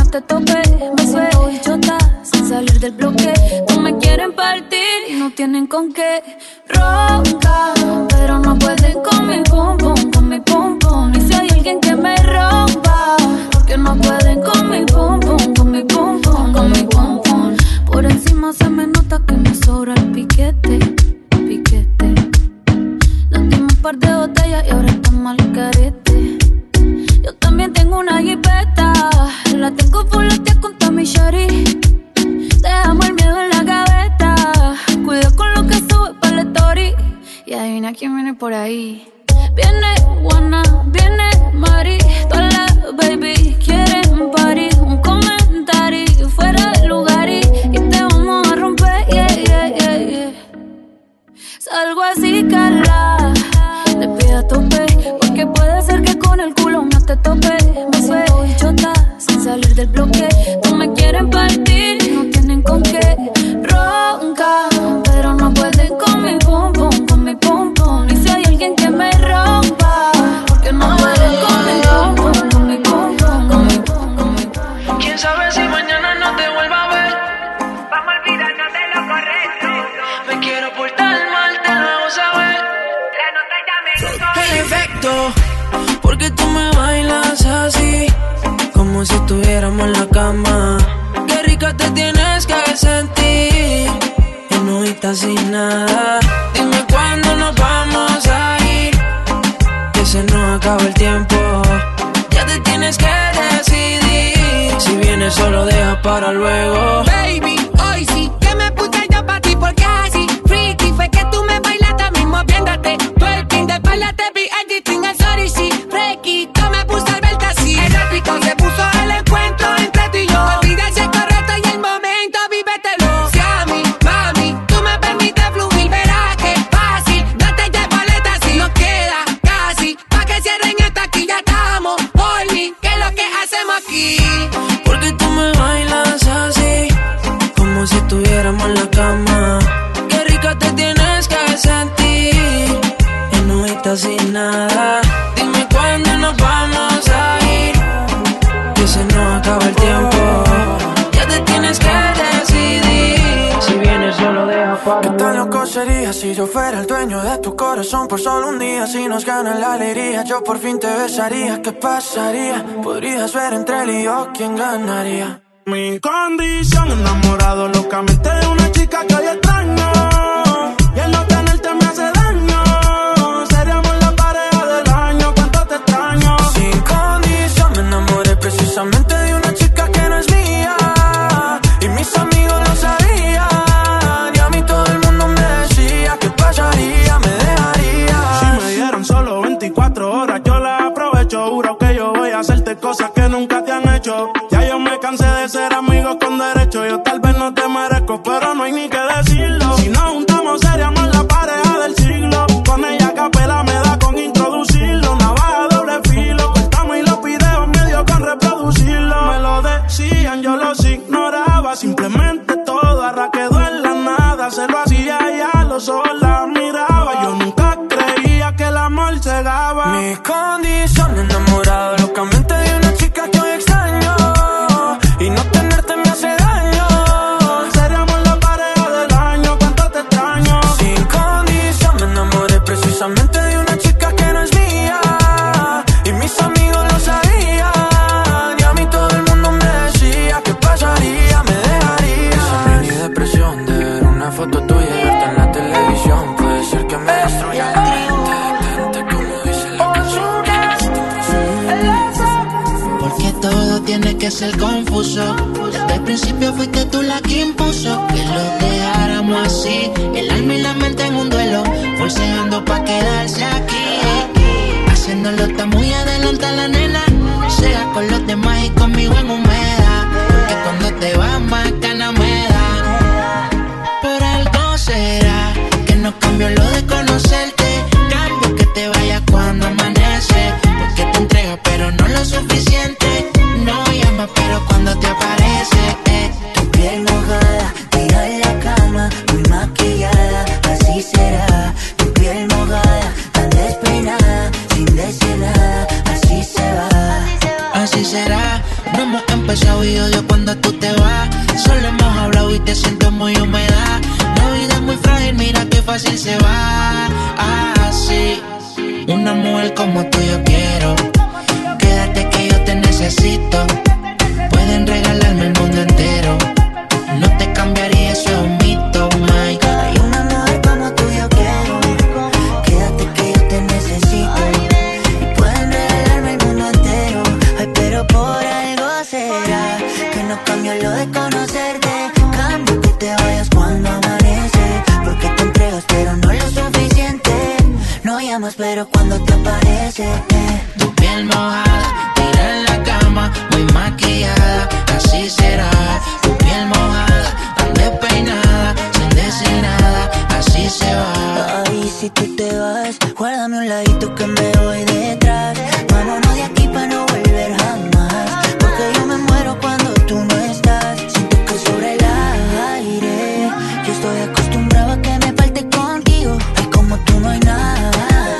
te topé. Me suelto bichota sin salir del bloque. No me quieren partir y no tienen con qué. Roncan, pero no pueden con mi pum pum, con mi pum pum. Y si hay alguien que me rompa, porque no pueden con mi pum pum, con mi pum pum, con mi pum pum. Por encima se me nota que me sobra el piquete, piquete. Nos dimos un par de botellas y ahora estamos al carete. Yo también tengo una jipeta, la tengo fuletea con Tommy Shari. Dejamos el miedo en la gaveta, cuida con lo que sube para la story. Y adivina quién viene por ahí. Viene Juana, viene Mari, todas las baby quieren party. Un comentario fuera del lugar y te vamos a romper, yeah, yeah, yeah, yeah. Salgo así, Carla, te pido a tope, porque puede ser que con el culo no te tope. Me suelto bichota sin salir del bloque. No me quieren partir y no tienen con qué. Ronca, pero no pueden con mi pum pum, con mi pum pum. Y si hay alguien que me rompa, porque no pueden con mi pum pum, con mi pum pum, con mi pum, con mi pum. Quién sabe si mañana no te vuelva a ver. Vamos a olvidarnos de lo correcto. Me quiero portar mal, te lo hago saber. La nota ya me El efecto, porque tú me bailas así, como si estuviéramos en la cama. Qué rica te tienes que sentir, y no estás sin nada. Dime cuándo nos vamos a ir, que se nos acaba el tiempo. Ya te tienes que decidir, si vienes solo deja para luego. Baby, hoy sí que me puse yo pa' ti porque así freaky fue que tú me bailaste mismo viéndote. Twerking de espalda te vi editing el sorry sí. Freaky, yo me puse al verte así. El épico se puso el encuentro entre tú y yo. Olvida ese correcto y el momento, vívetelo. Si a mí, mami, tú me permites fluir, verás que fácil. Date ya paleta si nos queda casi. Pa' que cierren esta aquí ya estamos. Por mí, ¿qué es lo que hacemos aquí? Porque tú me bailas así, como si estuviéramos en la cama. Qué rica te tienes que sentir, y no estás sin nada. Dime cuándo nos vamos a ir, que se nos acaba el tiempo. Ya te tienes que decidir, si vienes solo deja para. ¿Qué tan loco sería si yo fuera el dueño de tu corazón por solo un día? Si nos gana la alegría, yo por fin te besaría. ¿Qué pasaría? Podrías ver entre él y yo quién ganaría. Mi condición, enamorado locamente de una chica que hoy extraño. Y el no tenerte me hace daño. Seríamos la pareja del año, cuánto te extraño. Sin condición, me enamoré precisamente de una chica que no es mía. Y mis amigos lo sabían. Y a mí todo el mundo me decía ¿qué pasaría? Me dejaría. Si me dieron solo 24 horas, yo las aprovecho. Juro que yo voy a hacerte cosas que nunca te han hecho. Ya yo me cansé de ser amigos con derecho. Yo tal vez no te merezco, pero no hay ni que decirlo. Si nos juntamos seríamos la pareja del siglo. Con ella a capela me da con introducirlo. Navaja doble filo, cortamos y los videos medio con reproducirlo. Me lo decían, yo los ignoraba. Simplemente todo ahora quedó en la nada. Se lo hacía y a los ojos la miraba. Yo nunca creía que el amor cegaba. Mi condición, enamorado locamente de una chica que hoy extraño. Y no tenerte me hace daño. Seríamos la pareja del año, cuánto te extraño. Sin condición, me enamoré precisamente de una chica que no es mía. Y mis amigos lo sabían. Y a mí todo el mundo me decía ¿qué pasaría? Me dejaría. Insomnio y depresión de ver una foto tuya y verte en la televisión. Puede ser que me destruya la mente, como dice la canción. Porque todo tiene que ser confuso. Desde el principio fuiste tú la que impuso que lo dejáramos así. El alma y la mente en un duelo, forceando pa' quedarse aquí. Haciéndolo está muy adelante la nena. Sea con los demás y conmigo en humedad. Que cuando te vas más ganas me da. Por algo será que no cambio lo de conocerte. Cambio que te vayas cuando amanece. Porque te entregas pero no lo suficiente. No llamas pero cuando te aparece Tu piel mojada, tira en la cama, muy maquillada, así será. Tu piel mojada, tan despeinada, sin decir nada, así se va. Así será. No hemos empezado y odio cuando tú te vas. Solo hemos hablado y te siento muy húmeda. La vida es muy frágil, mira qué fácil se va. Así, una mujer como tú yo quiero. Quédate que yo te necesito. Pueden regalarme el mundo entero. No te cambiaría, eso es un mito, my God. Hay una mujer como tú yo quiero. Quédate que yo te necesito. Y pueden regalarme el mundo entero. Ay, pero por algo será que no cambio lo de conocerte. Cambio que te vayas cuando amanece. Porque te entregas pero no lo suficiente. No llamas pero cuando te aparece. Tu piel mojada, tira en la cama, muy maquillada, así será. Tu piel mojada, tan despeinada, sin decir nada, así se va. Ay, si tú te vas, guárdame un ladito que me voy detrás. Vámonos de aquí pa' no volver jamás. Porque yo me muero cuando tú no estás. Siento que sobre el aire yo estoy acostumbrado a que me falte contigo. Ay, como tú no hay nada.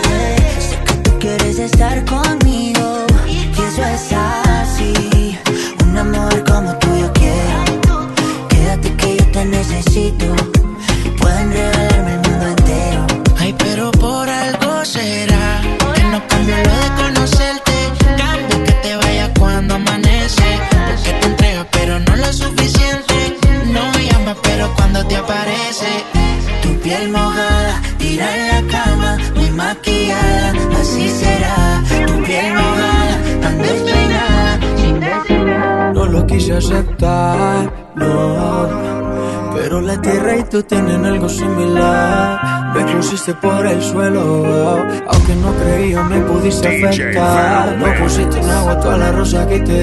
Sé que tú quieres estar conmigo y eso es así. Un amor como tú yo quiero. Quédate que yo te necesito. Pueden regalarme el mundo entero. Ay, pero por algo será que no cambio lo de conocerte. Cambio que te vayas cuando amanece. Porque te entregas pero no lo suficiente. No llamas pero cuando te aparece. Tu piel mojada, tira en la cama, muy maquillada, así será. Tu piel mojada, tan despeinada, sin decir nada. No lo quise aceptar, no. Pero la tierra y tú tienen algo similar. Me pusiste por el suelo, aunque no creía me pudiste afectar. No pusiste en agua toda la rosa que te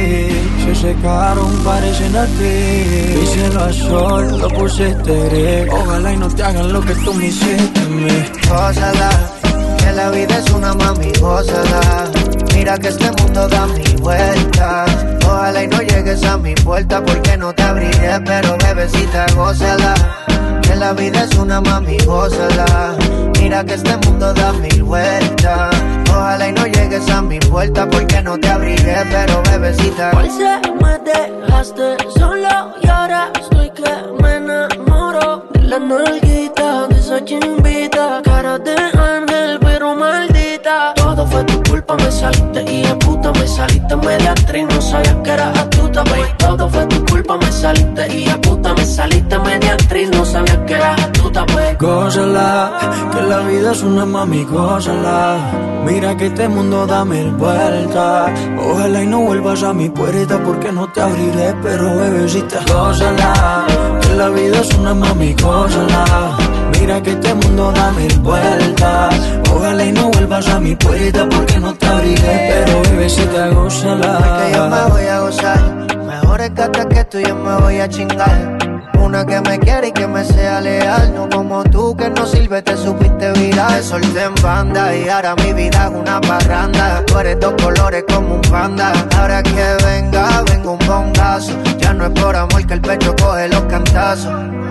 di. Se secaron, parecen a ti. Mi cielo a sol, lo pusiste gris. Ojalá y no te hagan lo que tú me hiciste a mí. Gózala, que la vida es una mami, gózala. Mira que este mundo da mil vueltas. Ojalá y no llegues a mi puerta porque no te abriré, pero bebecita, gózala. Que la vida es una mami, gózala. Mira que este mundo da mil vueltas. Ojalá y no llegues a mi puerta porque no te abriré, pero bebecita. Hoy se me dejaste solo y ahora estoy que me enamoro de la nalguita, de esa chimbita, cara de ángel pero maldita. Todo fue tu culpa, me saliste y de puta, me saliste media actriz, no sabía que eras astuta, baby. Todo fue tu culpa, me saliste y de puta, me saliste media actriz, no sabía que eras astuta, baby. Gózala, que la vida es una mami, gózala. Mira que este mundo da mil vueltas. Ojalá y no vuelvas a mi puerta porque no te abriré, pero bebecita, gózala. Que la vida es una mami, gózala. Mira que este mundo da mil vueltas. Ojalá y no vuelvas a mi puerta porque no te abriré, pero bebecita, gózala. Que yo me voy a gozar. Mejor es que hasta que tú yo me voy a chingar. Una que me quiere y que me sea leal. No como tú que no sirve, te supiste viral. Te solté en banda y ahora mi vida es una parranda. Tú eres dos colores como un panda. Ahora que venga un bongazo. Ya no es por amor que el pecho coge los cantazos.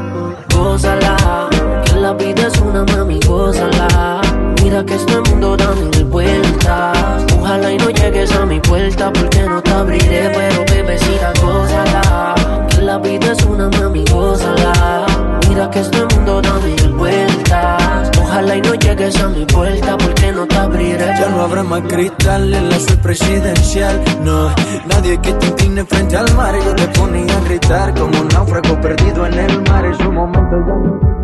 Gózala, que la vida es una mami, gózala. Mira que este mundo da mil vueltas. Ojalá y no llegues a mi puerta porque no te abriré, pero bebecita, gózala. Que la vida es una mami, gózala. Mira que este mundo da mil vueltas. Ojalá y no llegues a mi puerta porque no te abriré. Ya no habrá más cristal en la suite presidencial. No, nadie que te incline frente al mar. Yo te ponía a gritar como un náufrago perdido en el mar. En su momento ya no.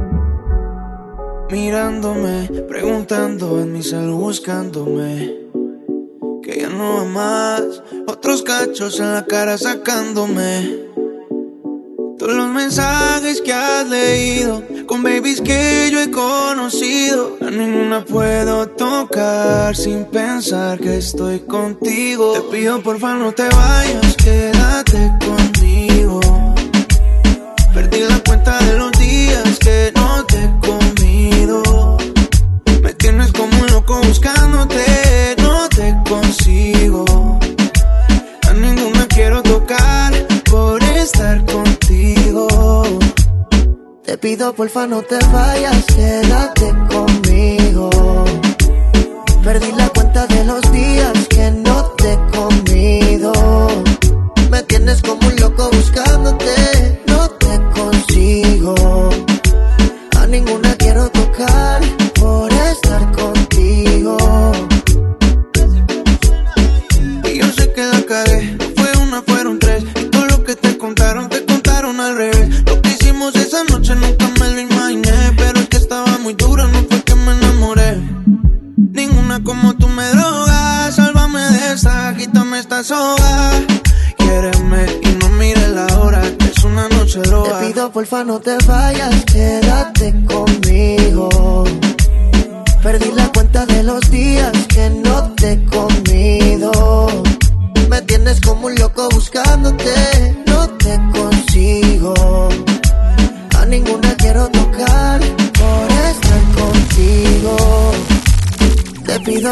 Mirándome, preguntando en mi cel buscándome. Que ya no va más. Otros cachos en la cara sacándome. Todos los mensajes que has leído con babies que yo he conocido, a ninguna puedo tocar sin pensar que estoy contigo. Te pido porfa no te vayas, quédate conmigo. Perdí la cuenta de los días que no te he comido. Me tienes como un loco buscándote, no te consigo. A ninguna quiero tocar por estar contigo. Te pido porfa no te vayas, quédate conmigo. Perdí la cuenta de los días que no te he comido. pido porfa no te vayas, quédate conmigo. Perdí la cuenta de los días que no te he comido. Me tienes como un loco buscándote, no te consigo. A ninguna quiero tocar por estar contigo. Te pido.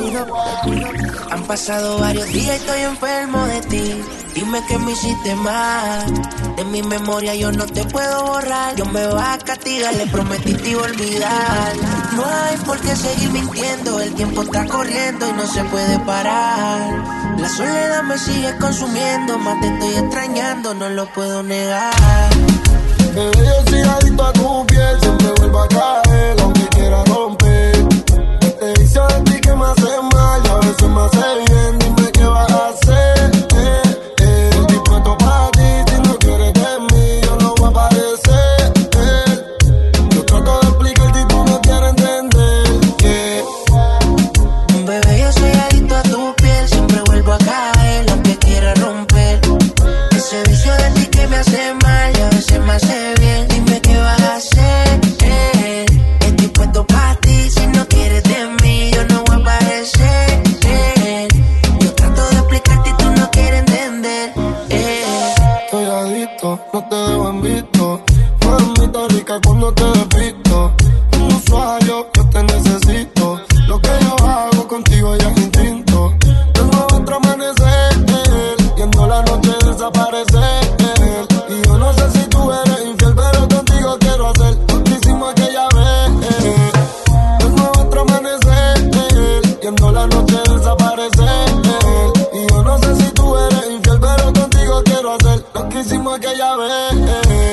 Han pasado varios días y estoy enfermo de ti. Dime que me hiciste mal. De mi memoria yo no te puedo borrar. Dios me va a castigar, le prometí te iba a olvidar. No hay por qué seguir mintiendo. El tiempo está corriendo y no se puede parar. La soledad me sigue consumiendo. Más te estoy extrañando, no lo puedo negar. Bebé, yo soy adicto a tu piel. Siempre vuelvo a caer, aunque quiera romper. Te dice a ti que me hace mal y a veces me hace bien. Dime qué vas a hacer. Dispuesto para ti, si no quieres de mí, yo no voy a aparecer. Yo trato de explicarte y tú no quieres entender. Bebé, yo soy adicto a tu piel. Siempre vuelvo a caer, aunque quiera romper. Ese vicio de ti que me hace mal y a veces me hace bien. Dime qué vas a hacer. Estoy puesto para ti, si no quieres de mí, yo no voy a aparecer. Yo trato de explicarte y tú no quieres entender. Estoy adicto, no te dejo en visto. Mamita rica cuando te despisto. Un usuario, yo te necesito. Lo que yo hago contigo ya es instinto. Tengo otro amanecer, viendo la noche desaparecer. Y yo no sé si tú eres infiel, pero contigo quiero hacer lo que hicimos aquella vez. Tengo otro amanecer, viendo la noche desaparecer. Y yo no sé si tú eres infiel, pero contigo quiero hacer lo que hicimos aquella vez.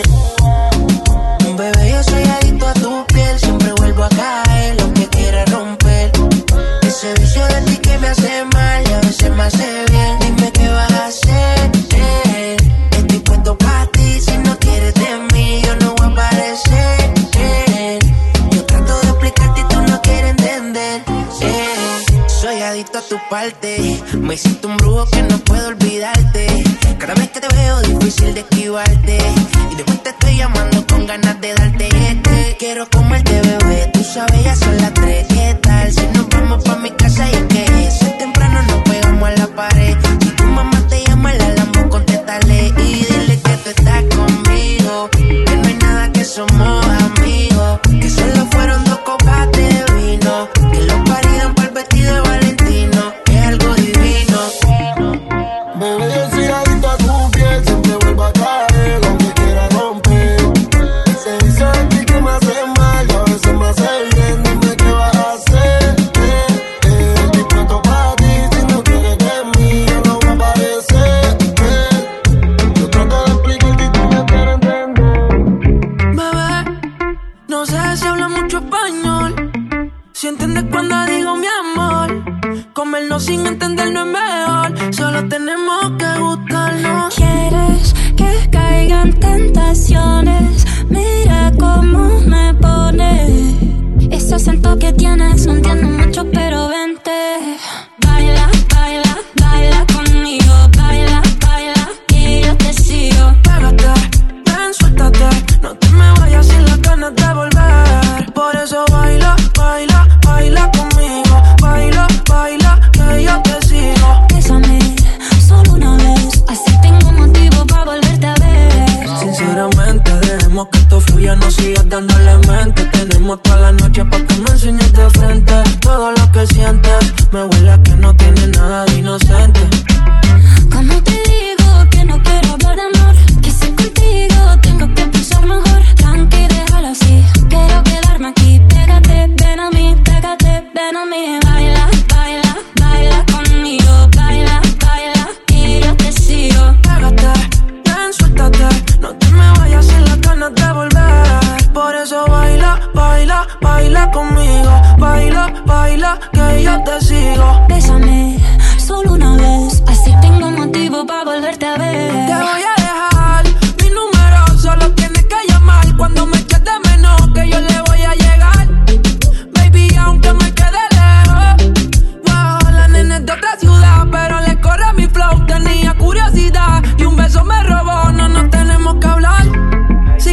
Bebé, yo soy adicto a tu piel. Siempre vuelvo a caer, lo que quiera romper. Ese vicio de ti que me hace mal y a veces me hace bien. Dime qué vas a hacer. Estoy puesto para ti, si no quieres de mí, yo no voy a aparecer. Yo trato de explicarte y tú no quieres entender. Soy adicto a tu parte. Me hiciste un brujo que no puedo olvidarte. Cada vez que te veo difícil de esquivarte. Y después te estoy llamando con ganas de darte quiero comerte, bebé. Tú sabes, ya son las 3. ¿Qué tal si nos vamos pa' mi casa y es que si es temprano nos pegamos a la pared? Si tu mamá te llama, la Lambo, contéstale y dile que tú estás conmigo. Que no hay nada, que somos amigos. Que solo fueron 2 copas de vino. Que los paridan por el vestido de Valentino. Es algo divino. Bebé, yo soy adicto a tu piel. Siempre vuelvo a caer, aunque quiera romper. Se dice a ti que me hace mal y a veces me hace bien. Dime qué vas a hacer. Estoy pronto para ti, si no quieres de mí, yo no voy a aparecer. Yo trato de explicarte y tú no quieres entender. Bebé, no sé si habla mucho español. Si entiendes cuando digo mi amor. Comernos sin entender no es mejor. Solo tenemos que gustarnos. Quieres que caigan tentaciones. Mira cómo me pone. Ese acento que tienes no entiendo mucho, pero vente. Baila, baila, baila conmigo. Baila, baila y yo te sigo. Pégate, ven, suéltate. No te me vayas sin las ganas de volver. Por eso baila, baila, baila conmigo. Baila, baila, que yo te sigo. Bésame solo una vez, así tengo motivo para volverte a ver. Sinceramente, dejemos que esto fluya, no sigas dándole mente. Tenemos toda la noche pa' que me enseñes de frente. Todo lo que sientes, me huele a que no tienes nada de inocente. Como te digo que no quiero hablar de amor, que si contigo tengo que pensar mejor. Tranqui, déjalo así, quiero quedarme aquí. Pégate, ven a mí, pégate, ven a mí. Baila, baila, baila conmigo. Baila, baila y yo te sigo. Pégate, ven, suéltate. No te me vayas sin las ganas de volver. Por eso baila, baila, baila conmigo. Baila, baila, que yo te sigo. Bésame solo una vez, así tengo motivo para volverte a ver. Te voy a dejar mi número, solo tienes que llamar. Cuando me eches de menos, que yo le voy a llegar. Baby, aunque me quede lejos. Wow, la nena es de otra ciudad, pero le corre mi flow. Tenía curiosidad y un beso me robó. No nos tenemos que hablar.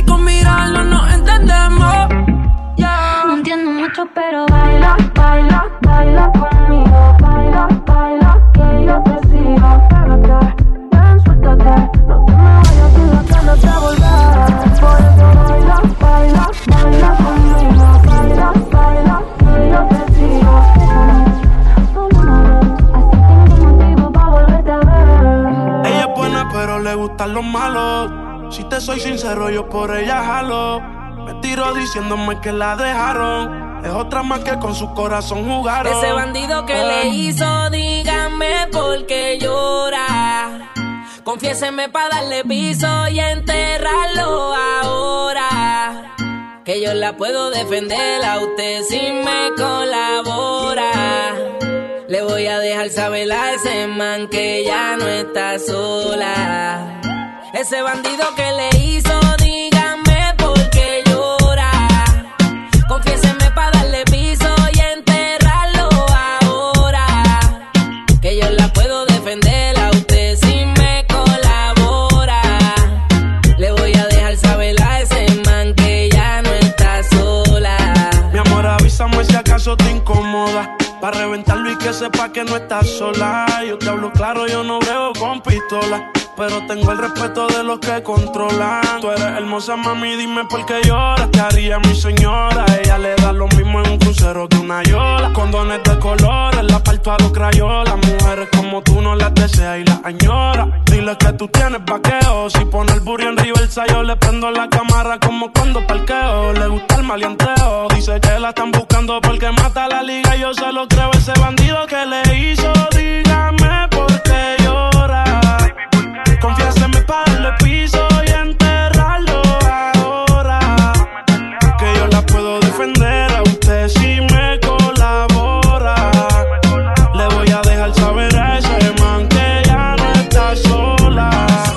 pero le gustan los malos. Si te soy sincero, yo por ella jalo. Me tiro diciéndome que la dejaron. Es otra más que con su corazón jugaron. Ese bandido que le hizo, dígame por qué llora. Confiéseme pa' darle piso y enterrarlo ahora. Que yo la puedo defender a usted si me colabora. Le voy a dejar saber a ese man que ya no está sola. Ese bandido que le hizo, dígame por qué llora. Confiéseme pa' darle piso y enterrarlo ahora. Que yo la puedo defender a usted si me colabora. Le voy a dejar saber a ese man que ya no está sola. Mi amor, avísame si acaso te incomoda, pa' reventarlo y que sepa que no estás sola. Yo te hablo claro, yo no veo con pistola, pero tengo el respeto de los que controlan. Tú eres hermosa, mami, dime por qué lloras. ¿Qué haría mi señora? Ella le da lo mismo en un crucero que una yola. Condones de colores, la parto a los crayolas. Mujeres como tú no las deseas y las añora. Dile que tú tienes vaqueo. Si pone el burro en reversa, yo le prendo la cámara como cuando parqueo. Le gusta el maleanteo. Dice que la están buscando porque mata la liga. Yo se lo creo, ese bandido que le hizo. Dígame por qué llora. Confiéseme pa' darle piso y enterrarlo ahora. Que yo la puedo defender a usted si me colabora. Le voy a dejar saber a ese man que ya no está sola.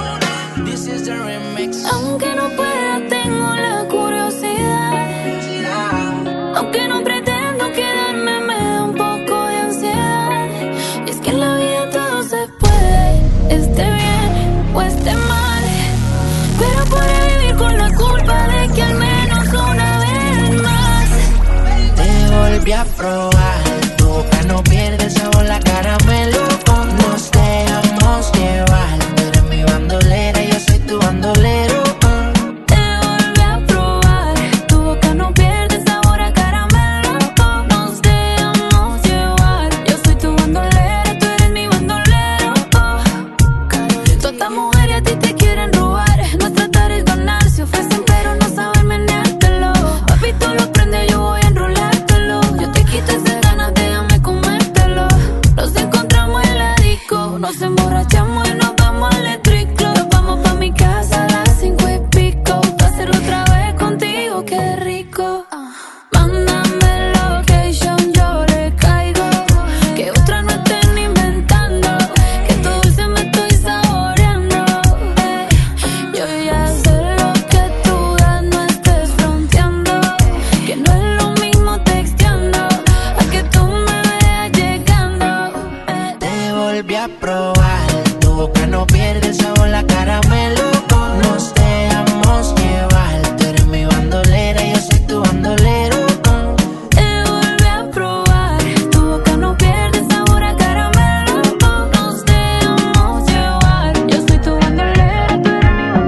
Aunque no pueda, tengo la curiosidad. Aunque no pretendo quedarme, me da un poco de ansiedad. Y es que en la vida todo se puede, esté bien o esté mal, pero podré vivir con la culpa de que al menos una vez más te volví a probar. Tu boca no pierde el sabor, la caramelo. Nos dejamos llevar. Tú eres mi bandolera, yo soy tu bandolero. Te volví a probar. Tu boca no pierde el sabor a caramelo. Nos dejamos llevar. Yo soy tu bandolera, tú eres mi bandolero. Todas estas mujeres a ti te quieren robar. No tratar es ganar, se ofrecen pero no saben meneártelo. Papi, tú lo prendes, yo voy a enrolártelo. Yo te quito esas ganas, déjame comértelo. Nos encontramos en la disco, nos emborrachamos y nos vamos al Electric Club. Nos vamos pa' mi casa a las 5 y pico, pa' hacerlo otra vez contigo, qué rico. Mándame location, yo le caigo. Que otra no estén inventando, que tu dulce me estoy saboreando. Yo ya sé lo que tú das, no estés fronteando. Que no es lo mismo texteando a que tú me veas llegando. Te volví a probar. Tu boca no pierde el sabor, la caramelo. Nos dejamos llevar. Tú eres mi bandolera, yo soy tu bandolero. Te volví a probar. Tu boca no pierde el sabor a caramelo. Nos dejamos llevar. Yo soy tu bandolera, tú eres mi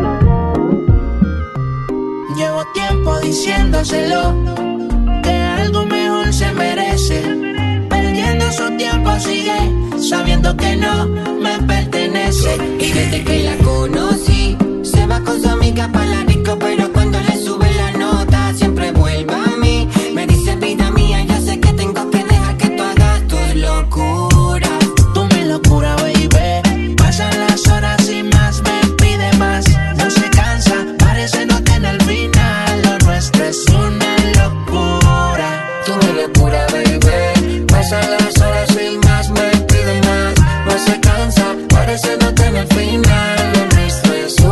bandolero. Llevo tiempo diciéndoselo, que algo mejor se merece. Perdiendo su tiempo sigue, sabiendo que no me pertenece. Y desde que la conocí, se va con su amiga pa' la disco, pero cuando le sube la nota, siempre vuelve a mí. Me dice, vida mía, yo sé que tengo que dejar que tú hagas tus locuras. Tú mi locura, baby. Pasan las horas y más me pide más. No se cansa, parece no tener final. Lo nuestro es una locura. Tú mi locura, baby. Pasan las horas y más me pide más. No se cansa, parece no tener final. Lo nuestro es una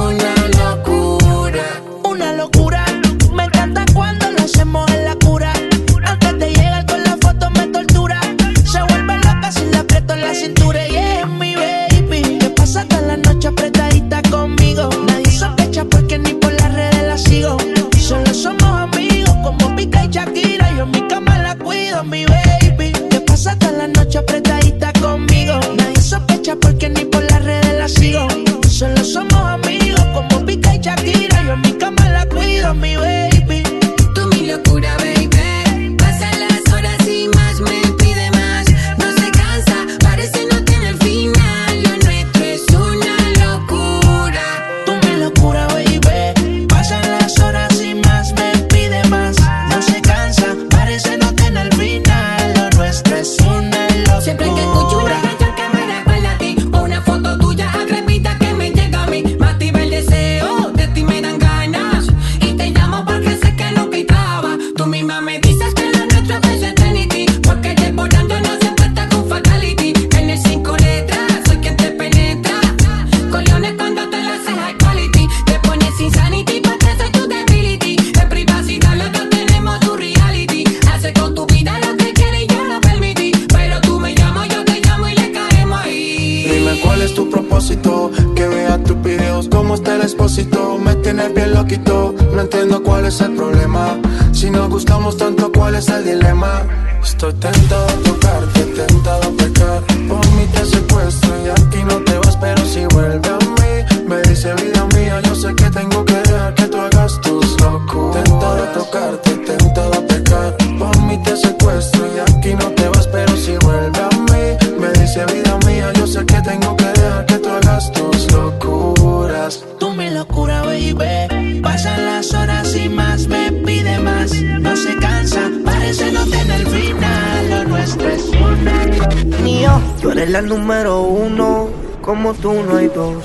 quality. Te pones insanity, porque soy tu debility. En privacidad los dos tenemos tu reality. Hace con tu vida lo que quieres y yo lo permití. Pero tú me llamas, yo te llamo y le caemos ahí. Dime cuál es tu propósito, que vea tus videos como está el expósito. Me tienes bien loquito, no entiendo cuál es el problema. Si nos gustamos tanto, ¿cuál es el dilema? Estoy tentado a tocarte, tentado a pecar. Por mí te secuestro y aquí no te vas, pero si vuelve a mí. Me dice vida mía, yo sé que tengo que dejar que tú hagas tus locuras. Tentado a tocarte, tentado a pecar. Por mí te secuestro y aquí no te vas, pero si vuelve a mí. Me dice vida mía, yo sé que tengo que dejar que tú hagas tus locuras. Tú mi locura, baby. Pasan las horas y más me pide más. No se cansa, parece no tener final. Lo nuestro es una. Mío, tú eres la número uno. Como tú no hay dos.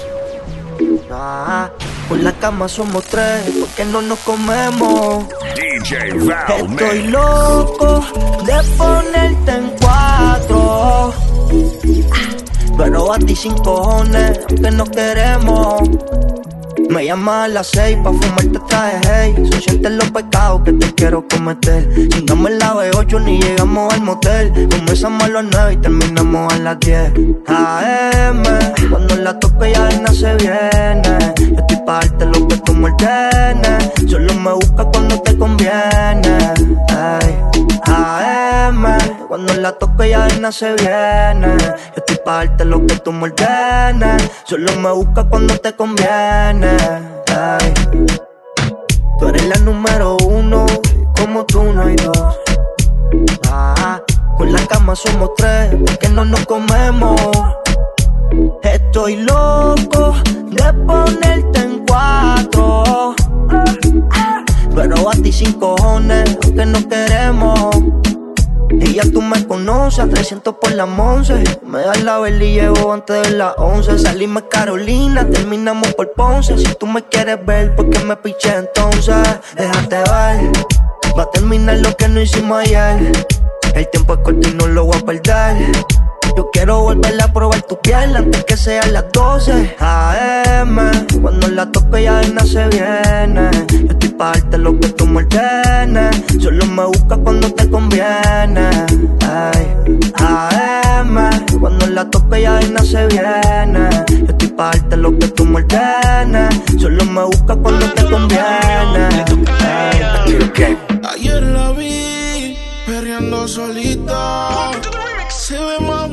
Por la cama somos tres, porque no nos comemos. DJ Val Estoy loco de ponerte en cuatro, pero a ti sin cojones, aunque no queremos. Me llamas a las 6 pa' fumarte traje, hey. Se sienten los pecados que te quiero cometer. Chingamos en la B8 ni llegamos al motel. Comenzamos a las 9 y terminamos a las 10 AM. Cuando la toque ya se viene. Yo estoy pa' darte lo que tú me ordenes. Solo me buscas cuando te conviene, hey. AM. Cuando la toque ya se viene. Yo estoy pa' darte lo que tú me ordenes. Solo me buscas cuando te conviene. Ay. Tú eres la número uno, como tú no hay dos. Con la cama somos tres, porque no nos comemos. Estoy loco de ponerte en cuatro, pero a ti sin cojones, aunque no queremos. Y ya tú me conoces, a 300 por la Monse. Me das la vela y llevo antes de las 11. Salimos Carolina, terminamos por Ponce. Si tú me quieres ver, ¿por qué me piché entonces? Déjate ver, va a terminar lo que no hicimos ayer. El tiempo es corto y no lo voy a perder. Yo quiero volver a probar tu piel antes que sean las 12 AM. Cuando la toque ya se viene. Yo estoy pa' darte lo que tú me ordenes. Solo me buscas cuando te conviene, ay. AM. Cuando la toque ya se viene. Yo estoy pa' darte lo que tú me ordenes. Solo me buscas cuando te conviene, ay. Ayer la vi perreando solita, se ve más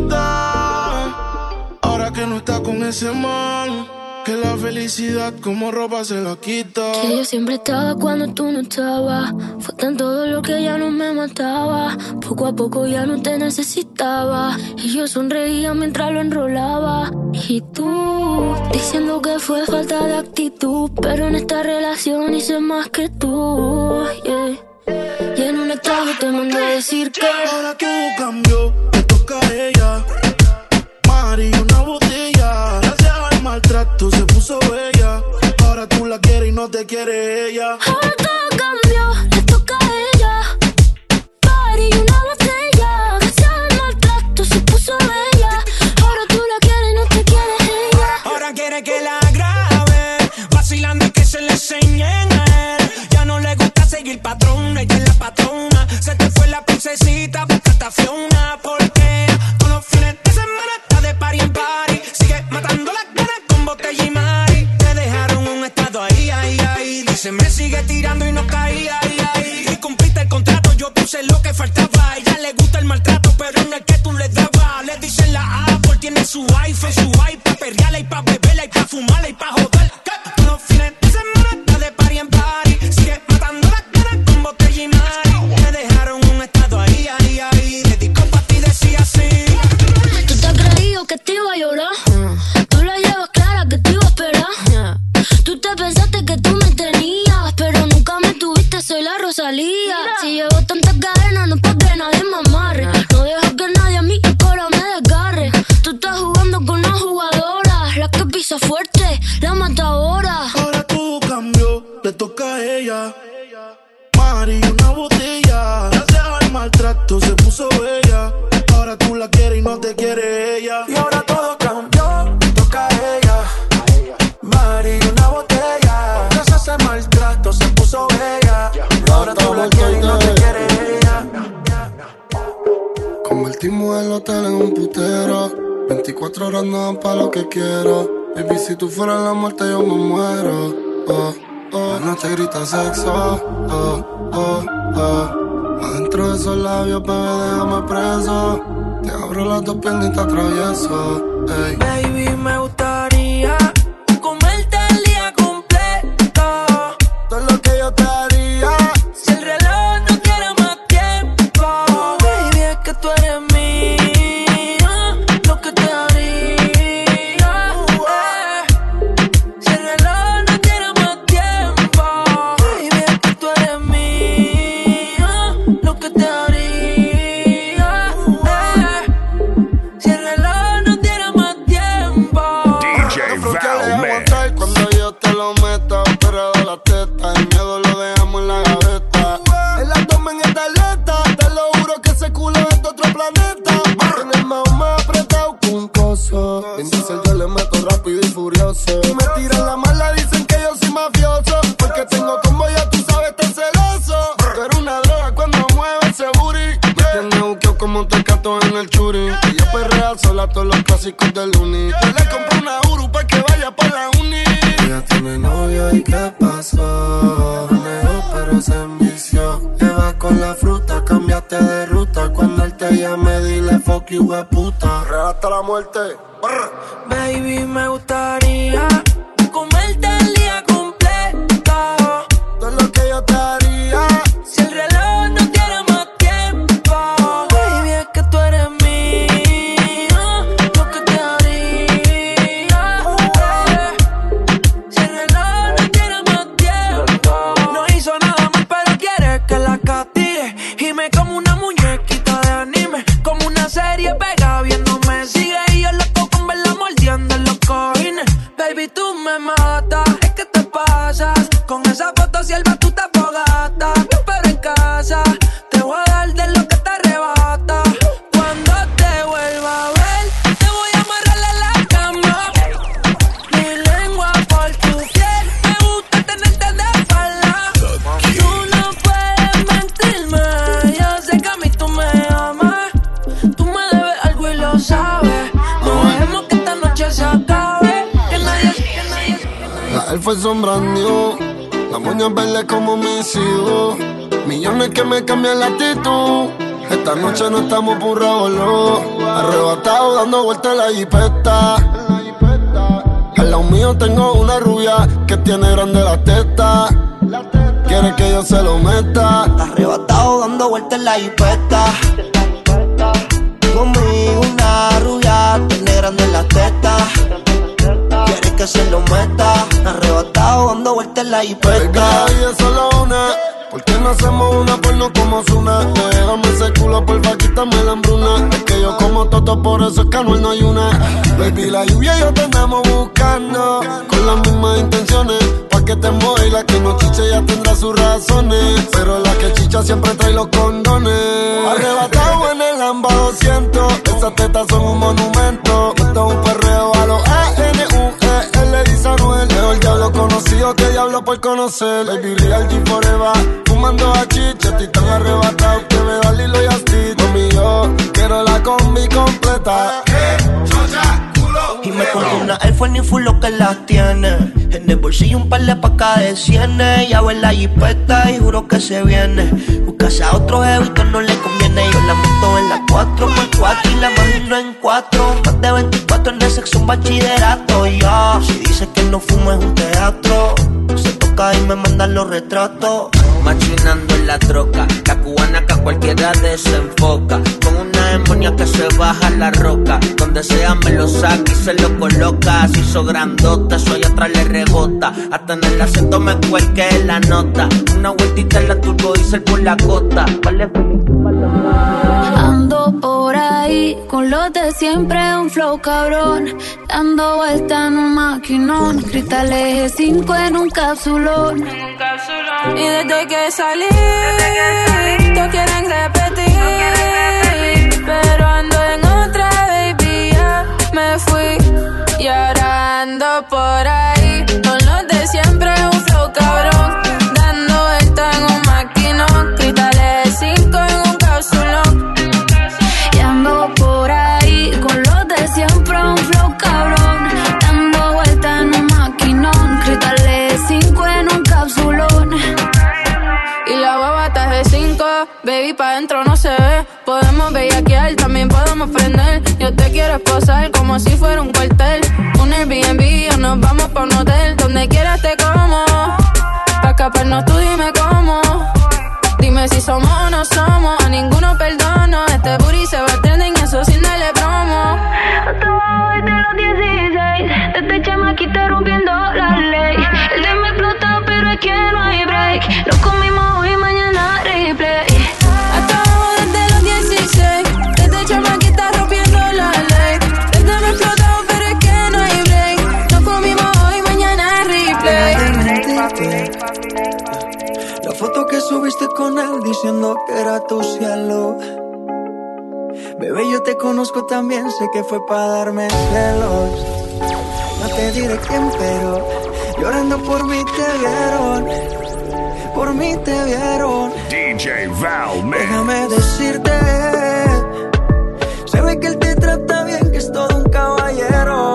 bonita ahora que no está con ese man, que la felicidad como ropa se la quita. Que yo siempre estaba cuando tú no estabas. Fue tan todo lo que ya no me mataba. Poco a poco ya no te necesitaba. Y yo sonreía mientras lo enrolaba. Y tú, diciendo que fue falta de actitud. Pero en esta relación hice más que tú, yeah. Y en un estado te mandé a decir que ahora todo cambió, me toca a ella. Mari, una botella. Gracias al maltrato se puso bella. Ahora tú la quieres y no te quiere ella. ahora todo cambió, le toca a ella. Mari, una botella. Gracias al maltrato se puso bella. Ahora tú la quieres y no te quiere ella. Ahora quiere que la grabe, vacilando y que se le enseñen a él. Ya no le gusta seguir patrón, ella es la patrona. Se te fue la princesita, buscaste a Fiona. Porque todos los fines de semana está de party en party. Sigue matando las ganas con botella y mari. Te dejaron un estado ahí, ahí, ahí. Dice me sigue tirando y no caía, ahí, ahí. Y cumpliste el contrato, yo puse lo que faltaba. A ella le gusta el maltrato, pero no el que tú le dabas. Le dicen la Apple, tiene su iPhone, su iPad, perreala y pa' beberla y pa' fumarla y pa' joder. Todos los fines de semana está de party en party. Sigue matando las ganas con botella y mari. Te dejaron un estado ahí, ahí, ahí. Dedicó pa' ti, decía así. Tú te has creído que te iba a llorar. Tú la llevas clara que te iba a esperar. Tú te pensaste que tú me tenías, pero nunca me tuviste, soy la Rosalía. Si llevo tantas cadenas, no es pa' que nadie me amarre. No dejo que nadie a mi cola me desgarre. Tú estás jugando con una jugadora, la que pisa fuerte, la matadora. Ahora todo cambió, le toca a ella. Mari, una botella. Gracias al maltrato se puso bella. Ahora tú la quieres y no te quiere ella. Y ahora todo cambió, le toca a ella. Mari, 24 horas no dan pa' lo que quiero. Baby, si tú fueras la muerte yo me muero. La noche grita sexo. Adentro de esos labios, bebé, déjame preso. Te abro las dos piernas y te atravieso. Ey. Baby, me gustaría comerte el día completo. Todo lo que yo te haría. Si el reloj no quiere más tiempo. Baby, es que tú eres mía. Lo que te haría. Si el reloj no quiere más tiempo. Baby, es que tú eres mía. Lo que te haría. Si el reloj no tiene más tiempo. Cuando yo te lo meta, operado la teta, el miedo lo dejamos en la gaveta. El abdomen está alerta, te lo juro que ese culo es de otro planeta. En el más apretado que un coso. En diesel yo le meto rápido y furioso. Y me tiran la mala, dicen que yo soy mafioso. Porque tengo combo, ya tú sabes, tan celoso. Tú eres una droga cuando mueves ese booty. Me tiene buqueo como un tecato en el churi. Ella perrea sola todos los clásicos del uni. Yo le compro una Uru pa' que vaya pa' la uni. Ella tiene novio y ¿qué pasó? Negó pero se envició. Lleva con la fruta, cambiaste de ruta. Cuando él te llame dile fuck you, hueputa. Real hasta la muerte. Baby, me gustaría comerte el día completo. Todo lo que yo te haría. Si el reloj no tiene más tiempo. Baby, es que tú eres mía. Lo que te haría. Si el reloj no tiene más tiempo. No hizo nada más pero quiere que la castigue. Y me como una muñequita de anime. Como una serie pega viéndome sigue. Y yo loco con verla mordiendo en los cojines. Baby, tú me matas. Es que te pasas. Con esa foto sierva tú te fogata. Te espero en casa. Te voy a dar de lo que te arrebata. Cuando te vuelva a ver, te voy a amarrar en la cama. Mi lengua por tu piel. Me gusta tenerte de espalda. Tú no puedes mentirme. Yo sé que a mí tú me amas. Tú me debes algo y lo sabes. No dejemos que esta noche se acabe. Que nadie. La elfa es sombra new. La moña verde como mis hijos. Millones que me cambian la actitud. Esta noche no estamos por revolú. Arrebatado dando vueltas en la jipeta. Al lado mío tengo una rubia que tiene grande la teta. Quiere que yo se lo meta. Arrebatado dando vueltas en la jipeta. Conmigo una rubia tiene grande la teta. Quiere que se lo meta. Arrebatado dando vueltas en la jipeta. Y es solo una. ¿Por qué no hacemos una porno como Zuna? Déjame ese culo, porfa, quítame la hambruna. Es que yo como toto, por eso es que Anuel no hay una. Baby, la lluvia y yo te andamos buscando con las mismas intenciones. Pa' que te mueva y la que no chiche ya tendrá sus razones. Pero la que chicha siempre trae los condones. Arrebatado en el Lamba 200. Esas tetas son un monumento. Esto es un perreo a los A-N-U-E. Le dice Anuel. Mejor diablo conocido que diablo por conocer. Baby, real G forever. Fumando a chicha, estoy tan arrebatado que me da Lilo y Asti. Mami, yo quiero la combi completa. Y me compré una Air Force ni full lo que las tiene. En el bolsillo un par de pacas de cienes. Ya en la jipeta y juro que se viene. Buscase a otro jevito no le conviene. Yo la monto en la 4x4 y la imagino en 4. Más de 24 en el sexo, un bachillerato. Ya, si dice que no fumo es un teatro. Se toca y me mandan los retratos. Machinando en la troca, la cubana que a cualquiera desenfoca. Con una demonia que se baja la roca. Donde sea me lo saca y se lo coloca. Así hizo grandota, eso allá atrás le rebota. Hasta en el acento me cuelque la nota. Una vueltita en la turbo diesel por la costa. Vale, ando por ahí con los de siempre, un flow cabrón. Dando vuelta en un maquinón. Cristales G5 en un capsulón. Y desde que salí, todos quieren repetir. Pero ando en otra, baby, ya me fui. Y ahora ando por ahí con los de siempre, un flow cabrón. Dando vuelta en un maquinón. Cristales 5 en un capsulón. Y ando por ahí con los de siempre, un pa' dentro no se ve. Podemos bellaquear, también podemos prender. Yo te quiero esposar como si fuera un cuartel. Un Airbnb o nos vamos pa' un hotel. Donde quieras te como. Pa' escaparnos tú dime cómo. Dime si somos o no somos. A ninguno perdono. Este booty se va a trending, eso sin darle promo. Hasta abajo desde los 16. Desde chamaquita rompiendo la ley. El de me explota pero es que no hay break. Lo comimos hoy, mañana replay. Hasta abajo desde los 16. Desde chamaquita rompiendo la ley. Desde me explota pero es que no hay break. Lo comimos hoy, mañana replay. La foto que subiste con él diciendo que era tu cielo. Bebé, yo te conozco también, sé que fue para darme celos. No te diré quién, pero llorando por mí te vieron. Por mí te vieron. DJ Val, man. Déjame decirte, se ve que él te trata bien, que es todo un caballero.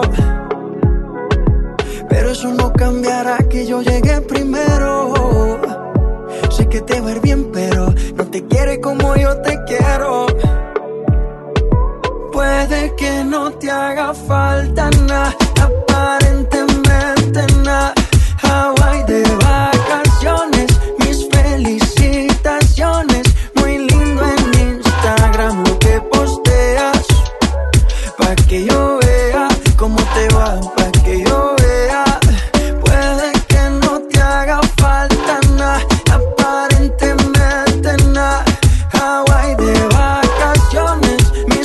Pero eso no cambiará que yo llegué primero. Sé que te va a ir bien, pero no te quiere como yo te quiero. Puede que no te haga falta nada, aparentemente nada. Hawaii de vacaciones, mis felicitaciones. Muy lindo en Instagram lo que posteas. Pa' que yo vea cómo te va, pa' que yo vea. Puede que no te haga falta nada, aparentemente nada. Hawaii de vacaciones, mis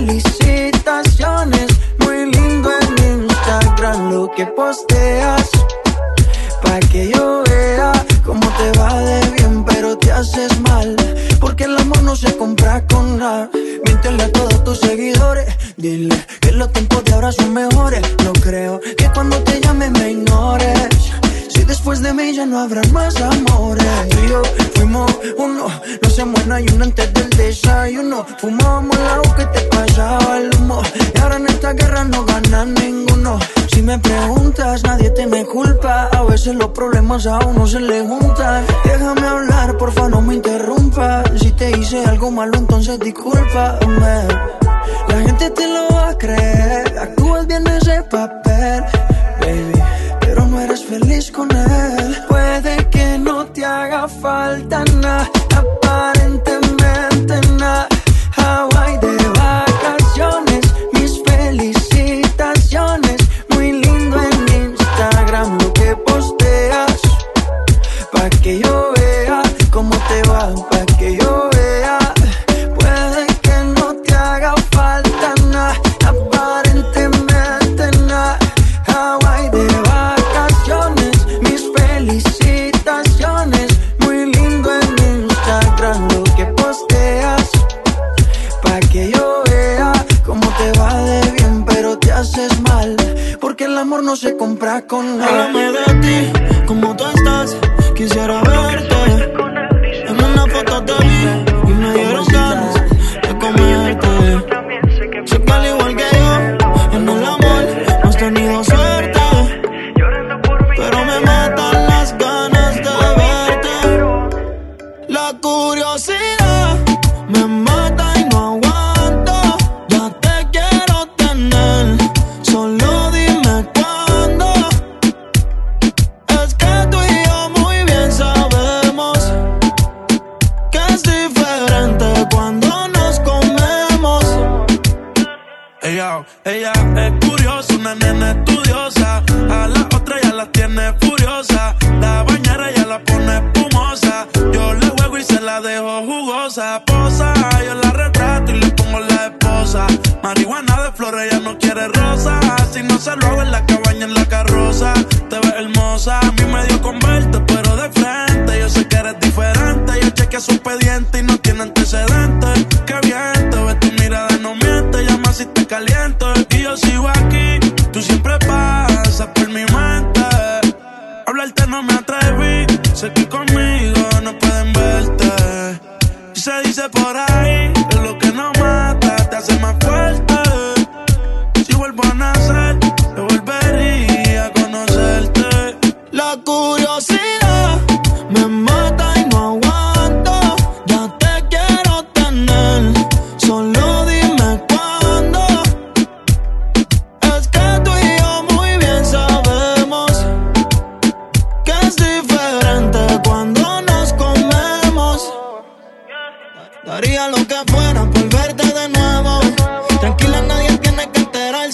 felicitaciones. Muy lindo en Instagram lo que posteas. Pa' que yo vea cómo te va de bien, pero te haces mal. Porque el amor no se compra con nada. Míntele a todos tus seguidores. Dile que los tiempos de ahora son mejores. No creo que cuando te llame me ignores. Si después de mí ya no habrán más amores. Tú y yo fuimos uno, no se muera y uno antes del desayuno. Fumábamos el agua que te pasaba el humo. Y ahora en esta guerra no gana ninguno. Si me preguntas, nadie te me culpa. A veces los problemas a uno se le juntan. Déjame hablar, porfa, no me interrumpas. Si te hice algo malo, entonces discúlpame. La gente te lo va a creer. Actúas bien ese papel, baby, pero no eres feliz con él. Puede que no te haga falta nada, aparentemente nada. Hawaii de vacaciones, mis felicitaciones. Muy lindo en Instagram lo que posteas. Pa' que yo vea cómo te va, pa' que yo vea. Puede que no te haga falta nada, aparentemente nada. Hawaii de vacaciones, mis felicitaciones. Muy lindo en Instagram lo que posteas. Pa' que yo vea cómo te va de bien, pero te haces mal. Porque el amor no se compra con nada. Háblame de ti, cómo tú estás. Quisiera verte. En una foto te vi y me dieron ganas de comerte. Sé que al igual que yo, en el amor no has tenido suerte. Pero me matan las ganas de verte. La curiosidad me mata y no aguanto. Ya te quiero tener, solo dime cuándo. Es que tú y yo muy bien sabemos que es diferente cuando nos comemos. Ella es curiosa, una nena estudiosa. A la otra ya la tiene furiosa. La bañera ya la pone espumosa. Yo le juego y se la dejo jugosa. Posa, yo la retrato y le pongo la esposa. Marihuana de flores, ella no quiere rosa. Si no se lo hago en la cabaña, en la carroza. Te ves hermosa, a mí me dio con verte, pero de frente. Yo sé que eres diferente. Yo chequeé su expediente y no tiene antecedentes. Qué bien, te ves tu mirada, no miente. Llama si te caliento. Y yo sigo aquí, tú siempre pasas por mi mente. Hablarte no me atreví, sé que conmigo no pueden verte. Y se dice por ahí que lo que no mata te hace más fuerte. Si vuelvo a nacer, te volvería a conocerte. La curiosidad me mata y no aguanto. Ya te quiero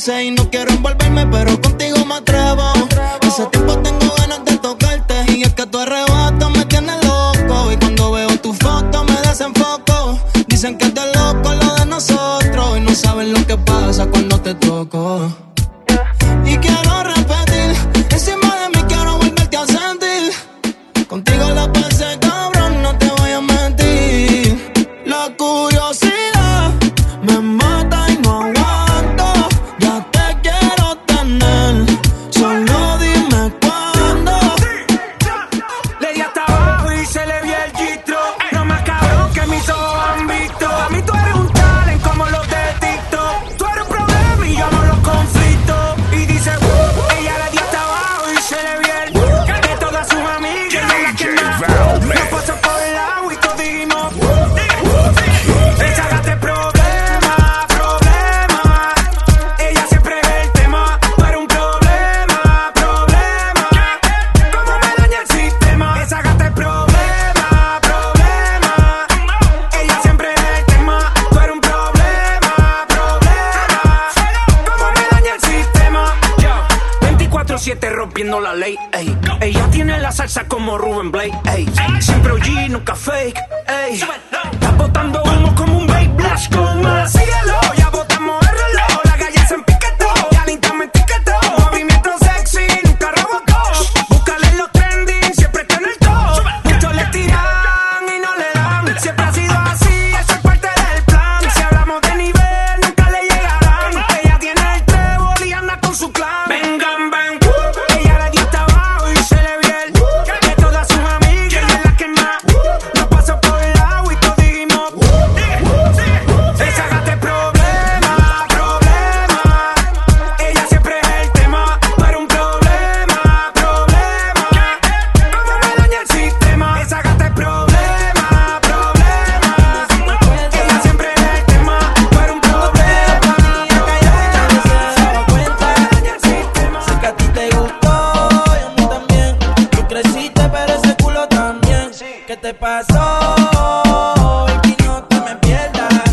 veces y no quiero envolverme, pero contigo me atrevo. Hace tiempo tengo ganas de tocarte y es que tu arrebato me tiene loco. Y cuando veo tu foto me desenfoco. Dicen que es de loco lo de nosotros y no saben lo que pasa cuando te toco. Y quiero repetir, encima de mí quiero volverte a sentir. Contigo la pasé cabrón, no te voy a mentir. La curiosidad me mata y no aguanto. Ya te quiero tener, solo dime cuándo. Le di hasta abajo y se le vio el gistro. No más cabrón que mis ojos han visto. A mí tú eres un talent como los de TikTok. Tú eres un problema y yo amo los conflictos. Y dice, ella le dio hasta abajo y se le vio el de todas sus amigas. Ella es la que más nos pasó por el agua y todos dijimos, esa gata es problema, problema. Ella siempre es el tema. Tú eres un problema, problema. ¿Cómo me daña el sistema? Esa gata es problema, problema. Ella siempre es el tema. Tú eres un problema, problema. ¿Cómo me daña el sistema? Yo, 24/7 rompiendo la ley, ey. Ella tiene la salsa como Rubén Blade, ey. Siempre OG, nunca fake, ey. Está botando humo como un Babe Blash con más. Síguelo, ya botamos el reloj. La galla se empiquetó, ya Linta me etiquetó. Movimiento sexy, nunca rebotó. Búscale en los trending, siempre está en el top. Muchos le tiran y no le dan. Siempre ha sido así, eso es parte del plan. Si hablamos de nivel, nunca le llegarán. Ella tiene el trébol y anda con su clan. Vengan, ven, ella le dio hasta abajo y se le vio el de todas sus amigas. Ella es la que más nos pasó por el agua y todos dijimos, esa gata es problema, problema. Ella siempre es el tema. Tú eres un problema, problema. ¿Cómo me daña el sistema? Esa gata es problema, problema. Ella siempre es el tema. Tú eres un problema. Sé que a ti te gustó y a mí también. Tú creciste pero ese culo también. ¿Qué te pasó? Baby, no te me pierdas.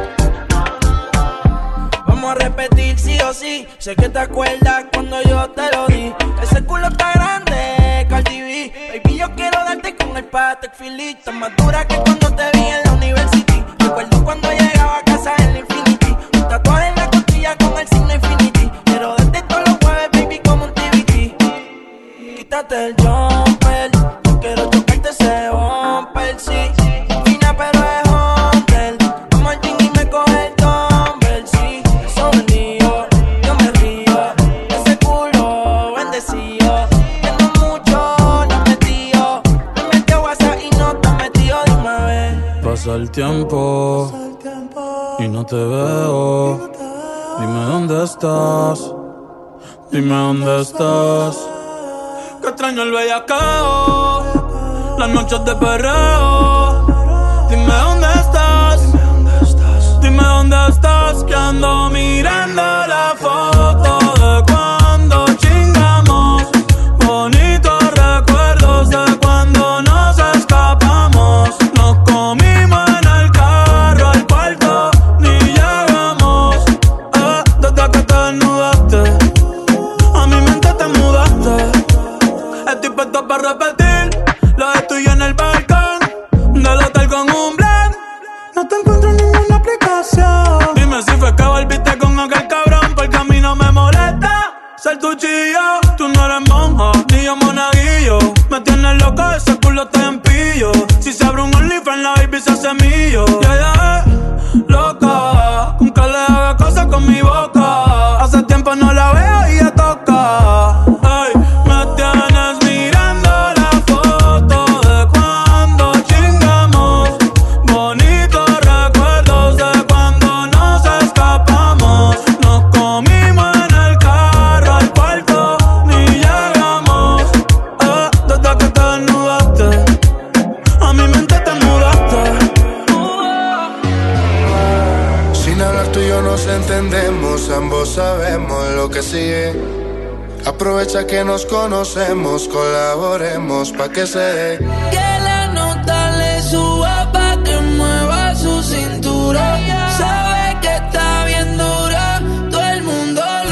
Vamos a repetir sí o sí. Sé que te acuerdas cuando yo te lo di. Ese culo está grande, Cardi B. Baby, yo quiero darte con el Patek Philippe. Tan más dura que cuando te vi en la university. Recuerdo cuando llegaba a casa en la Infinity. Un tatuaje en la costilla con el signo Infinity. Quiero darte todos los jueves, baby, como un TBT. Quítate el jumper, yo quiero chocarte ese bumper, sí. Fina pero es Hunter. Vamos al gym y me coge el dumbbell, sí. Sonrío, yo me río. Ese culo bendecido. Tiene mucho, no metido. Me metió WhatsApp y no te metió, dime a ver. Pasa el tiempo y no te veo. Dime dónde estás. Dime dónde estás. Que extraño el bellacao, las noches de perreo. Dime dónde estás. Dime dónde estás. Que ando mirando la foto de cuando chingamos. Bonitos recuerdos de cuando nos escapamos. Nos comimos en el carro, al cuarto ni llegamos. Desde que te desnudaste, a mi mente te mudaste. Estoy puesto para repetir lo de tuyo en el balcón del hotel con un blend. No te encuentro en ninguna aplicación. Dime si fue que volviste con aquel cabrón, porque a mí no me molesta ser tu chillo. Tú no eres monja, ni yo monaguillo. Me tienes loca, ese culo está en pillo. Si se abre un OnlyFans, la baby se hace millo. Y ella es loca, con que le haga cosas con mi boca. Hace tiempo no la veo y ya toca. Ey, me tienes mirando la foto de cuando chingamos. Bonitos recuerdos de cuando nos escapamos. Nos comimos en el carro, al cuarto ni llegamos. Desde que te desnudaste, a mi mente te mudaste. Sin hablar tú y yo nos entendemos, ambos sabemos lo que sigue. Aprovecha que nos conocemos, colaboremos pa' que se dé. Que la nota le suba pa' que mueva su cintura. Sabe que está bien dura, todo el mundo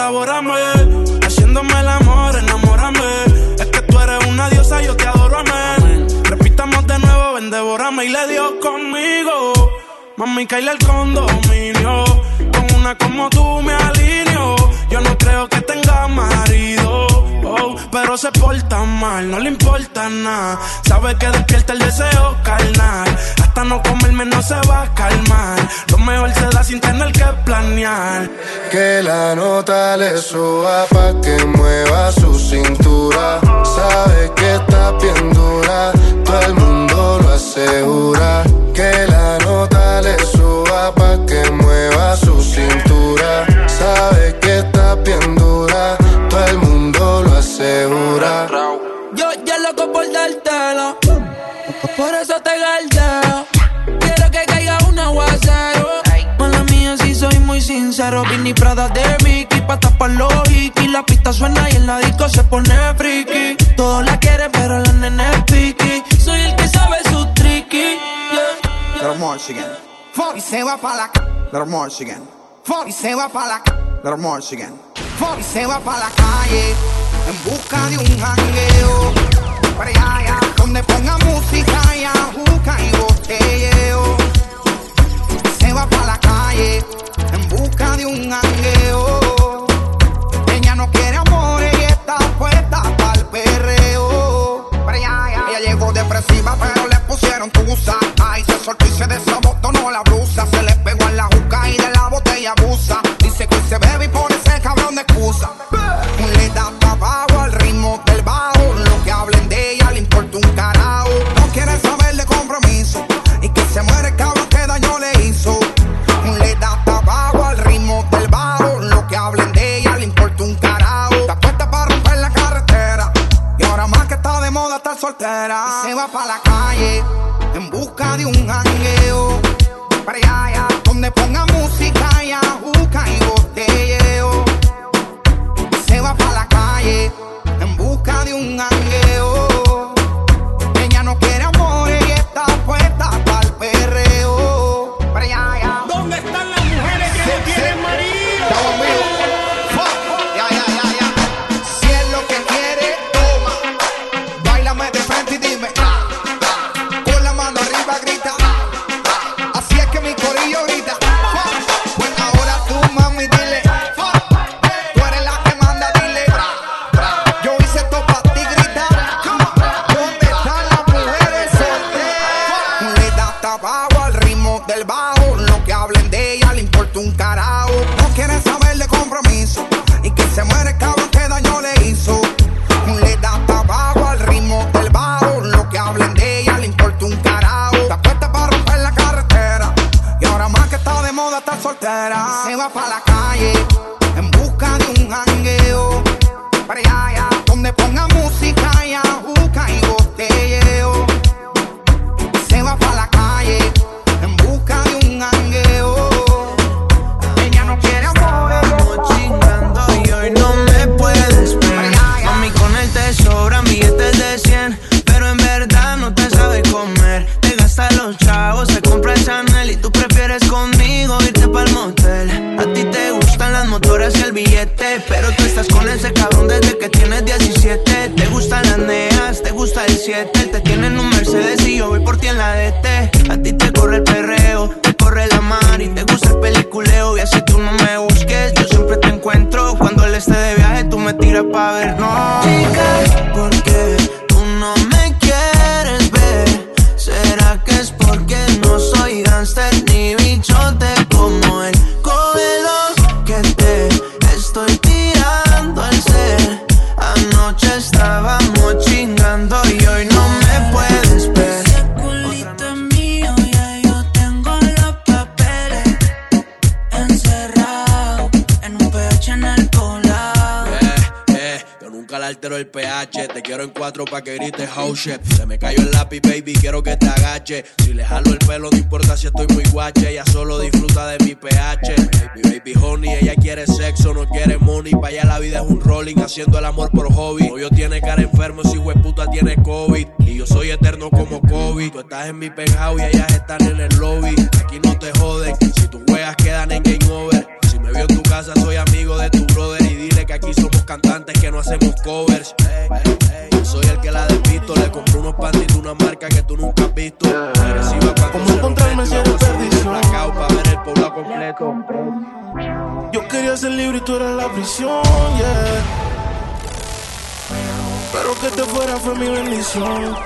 devórame. Haciéndome el amor, enamórame. Es que tú eres una diosa, yo te adoro, amén. Repitamos de nuevo, ven, devórame. Y le dio conmigo. Mami, caile el condominio. Con una como tú me alineo. Yo no creo que tenga marido, oh, pero se porta mal, no le importa nada. Sabe que despierta el deseo carnal. Hasta no comerme no se va a calmar. Lo mejor se da sin tener que planear. Que la nota le suba pa' que mueva su cintura. Sabe que está bien dura, todo el mundo lo asegura. Que la nota le suba pa' que mueva su cintura. Sabe que está bien dura, todo el mundo lo asegura. Yo ya loco por dártelo, por eso te galdeo. Quiero que caiga un aguacero. Mala mía, si soy muy sincero. Vinny Prada de Mickey, pa' tapar los hikis. La pista suena y en la disco se pone friki. Todos la quieren, pero la nena es piqui. Soy el que sabe su tricky, yeah. Little Michigan, y se va pa' la Little Michigan, y se va pa' la Little Michigan, y se va pa' la calle en busca de un jangueo. Para allá, donde ponga música y ajuca y botelleo. Se va pa' la calle en busca de un jangueo. Ella no quiere amores y está puesta pa'l perreo. Para allá, ella llegó depresiva pero le pusieron tusa. Ay, se soltó y se desabotonó la blusa. Se le pegó en la juca y de la botella abusa. Dice que hoy se bebe y pone ese cabrón de excusa. Le da tabaco al ritmo del bajo. Lo que hablen de ella le importa un carajo. No quiere saber de compromiso y que se muere el cabrón que daño le hizo. Le da tabaco al ritmo del bajo. Lo que hablen de ella le importa un carajo. Está puesta para romper la carretera y ahora más que está de moda estar soltera. Y se va pa' la calle en busca de un jangueo. Para allá, donde ponga música y ajuca y botelleo. Se va pa' la calle en busca de un jangueo. Ella no quiere amores y está puesta pa'l perreo. Para allá, ¿dónde están las mujeres que no tienen marido? Estamos en vivo. Si es lo que quiere, toma. Báilame de frente y dime. Con la mano arriba grita. Así es que mi corillo grita. Pues ahora tú, mami, dile. Tú eres la que manda, dile. Yo hice esto pa' ti, grita. ¿Dónde están las mujeres solteras? Le da tabaco al ritmo del bajo. Lo que hablen de ella le importa un carajo. No quieren saber de compromiso y que se muere el cabrón que daño le hizo. Le da tabaco al ritmo del bajo. Lo que hablen de ella le importa un carajo. Está puesta para romper la carretera y ahora más que está de moda estar soltera. Se va pa' la calle en busca de un jangueo. Para allá, donde ponga música y ajuca y botelleo. Se va pa' la calle en busca de un jangueo. Ella no quiere amores. Estamos chingando y hoy no me puedes ver. Mami, con él te sobran billetes de 100, pero en verdad no te sabe comer. Te gasta los chavos, se compra el Chanel y tú prefieres conmigo irte pa'l motel. A ti te gustan las motoras y el billete, pero tú estás con ese cabrón desde que tienes 17. Te gustan las neas, te gusta el 7. Te tienen un Mercedes y yo voy por ti en la DT. A ti te corre el perreo, te corre la mar y te gusta el peliculeo. Y así tú no me busques, yo siempre te encuentro. Cuando él esté de viaje tú me tiras pa' ver. No, chica, ¿por qué tú no me quieres ver? ¿Será que es porque no soy gangster ni bichote como él? Cógelo que te estoy tirando al ser. Anoche estábamos chingando y hoy no me puedes ver. Ese culito es mío, ya yo tengo los papeles encerrado en un PH en el poblado. Yo nunca le altero el pH. Te quiero en 4 pa' que grites oh shit. Se me cayó el lápiz, baby, quiero que te agache. Si le jalo el pelo, no importa si estoy muy guache. Ella solo disfruta de mi pH. Mi baby honey, ella quiere sexo, no quiere money. Pa' allá la vida es un rolling, haciendo el amor por hobby. Novio tiene cara enfermo, si hueputa tiene COVID. Y yo soy eterno como COVID. Tú estás en mi penthouse y ellas están en el lobby. Aquí no te joden, si tus juegas quedan en game over. Si me vio en tu casa, soy amigo de tu brother y completo. Yo quería ser libre y tú eras la prisión, yeah. Pero que te fuera fue mi bendición.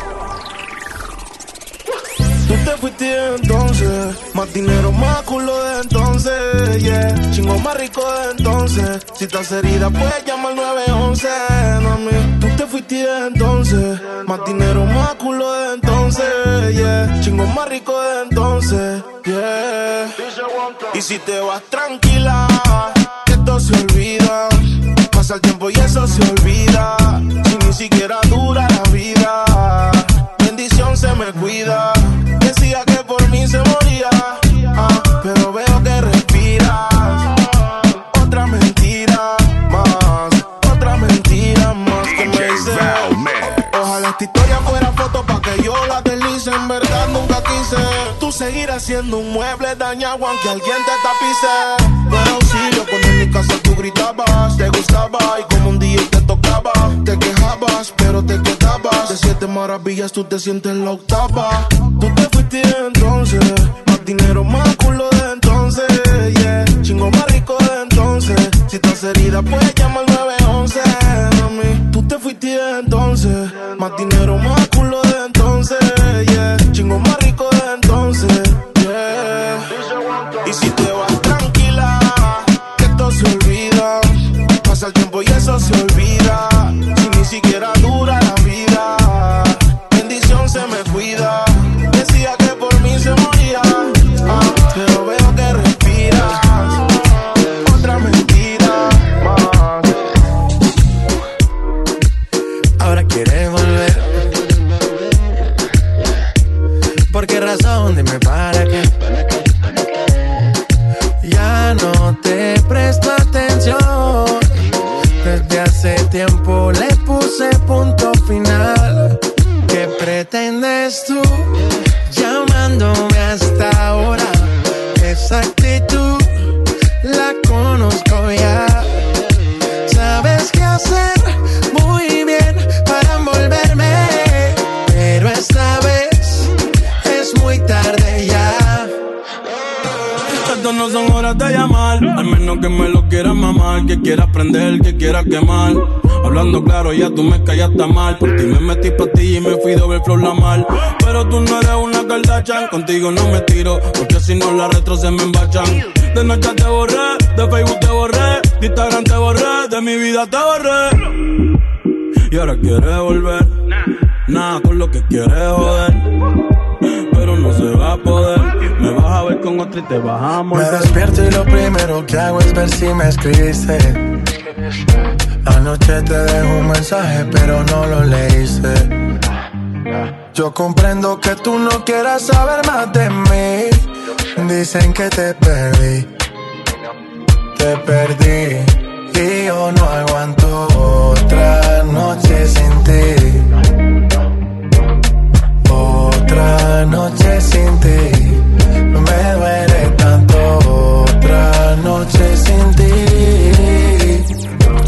Tú te fuiste entonces, más dinero, más culo de entonces, yeah. Chingo más rico de entonces. Si estás herida, puedes llamar 911, mami. Tú te fuiste entonces, más dinero, más culo de entonces, yeah. Chingo más rico de entonces, yeah. Y si te vas tranquila, que esto se olvida. Pasa el tiempo y eso se olvida. Si ni siquiera dura la vida, bendición se me cuida. Decía que por mí se moría, pero veo que respiras. Otra mentira más que me dice. Ojalá esta historia fuera foto pa' que yo la deslice. En verdad nunca quise. Tú seguirás siendo un mueble dañado aunque alguien te tapice. Buen auxilio cuando en mi casa tú gritabas. Te gustaba y como un día te tocaba. Te quejabas pero te quedabas. De 7 maravillas tú te sientes la octava. Tú te fuiste entonces, más dinero, más culo de entonces, yeah. Chingo más rico de entonces. Si estás herida puedes llamar 911, mami. Tú te fuiste entonces, más dinero, más culo de entonces, yeah. Chingo más rico de entonces, yeah. Y si te vas tranquila, que esto se olvida. Pasa el tiempo y eso se olvida. Si ni siquiera dura la vida, bendición se me cuida. Decía que por mí se moría, pero veo que respiras. Otra mentira más. Ahora quieres volver. ¿Por qué razón? Dime para qué. Ya no te presto atención. Desde hace tiempo le puse punto final. ¿Qué pretendes tú llamándome hasta ahora? Esa actitud la conozco ya. Sabes qué hacer muy bien para envolverme, pero esta vez es muy tarde ya. Estas no son horas de llamar, al menos que me lo quieras mamar. Que quieras prender, que quieras quemar. Hablando claro, ya tú me callaste mal. Por ti me metí pa' ti y me fui doble flor la mal. Pero tú no eres una Kardashian, contigo no me tiro, porque si no las retros se me embachan. De noche te borré, de Facebook te borré, de Instagram te borré, de mi vida te borré. Y ahora quieres volver, nada con lo que quieres joder. Pero no se va a poder, me vas a ver con otra y te vas a morder. Me despierto y lo primero que hago es ver si me escribiste. Anoche te dejo un mensaje pero no lo leíste. Yo comprendo que tú no quieras saber más de mí. Dicen que te perdí y yo no aguanto otra noche sin ti. Otra noche sin ti, no me duele tanto. Otra noche sin ti,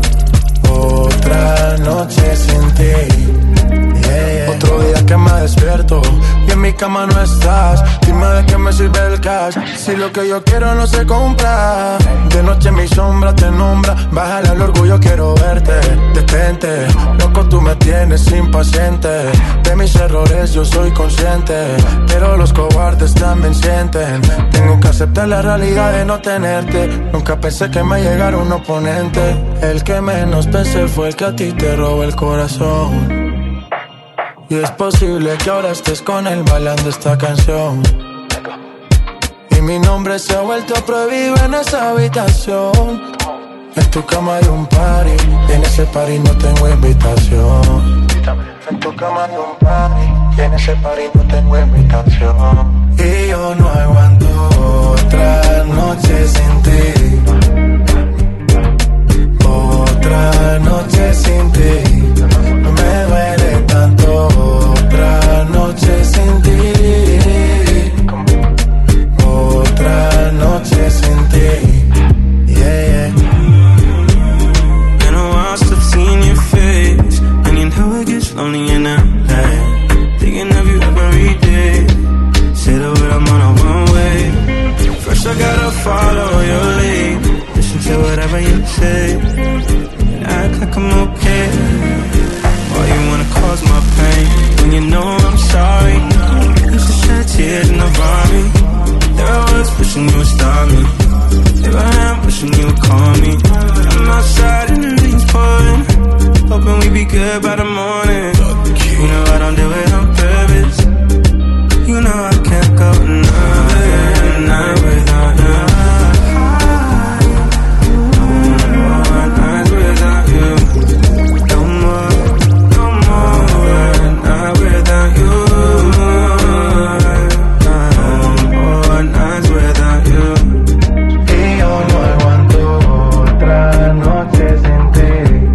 otra noche sin ti, yeah. Otro día que me despierto y en mi cama no estás. Dime de qué me sirve el cash si lo que yo quiero no se compra. De noche mi sombra te nombra, bájale al orgullo, quiero verte. Detente, loco tú me tienes impaciente. De mis errores yo soy consciente, pero los cobardes también sienten. Tengo que aceptar la realidad de no tenerte. Nunca pensé que me llegara un oponente. El que menos pensé fue el que a ti te robó el corazón. Y es posible que ahora estés con él bailando esta canción. Y mi nombre se ha vuelto prohibido en esa habitación. En tu cama hay un party y en ese party no tengo invitación. En tu cama hay un party y en ese party no tengo invitación. Y yo no aguanto otra noche sin ti. Otra noche sin ti, no me duele tanto. Otra noche sin ti, otra noche sin ti, yeah, yeah. I know I still seen your face, and you know it gets lonely in LA. Thinking of you every day. Say the word, I'm on a one way. First I got follow your lead. Listen to whatever you say, and act like I'm okay. Why you wanna cause my pain when you know I'm sorry? Used to shed tears in the vomit. There I was wishing you would stop me. Here I am wishing you would call me. I'm outside and the rain's pouring, hoping we be good by the morning. You know I don't do it on purpose. You know I can't go another night without you. No more nights without you. No more night without you. No more nights without you. Y yo no aguanto otra noche sin ti.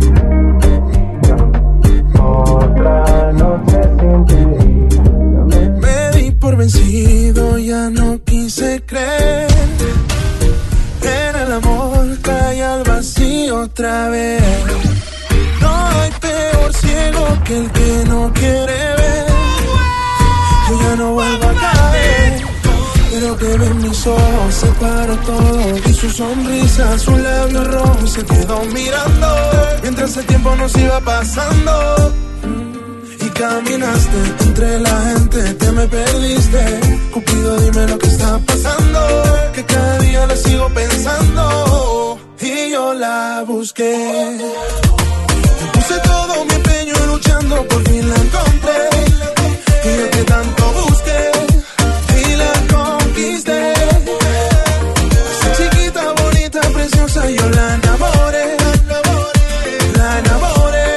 Otra noche sin ti. Me di por vencido, ya no quise creer en el amor, cae al vacío otra vez. No hay peor ciego que el que no quiere ver. Yo ya no vuelvo a caer, pero que ven mis ojos separa todo. Y su sonrisa, su labio rojo se quedó mirando mientras el tiempo nos iba pasando. Caminaste entre la gente, te me perdiste. Cupido, dime lo que está pasando, que cada día la sigo pensando. Y yo la busqué, me puse todo mi empeño luchando, por fin la encontré. Y yo que tanto busqué y la conquisté. Esa chiquita, bonita, preciosa, yo la enamoré. La enamoré.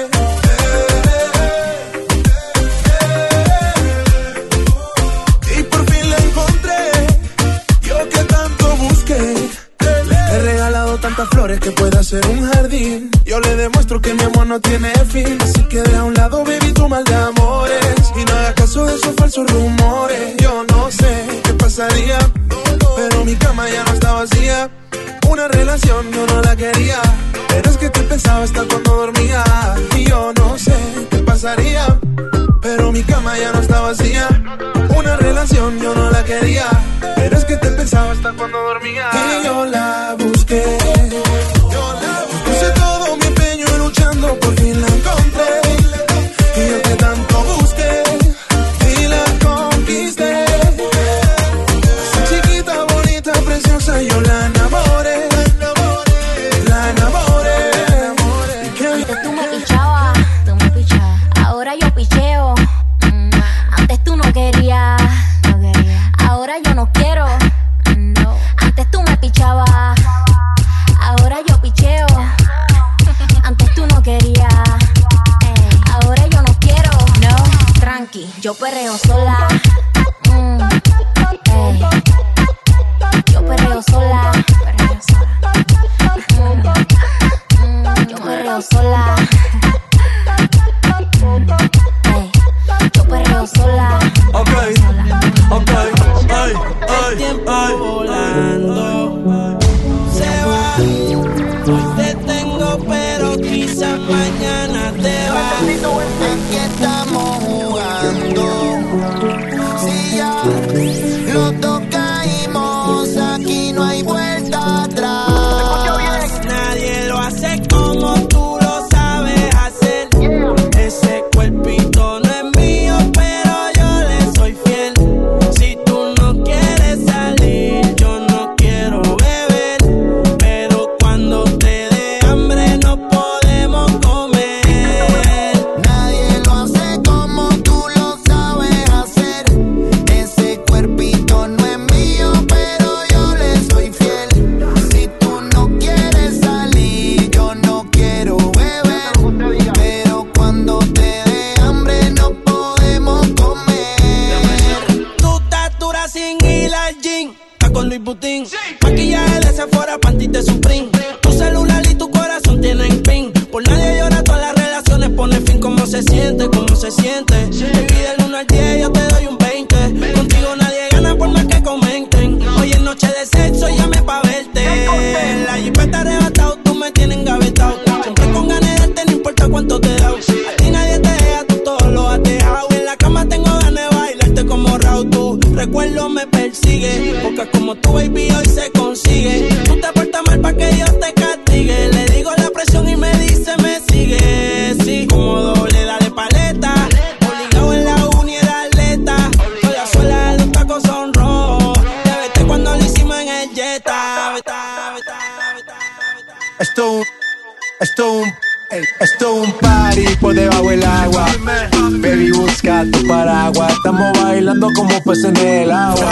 Tantas flores que puede hacer un jardín. Yo le demuestro que mi amor no tiene fin. Así que deja a un lado, baby, tu mal de amores. Y no hagas caso de esos falsos rumores. Yo no sé qué pasaría, pero mi cama ya no está vacía. Una relación yo no la quería, pero es que te pensaba hasta cuando dormía. Y yo no sé qué pasaría, pero mi cama ya no está vacía. Una relación yo no la quería, pero es que te pensaba hasta cuando dormía. Y yo la busqué, puse todo mi empeño luchando, por fin la encontré. Y yo que tanto busqué y la conquisté. Esa chiquita, bonita, preciosa, yo la enamoré. La enamoré. Tú me pichabas, ahora yo picheo. Antes tú no querías, ahora yo no quiero. Antes tú me pichabas, ahora yo picheo. Antes tú no querías, ahora yo no quiero. No, tranqui, yo perreo sola. Yo perreo sola. Yo perreo sola. Yo perreo sola. Ok, el tiempo volando se va. Hoy te tengo, pero quizás mañana te va. Aquí estamos jugando. Si ya los dos caímos, aquí no hay vuelta atrás. Nadie lo hace como tú lo sabes hacer. Ese cuerpito no es mío, pero yo le soy fiel. Si tú no quieres salir, yo no quiero beber. Pero cuando te dé hambre no podemos comer. Nadie lo hace como tú lo sabes hacer. Ese cuerpito no es mío, pero yo le soy fiel. Si tú no quieres salir, yo no quiero beber. Pero cuando te dé hambre no podemos comer. Tu estatura sin ir al gym, está con Luis Butín. Maquillaje de Sephora, panty de Supreme. Tu celular y tu corazón tienen pin. Por nadie llora, todas las relaciones pone fin. ¿Cómo se siente? ¿Cómo se siente? Baby, del 1 al 10 yo te doy un 20. Contigo nadie gana por más que comenten. Hoy es noche de sexo, llame pa' verte. La jipeta arrebatado, tú me tienes engavetado. Siempre con ganas de darte, no importa cuánto te da. A ti nadie te deja, tú todo lo has dejado. En la cama tengo ganas de bailarte como Raúl. Tu recuerdo me persigue, porque como tu baby hoy se consigue. Esto es un party por debajo del agua. Baby, busca tu paraguas. Estamos bailando como peces en el agua.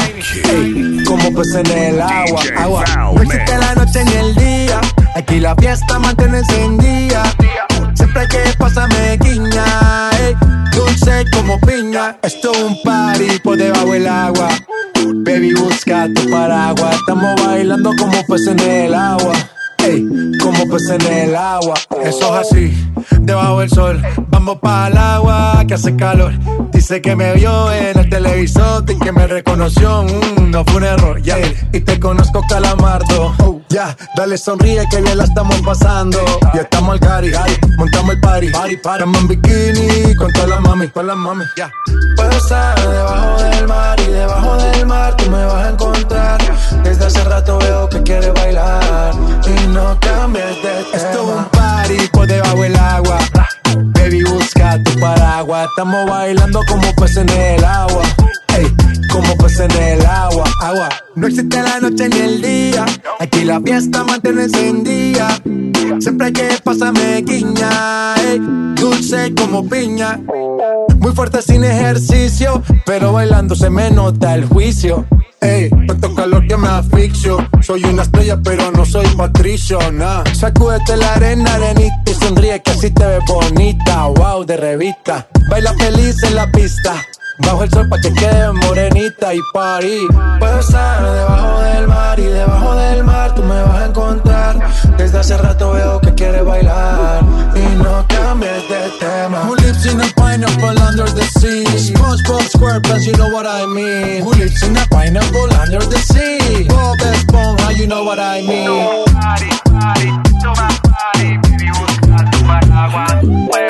Ey, como peces en el agua. Agua. No existe la noche ni el día. Aquí la fiesta mantiene encendida. Siempre que pasa me guiña. Ey, dulce como piña. Esto es un party por debajo del agua. Baby, busca tu paraguas. Estamos bailando como peces en el agua. Ey, como peces en el agua. Eso es así, debajo del sol. Vamos para el agua que hace calor. Dice que me vio en el televisor y que me reconoció. No fue un error, ya. Y te conozco, Calamardo. Ya, dale sonríe que bien la estamos pasando. Ya estamos al cari, montamos el party. Estamos en bikini con todas las mami, ya. Puedo estar debajo del mar y debajo del mar tú me vas a encontrar. Desde hace rato veo que quieres bailar y no cambies de tema. Esto es un party por debajo del agua. Baby, busca tu paraguas. Estamos bailando como peces en el agua. Ey, como peces en el agua, agua. No existe la noche ni el día. Aquí la fiesta mantiene encendida. Siempre que pasa me guiña. Ey, dulce como piña. Muy fuerte sin ejercicio, pero bailando se me nota el juicio. Ey, tanto calor que me asfixio. Soy una estrella pero no soy Patricio, nah. Sacúdete la arena, arenita y sonríe que así te ves bonita. Wow, de revista. Baila feliz en la pista. Bajo el sol pa' que quede morenita y party. Puedo estar debajo del mar y debajo del mar tú me vas a encontrar. Desde hace rato veo que quieres bailar y no cambies de tema. Who lives in a pineapple under the sea? SpongeBob SquarePants, you know what I mean. Who lives in a pineapple under the sea? Bob Esponja, you know what I mean. Party, party, toma party, baby, busca tu paraguas.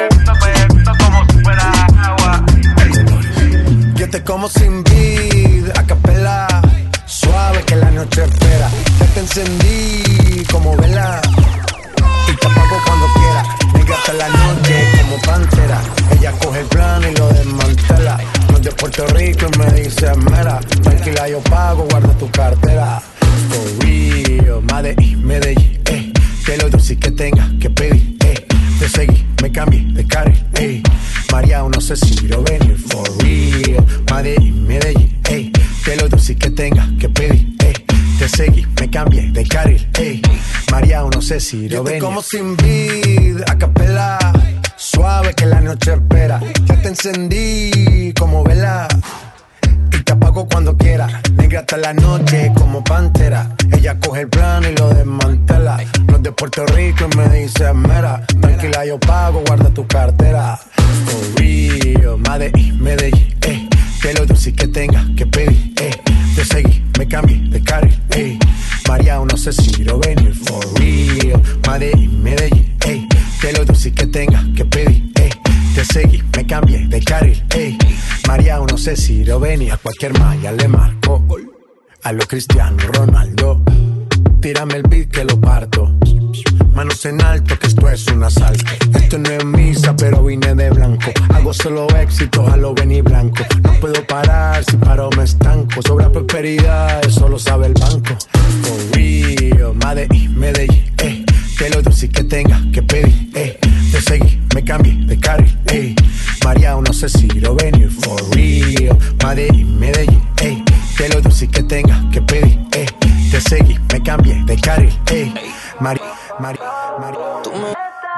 Muévete como si fuera agua. Yo te como sin vid, a capela, suave que la noche espera. Ya te encendí como vela y te apago cuando quiera. Negra hasta la noche como pantera. Ella coge el plano y lo desmantela. No es de Puerto Rico y me dice mera. Tranquila yo pago, guarda tu cartera. For real, Medellín, que lo dulce que tenga que pedir, te seguí, me cambié de carril, María, no sé si lo venir. For real, Medellín, que lo dulce que tenga que pedir, te seguí, me cambié de carril, María, no sé si lo venir. Yo te como sin vid, a capela, suave que la noche espera. Ya te encendí como vela y te apago cuando quiera. Negra hasta la noche como pantera. Ella coge el plano y lo desmantela. No es de Puerto Rico y me dice mera. Tranquila yo pago, guarda tu cartera. For real, Medellín, que lo dulce que tenga que pedir, te seguí, me cambié de carril, María, no sé si lo venir. For real, Medellín, que lo dulce que tenga que pedir, te seguí, me cambié de carril, María, no sé si lo venía. A cualquier malla le marco. A lo Cristiano Ronaldo. Tírame el beat que lo parto. Manos en alto que esto es un asalto. Esto no es misa pero vine de blanco. Hago solo éxito a lo Benny Blanco. No puedo parar, si paro me estanco. Sobra prosperidad, eso lo sabe el banco. For real, Medellín, que lo dulce que tenga que pedir, te seguí, me cambié de carril, María, no sé si lo venir. For real, Medellín, que lo dulce que tenga que pedir, te seguí, me cambié de carril, María. Tú me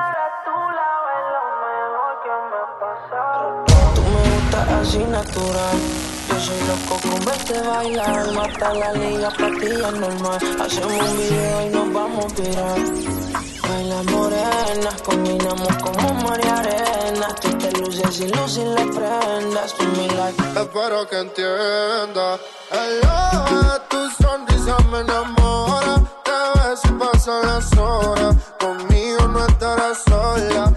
gustas así natural. Yo soy loco con verte bailar. Mata la liga, pa' ti es normal. Hacemos un video y nos vamos a virar. Baila morena, combinamos como mar y arena. Tú te luces y luces le prendas. Tú mi like. Espero que entiendas. Hello, tu sonrisa me enamora. Te ves y pasan las horas. Conmigo no estarás sola.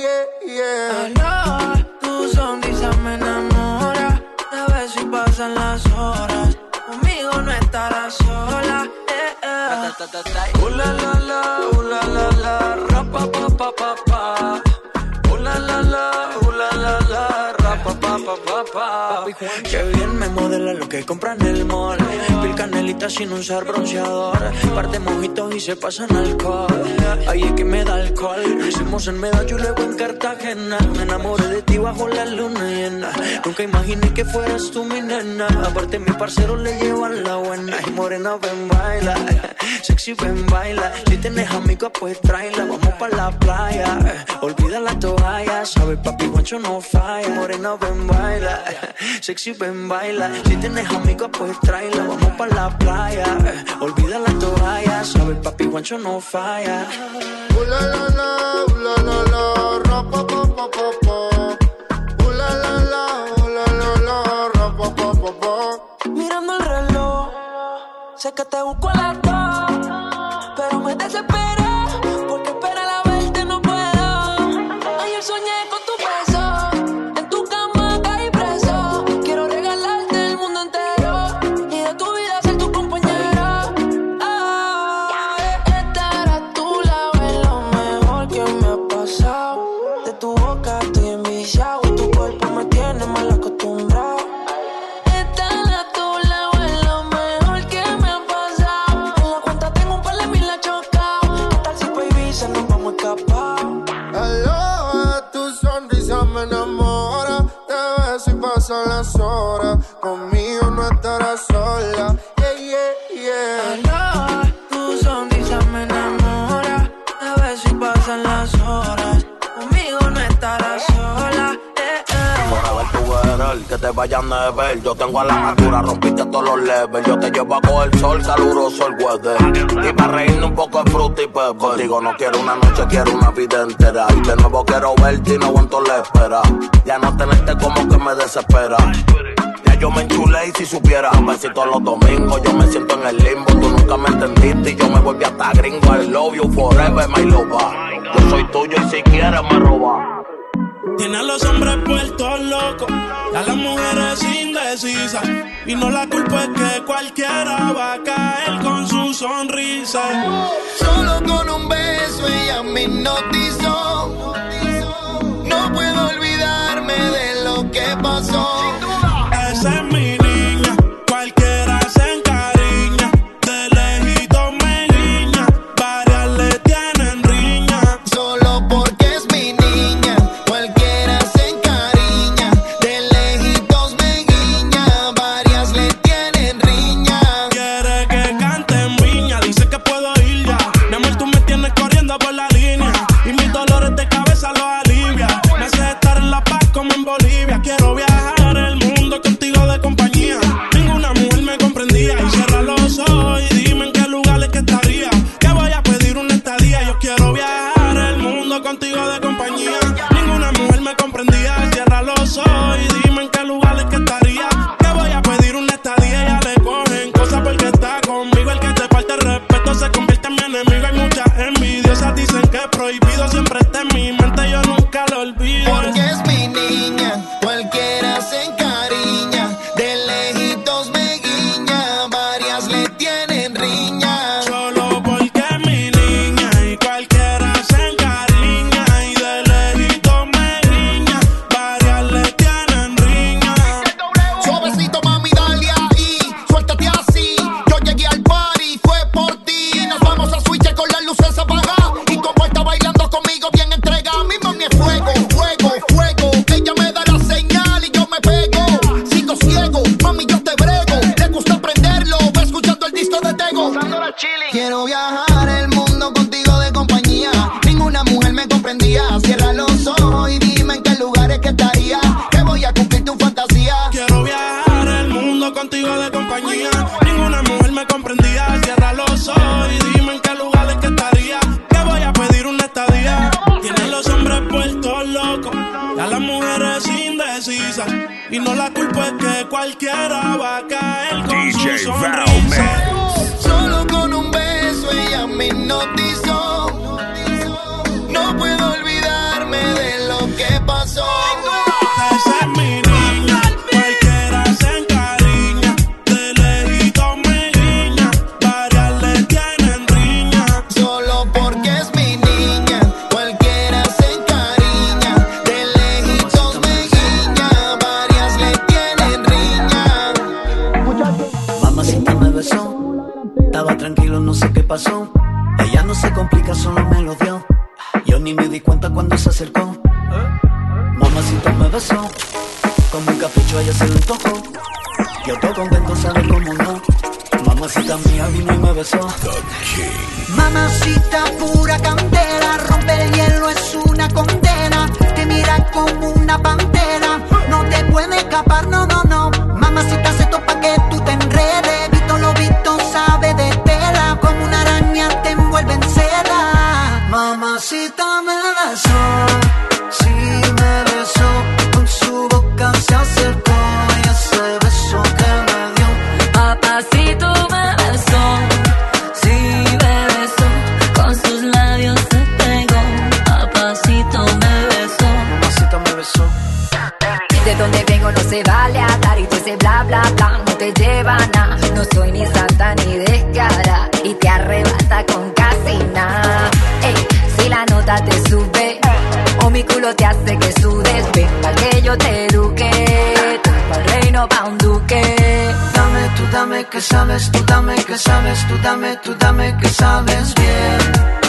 Hello, tu sonrisa me enamora. Te ves y pasan las horas. Conmigo no estarás sola. La la la, ra pa pa pa pa pa. La la la, Que bien me modela lo que compran en el mall. Piel canelita sin usar bronceador. Par de mojitos y se pasan alcohol. Ahí es que me da alcohol. Lo hicimos en Medallo y luego en Cartagena. Me enamoré de ti bajo la luna llena. Nunca imaginé que fueras tú mi nena. Aparte mi parcero le llevan la buena. Y morena ven baila, sexy ven baila. Si tienes amigos pues tráela. Vamos pa' la playa, olvida la toalla. Sabes papi guancho no falla. Morena ven baila, sexy ven baila. Si tienes amigos pues tráela. Vamos pa' la playa, olvida la toalla. Sabes papi guancho no falla. La la la, la la la, ra pa pa pa pa pa. La la la, ra pa pa pa pa. Mirando el reloj, sé que te busco a las 2, pero me desespera porque esperar a verte no puedo. Ayer soñé con tu beso, en tu cama caí preso. Quiero regalarte el mundo entero y de tu vida ser tu compañero. Estar a tu lado es lo mejor que me ha pasado. De tu boca estoy enviciado y tu cuerpo me tiene mal acostumbrado. Me enamora, te beso y pasan las horas. Conmigo no estarás sola. Yeah, yeah, yeah. Tu sonrisa me enamora, te beso y pasan las horas. Conmigo no estarás sola. Por ver tu querer, que te vayan a ver. Yo tengo a la altura, rompiste todos los levels. Yo te llevo a coger sol, caluroso el weather. Y para reírme un poco de fruta y pepper. Digo, no quiero una noche, quiero una vida entera. Y de nuevo quiero verte y no aguanto la espera. Ya no tenerte como que me desespera. Ya yo me enchulé y si supiera, besito los domingos, yo me siento en el limbo. Tú nunca me entendiste y yo me volví hasta gringo. I love you forever, my lover. Yo soy tuyo y si quieres me roba. Tiene a los hombres puestos locos, a las mujeres indecisas. Y no la culpa es que cualquiera va a caer con su sonrisa. Solo con un beso ella me hipnotizó. No puedo olvidarme de lo que pasó. Esa es mi niña, cualquiera se encariña. De lejito me guiña, varias le tienen riña. Solo porque es mi niña, cualquiera se encariña. De lejitos me guiña, varias le tienen riña. Quiere que cante en viña, dice que puedo ir ya. Mi amor, tú me tienes corriendo por la línea y mis dolores de cabeza los alivia. Me hace estar en La Paz como en Bolivia. Quiero viajar el mundo contigo de compañía. Ninguna mujer me comprendía. Y cierra los ojos y dime en qué lugares que estaría. Que voy a pedir una estadía. Yo quiero viajar el mundo contigo de compañía. Ninguna mujer me comprendía. Cierra los ojos y dime en qué lugares que estaría. Que voy a pedir una estadía. Ya le cogen cosas porque está conmigo. El que te falta el respeto se convierte en mi enemigo. Hay muchas envidiosas, dicen que es prohibido. Siempre está en mi mente, yo nunca lo olvido. Porque es mi niña, cualquiera se encariña. De lejitos me guiña, varias le tienen riña. Solo porque es mi niña y cualquiera se encariña. Y de lejito me guiña, varias le tienen riña. Suavecito mami, dale ahí, suéltate así. Yo llegué al party, fue por ti. Nos vamos a switch con las luces apagadas. Y como está bailando conmigo bien entregada. Mi mami es fuego, fuego, fuego. Ella me da la señal y yo me pego. Sigo ciego, mami yo te brego. Le gusta prenderlo, va escuchando el disco de Tego. Quiero viajar el mundo contigo de compañía. Ninguna mujer me comprendía. Cierra los ojos y dime en qué lugares que estaría. Que voy a cumplir tu fantasía. Quiero viajar el mundo contigo de compañía. Ninguna mujer me comprendía. Cierra los ojos y dime en qué lugares que estaría. Que voy a pedir una estadía. Tienen los hombres puestos locos, a las mujeres indecisas. Y no la culpa es que cualquiera va a caer con su sonrisa. Solo con un beso ella me hipnotizó. No puedo olvidarme de lo que pasó. Esa es mi niña, cualquiera se encariña. De lejito me guiña, varias le tienen riña. Solo porque es mi niña, cualquiera se encariña. De lejitos me guiña, no sé qué pasó. Ella no se complica, solo me lo dio. Yo ni me di cuenta cuando se acercó. Mamacita me besó, como un capricho ella se lo tocó. Yo todo contento, sabe cómo no. Mamacita mía vino y me besó. Mamacita pura candela, rompe el hielo es una condena. Te mira como una pantera, no te puede escapar, no, no, no. Mamacita se topa que tú te enredes. Vito lo visto sabe de tela, como una araña te envuelve en seda. Mamacita me besó, sí me besó, con su boca se acercó y ese beso que me dio. Papacito me besó, sí me besó, con sus labios se pegó. Papacito me besó. Mamacita me besó. De donde vengo no se vale hablar y tú ese bla bla bla no te lleva nada. No soy ni santa ni descara y te arrebata con casi nada. Ey, si la nota te sube o mi culo te hace que sudes, ven pa' que yo te eduque, tú pa'l reino pa' un duque. Dame, tú dame que sabes, tú dame que sabes, tú dame que sabes bien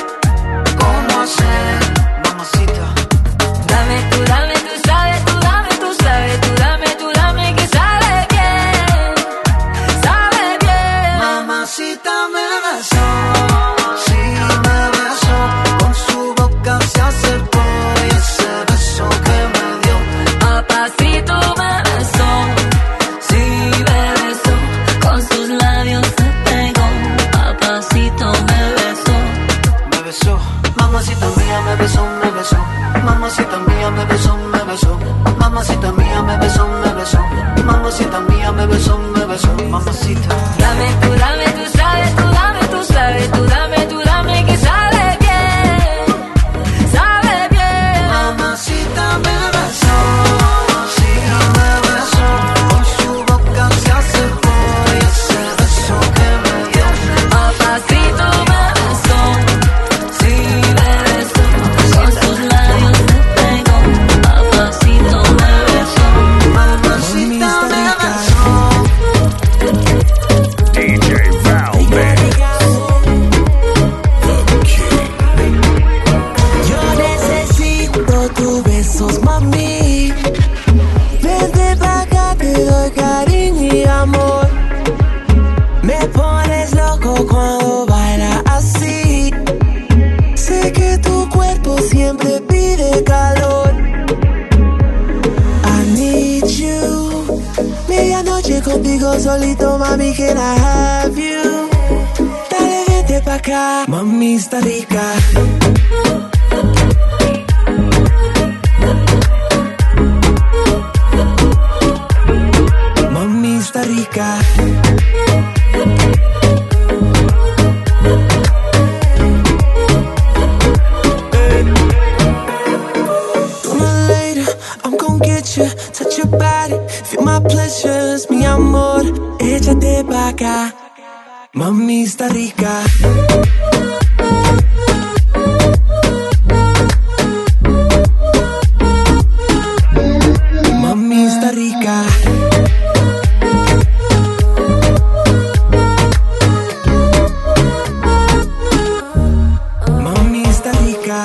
cómo hacer, mamacita. Dame, tú sabes, tú dame, tú sabes, tú dame que sabe bien, sabe bien. Mamacita me besó, sí me besó, con su boca se acercó y ese beso que me dio. Papacito me besó, sí me besó, con sus labios se pegó. Papacito me besó. Me besó, mamacita mía me besó, me besó. Mamacita mía me besó, me besó. Mamacita mía me besó, me besó. Mamacita mía me besó, me besó. Mamacita. Dame, tú sabes, tú dame que sabe bien, sabe bien. Mamacita me besó, sí me besó, con su boca se acercó y ese beso que me dio. Papacito me besó, sí me besó, con sus labios se pegó. Papacito me besó. Mamacita me besó. DJ Val Mix. Yo necesito tus besos, mami. Vente pa' acá, te doy cariño y amor. Me pones loco cuando bailas así. Sé que tu cuerpo siempre pide calor. I need you. Medianoche contigo solito, mami, can I have you? Dale, vente pa' acá, mami está rica. Mami está rica. Sooner or later, I'm gon' get you. Touch your body, feel my pleasures, mi amor. Échate pa' acá, mami está rica. Mami está rica. Mami está rica.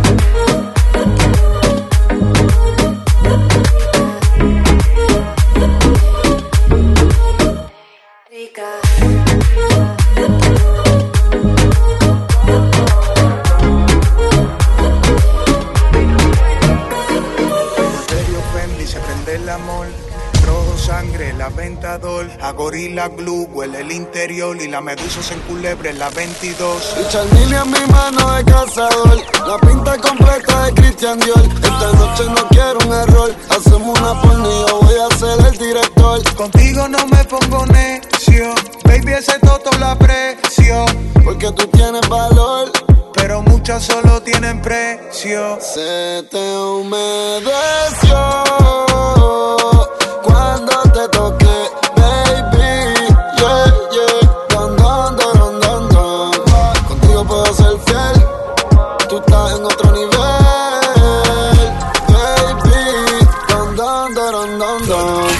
Imperio Fendi, se prende el amor. Rojo sangre, la Ventador. A Gorilla Glue, huele el interior. Y la medusa se enculebre en la 22. Y Charmini en mi mano de cazador. La pinta completa de Christian Dior. Esta noche no quiero un error. Hacemos una porno y yo voy a ser el director. Contigo no me pongo necio. Baby, ese toto la aprecio. Porque tú tienes valor, pero muchas solo tienen precio. se te humedeció cuando te toqué, baby. Yeah, yeah. Don, don, don, don, don. Contigo puedo ser fiel. Tú estás en otro nivel, baby. Don, don, don, don, don.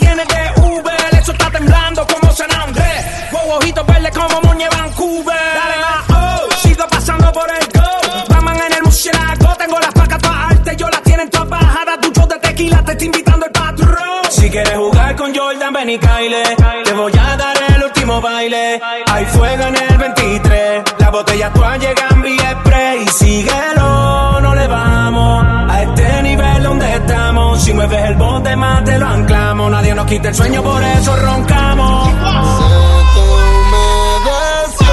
viene de Uber. Eso está temblando como San Andrés. Wow, ojitos verdes como Muñe Vancouver. Dale más, oh, sigo pasando por el go. Raman en el murciélago. Tengo las placas todas altas, yo las tienen todas bajadas. Duchos de tequila, te está invitando el patrón. Si quieres jugar con Jordan, ven y caile. Te voy a dar el último baile. Hay fuego en el 23. Las botellas todas llegan vía spray. Y síguelo, no le vamos a este nivel donde estamos. Si mueves el bote más te lo anclamos. Nadie nos quita el sueño, por eso roncamos. Se te humedeció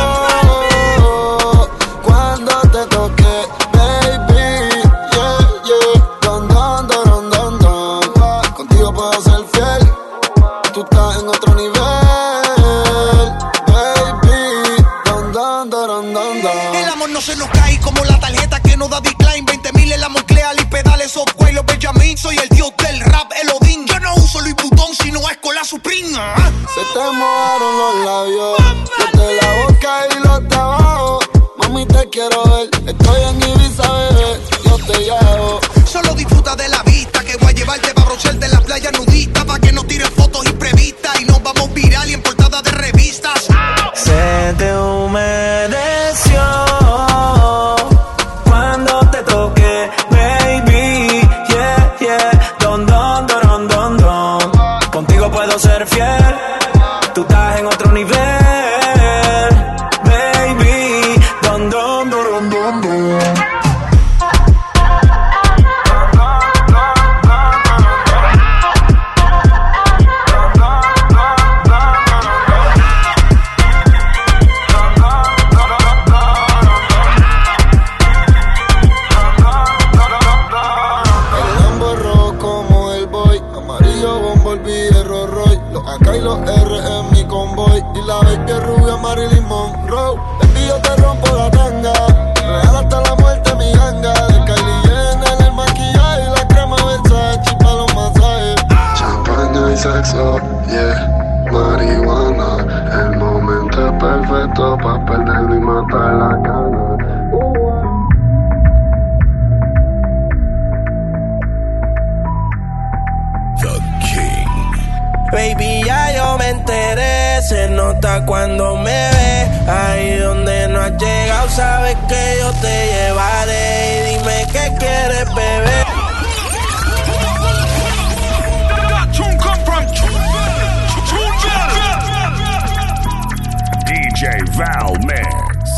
cuando te toqué, baby. Yeah, yeah. Don, don, don, don, don. Contigo puedo ser fiel. Tú estás en otro nivel, baby. Don, don, don, don, don. El amor no se nos cae como la tarjeta que nos da decline. 20,000 en la Moncler y pedales software. Los Benjamin, soy el dios del rap, el Odín. Yo no uso Louis Vuitton, sino Escola Supreme. Se te mojaron los labios, los de la boca y los de abajo. Mami, te quiero ver, estoy en Ibiza, bebé, yo te llevo. Solo disfruta de la vista, que voy a llevarte para brocharte en la playa nudista, pa' que nos tiren fotos imprevistas y nos vamos viral y en portada de revistas. Se te humedeció cuando te toqué, baby. Yeah, yeah. Don, don, don, don, don. Contigo puedo ser fiel. Tú estás en otro nivel, baby. Don, don, don, don, don. Acá y los R en mi convoy. Y la baby es rubia Marilyn Monroe. Baby, yo te rompo la tanga. Real hasta la muerte mi ganga. De Kylie Jenner el maquillaje y la crema Versace pa' los masajes. Champaña y sexo, yeah. Marihuana. El momento es perfecto pa' perderlo y matar la gana. Baby, ya yo me enteré, se nota cuando me ves. Ahí donde no has llegado, sabes que yo te llevaré. Y dime qué quieres, bebé. DJ Val Mix.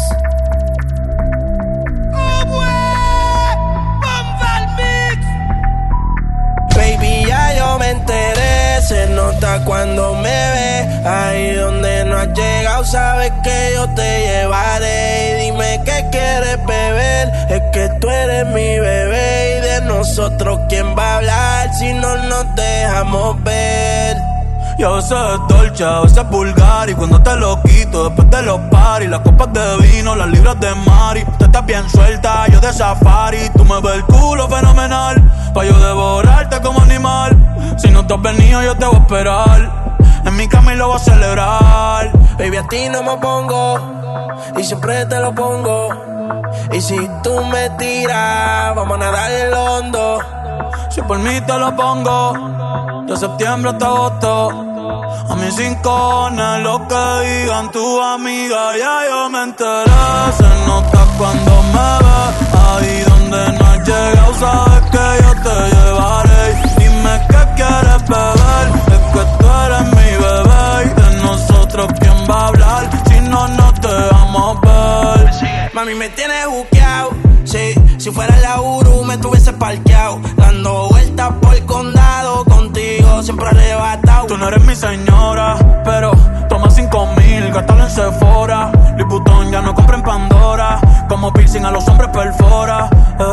Baby, ya yo me enteré, se nota cuando me ves. Ahí donde no has llegado, sabes que yo te llevaré. Y dime qué quieres beber, es que tú eres mi bebé. Y de nosotros, ¿quién va a hablar si no nos dejamos ver? Y a veces es dolce, a veces es vulgar. Y cuando te lo quito, después de los paris, las copas de vino, las libras de Mari. Tú estás bien suelta, yo de safari. Tú me ves el culo fenomenal, pa' yo devorarte como animal. Si no te has venido, yo te voy a esperar. En mi cama y lo voy a celebrar. Baby, a ti no me pongo, y siempre te lo pongo. Y si tú me tiras, vamos a nadar en lo hondo. Si por mí te lo pongo, de septiembre hasta agosto. A mis rincones, lo que digan tu amiga, ya yo me enteré. Se nota cuando me ves, ahí donde no has llegado, sabes que yo te llevaré. Dime qué quieres beber, es que tú eres mi bebé. Y de nosotros, ¿quién va a hablar si no nos dejamos ver? Mami, me tienes buqueado, sí. Si fuera la Uru me tuviese parqueado, dando vueltas por el condado, contigo siempre arrebatado. Tú no eres mi señora, pero toma 5,000, gástalo en Sephora. Louis Vuitton ya no compra en Pandora, como piercing a los hombres perfora.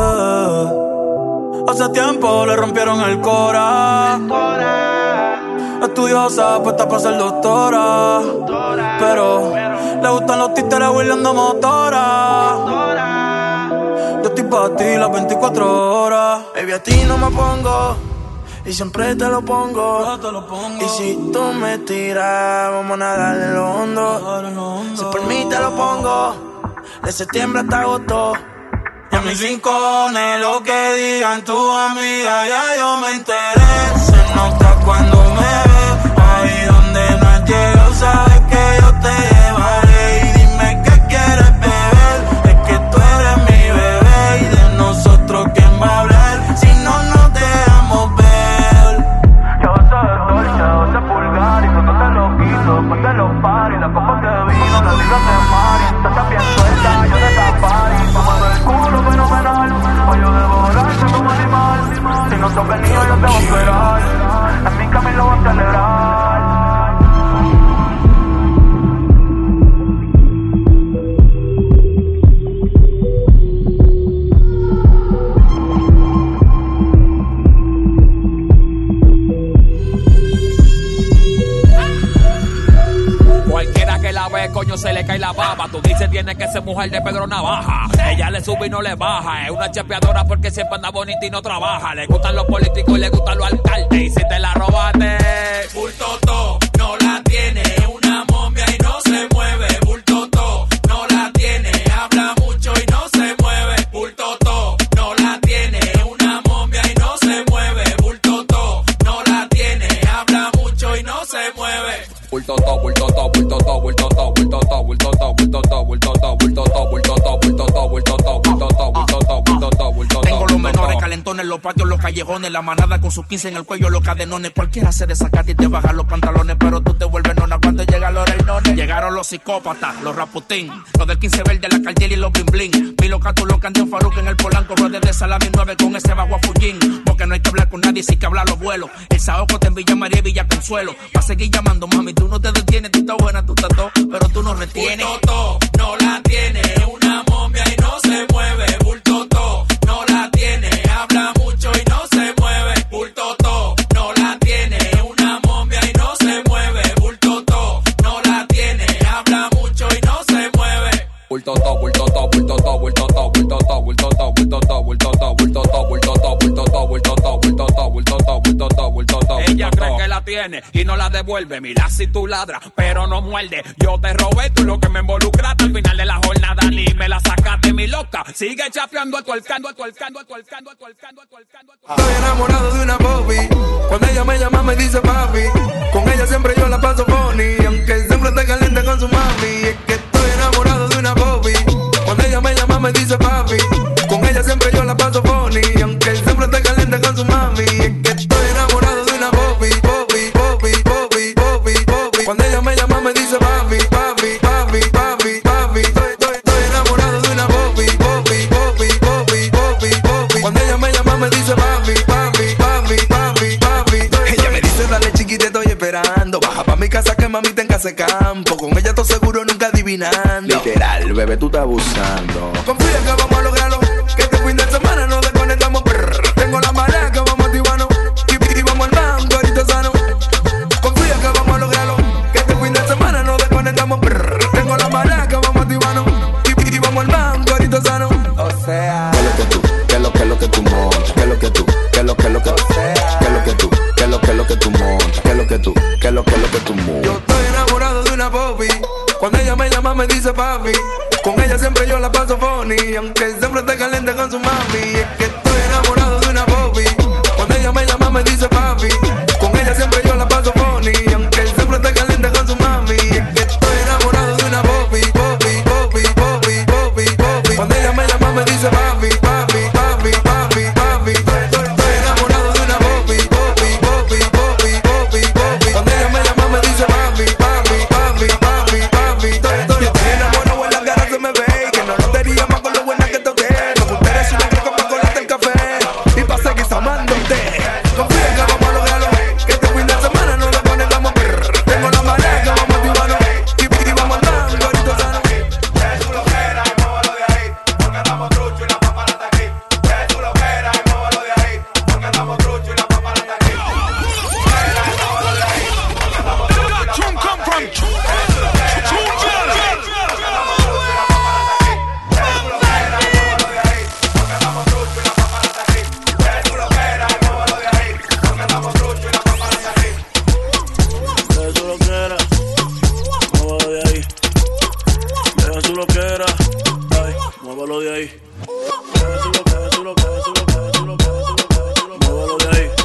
Hace tiempo le rompieron el cora. Estudiosa, puesta para ser doctora, pero le gustan los títeres huirleando motora. Yo estoy pa' ti las 24 horas. Baby, a ti no me pongo, y siempre te lo pongo. Y si tú me tiras, vamos a nadar en lo hondo. Si por mí te lo pongo, de septiembre hasta agosto. Y a mis rincones, lo que digan tu amiga, ya yo me enteré. Se nota cuando me ves, años se le cae la baba. Tú dices tiene que ser mujer de Pedro Navaja. Ella le sube y no le baja. Es una chapeadora porque siempre anda bonita y no trabaja. Le gustan los políticos y le gustan los alcaldes. Y si te la robaste, bultoto, no la tiene. Una momia y no se mueve. Bultoto, no la tiene. Habla mucho y no se mueve. Bultoto, no la tiene. Una momia y no se mueve. Bultoto, no la tiene. Habla mucho y no se mueve. bultoto, bultoto, bultoto, bultoto, bultoto, bultoto, bultoto, bultoto, bultoto, bultoto, bultoto, bultoto, bultoto, bultoto, bultoto, bultoto. Tengo los menores calentones, los patios, los callejones, la manada con sus 15 en el cuello, los cadenones. Cualquiera se desacata y te baja los pantalones, pero tú te vuelves nona cuando llegan los reinones. Llegaron los psicópatas, los raputín, los del 15 verde, la cartier y los bling bling. Milo Catulo, Candión Faruk en el Polanco, ruedas de salami 9 con ese bajo a Fullín. Porque no hay que hablar con nadie, sí que hablar los vuelos. El Saoco te en Villa María y Villa Consuelo. Va a seguir llamando, mami, tú no te detienes, tú estás buena, tú estás todo, pero tú no retienes. Bultoto, no la tiene, una momia y no se mueve. Bultoto, no la tiene, habla mucho y no se mueve. Bultoto, no la tiene, una momia y no se mueve. Bultoto, no la tiene, habla mucho y no se mueve. Bultoto, bultoto, bultoto, bultoto, bultoto, bultoto, bultoto, bultoto, bultoto, bultoto, bultoto, bultoto, bultoto, bultoto, bultoto, bultoto. Ella cree que la tiene y no la devuelve. Mira si tú ladras, pero no muerde. Yo te robé, tú lo que me involucraste. Al final de la jornada ni me la sacaste, mi loca. Sigue chapeando, atualcando, atualcando, atualcando, atualcando, atualcando. Estoy enamorado de una Bobby. Cuando ella me llama me dice papi. Con ella siempre yo la paso funny. Aunque siempre esté caliente con su mami. Es que estoy enamorado de una Bobby. Cuando ella me llama me dice papi. Con ella siempre yo la paso funny. Aunque siempre esté caliente con su mami. Es que estoy enamorado de una Bobby. Bobby, Bobby, Bobby, Bobby, Bobby. Cuando ella me llama me dice papi, papi, papi, papi, papi. Estoy enamorado de una Bobby. Bobby, Bobby, Bobby, Bobby, Bobby. Cuando ella me llama me dice papi, papi, papi, papi, papi. Ella me dice dale chiquita, estoy esperando. Baja pa' mi casa que mami tenga ese campo. Con ella todo seguro nunca adivinando. Literal, bebé, tú estás abusando. Confía que vamos a lograrlo. Que este fin de semana nos desconectamos. Tengo la marea que vamos a activarnos. Y vamos al banco, ahorita sano. Confía que vamos a lograrlo. Que este fin de semana nos desconectamos. Tengo la marea que vamos a activarnos. Y vamos al banco, ahorita sano. O sea, ¿qué es lo que tú? ¿Qué es lo que tú montas? ¿Qué es lo que tú? ¿Qué es lo que tú? ¿Qué es lo que tú? ¿Qué es lo que tú montas? ¿Qué es lo que tú? ¿Qué es lo que tú montas? Yo estoy enamorado de una Bobby. Cuando ella me llama me dice papi. Con ella siempre yo la paso funny. Aunque siempre esté caliente con su mami. Es que estoy enamorado de una Bobby. Cuando ella me llama me dice papi. Con ella siempre yo la paso funny. Aunque siempre esté caliente con su mami. Es que estoy enamorado de una Bobby. Bobby, Bobby, Bobby, Bobby, Bobby. Cuando ella me llama me dice papi, papi, papi, papi, papi. Estoy enamorado de una Bobby. Bobby, Bobby, Bobby, Bobby, Bobby. Cuando ella me llama me dice papi, papi, papi, papi, papi. Estoy enamorado en la cara se me ve. Que no lo diría más con lo buena que toqué. Me gustaría si una coca para colarte el café. Y pa' seguir amándote. Confía que vamos a lograrlo. Que este fin de semana nos desconectamos. Tengo la marea que vamos a activarnos. Y vamos al banco, ahorita sano. Que tú lo quieras y muévelo de ahí. Porque andamos trucho y la papa la está aquí. Que tú lo quieras y muévelo de ahí. Porque andamos trucho y la papa la está aquí. Deja su loquera, ay, muévalo de ahí. Deja su muévalo de ahí.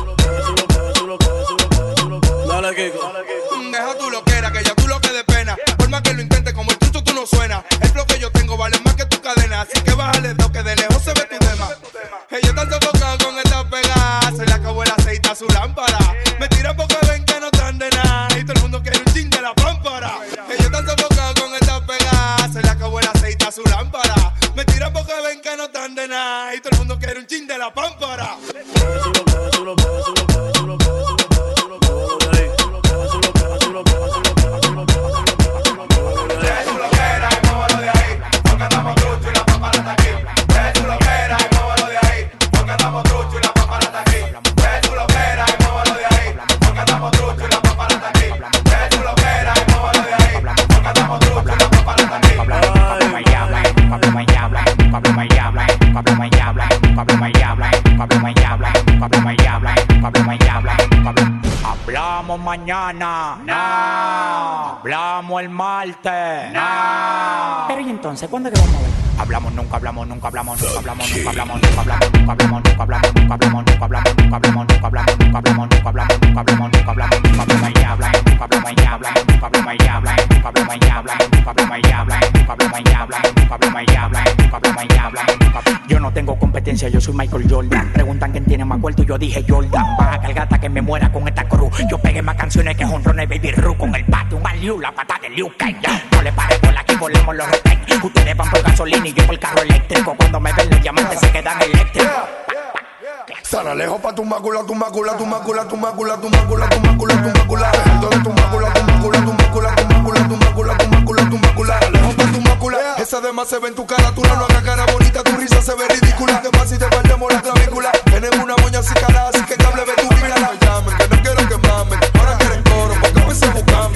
Dale, Kiko. Deja tu loquera, que ya tú lo que de pena. Por más que lo intentes, como el trucho tú no suena. El flow que yo tengo vale más que tu cadena. Así que bájale dos, que de lejos se ve tu tema. Ella está sofocada con esta pegada. Se le acabó el aceite a su lámpara. Me tiran porque ven que no están de nada. Y todo el mundo quiere un chin de la pámpara. Ella está sofocada con esta pegada. Se le acabó el aceite a su lámpara. Me tiran porque ven que no están de nada. Y todo el mundo quiere un chin de la pámpara. mañana. No. Hablamos el martes. No. Pero ¿y entonces cuándo es que vamos a ver? Hablamos, nunca hablamos, nunca hablamos, nunca hablamos, nunca hablamos, nunca hablamos, nunca hablamos, nunca hablamos, nunca hablamos, nunca hablamos, nunca hablamos, nunca hablamos, nunca hablamos, nunca hablamos, nunca hablamos, nunca hablamos, nunca hablamos, ya hablamos, nunca hablamos, ya hablamos, nunca hablamos, ya hablamos, nunca hablamos, ya hablamos, nunca hablamos, ya hablamos, nunca hablamos, ya hablamos, nunca hablamos, ya hablamos, nunca hablamos, ya hablamos, nunca hablamos. Yo no tengo competencia, yo soy Michael Jordan. Preguntan quién tiene más cuarto y yo dije Jordan. Baja cargata que me muera con esta cruz. Yo pegué más canciones que jonrones Baby Ruth con el bate, un Liu, la pata de Liu Kang. No le pare por aquí, volemos los retén. Ustedes van por gasolina y yo por carro eléctrico. Cuando me ven los diamantes se quedan eléctricos. Sara lejos pa' tu mácula, tu mácula, tu mácula, tu mácula, tu mácula, tu mácula, tu mácula. Dejando de tu mácula, tu mácula, tu mácula, tu mácula, tu mácula, tu mácula, tu mácula. Lejos pa' tu mácula. Esa demás se ve en tu cara, tú no hagas cara bonita, tu risa se ve ridícula. Demás si te perdemos la clavícula. Tenemos una moña así calada, así que cable ve tu vida. No llamen, que no quiero que mamen. Ahora quieren coro, porque empecé a buscarme.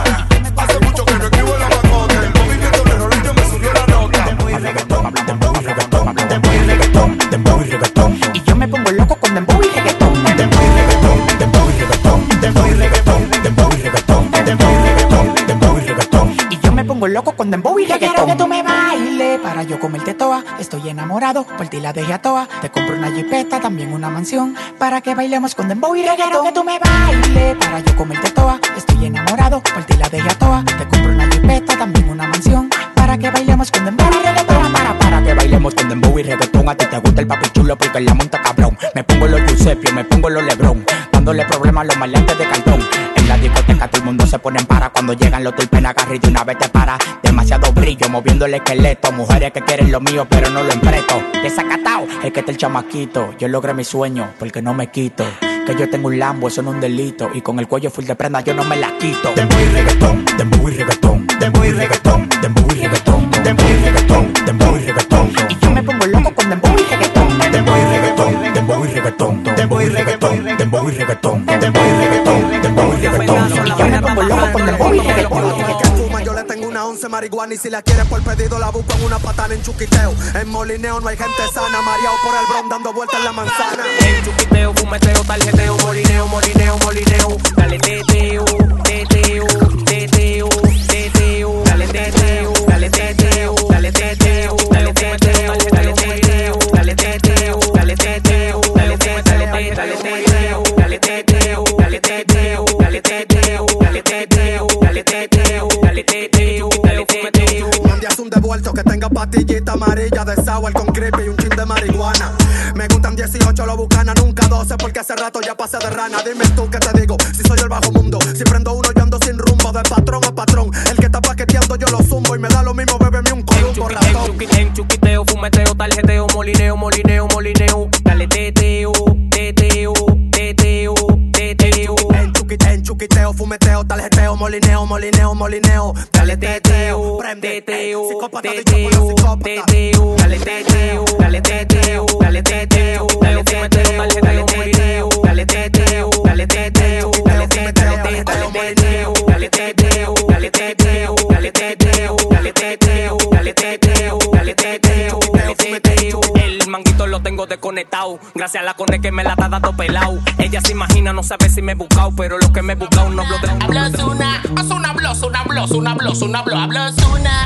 Hace mucho que no escribo la macote. El movimiento de Rolillo me subió la nota. Dembow y reggaetón, dembow y reggaetón, dembow y reggaetón, dembow y reggaetón. Y yo me pongo loco con dembow y reggaetón. Dembow y reggaetón, dembow y reggaetón, dembow y reggaetón, dembow y reggaetón, dembow y reggaetón, dembow y reggaetón. Y yo me pongo loco con dembow y reggaetón. Quiero que tú me bailes para yo comerte toa. Estoy enamorado, por ti la dejé a toa. Te compro una jipeta, también una mansión, para que bailemos con dembow y reggaetón. Quiero que tú me bailes para yo comerte toa. Estoy enamorado, por ti la dejé a toa. Te compro una jipeta, también una mansión, para que bailemos con dembow y reggaetón. Para que bailemos con dembow y reggaetón. A ti te gusta el papi chulo porque la monta cabrón. Me pongo los Giuseppe, me pongo los Lebron, dándole problemas a los maleantes de cartón. En la discoteca todo el mundo se pone en para. Cuando llegan los tulpen agarra y de una vez te para. Demasiado brillo moviendo el esqueleto. Mujeres que quieren lo mío pero no lo empresto. Desacatao, es que está el chamaquito. Yo logré mi sueño porque no me quito. Que yo tengo un Lambo, eso no es un delito. Y con el cuello full de prenda yo no me la quito. Dembow y reggaetón, dembow y reggaetón, dembow y reggaetón, dembow y reggaetón, dembow y reggaetón, dembow y reggaetón. Y yo me pongo loco con dembow y reggaetón. Dembow y reggaetón, dembow y reggaetón, dembow y reggaetón, dembow y reggaetón, dembow y reggaetón, dembow y reggaetón. Y yo me pongo loco con dembow y reggaetón. Yo le tengo una 11 marihuana y si la quieres por pedido la busco en una patana en Chuquiteo. En Molineo no hay gente sana, mareado por el bron dando vueltas en la manzana. En Chuquiteo, fumeteo, tarjeteo, molineo, molineo, molineo. Dale teteo, teteo, teteo, teteo. Dale teteo, dale teteo, dale teteo, dale teteo, dale teteo, dale teteo, dale teteo, dale teteo, dale teteo, dale teteo, dale teteo, dale teteo, dale teteo, dale teteo, dale teteo, dale teteo. Mandé un devuelto que tenga pastillita amarilla de sour con creepy y un chin de marihuana. Me gustan 18, lo bucana, nunca 12 porque hace rato ya pasé de rana. Dime tú qué te digo, si soy el bajo mundo. Si prendo uno yo ando sin rumbo, de patrón a patrón. El que está paqueteando yo lo zumbo y me da lo mismo, bébeme un columbo ratón. En Chuquiteo, fumeteo, tarjeteo, molineo, molineo, molineo. Dale teteo, teteo, teteo, teteo. En Chuquiteo, fumeteo, tarjeteo, molineo, molineo, molineo. Dale teteo, prende, psicópata dicho por los psicópatas. Teteo, dale teteo, dale teteo, dale teteo, dale teteo, dale molineo, dale teteo, dale teteo, dale teteo, dale molineo, dale teteo, dale teteo, dale teteo, dale teteo, dale teteo, dale teteo, dale teteo. El manguito lo tengo desconectado, gracias a la cone que me la está dando pelado. Ella se imagina, no sabe si me he buscado, pero lo que me he buscado no hablo de hablas una, haz una blos, una blos, una blos, una blos, hablas una,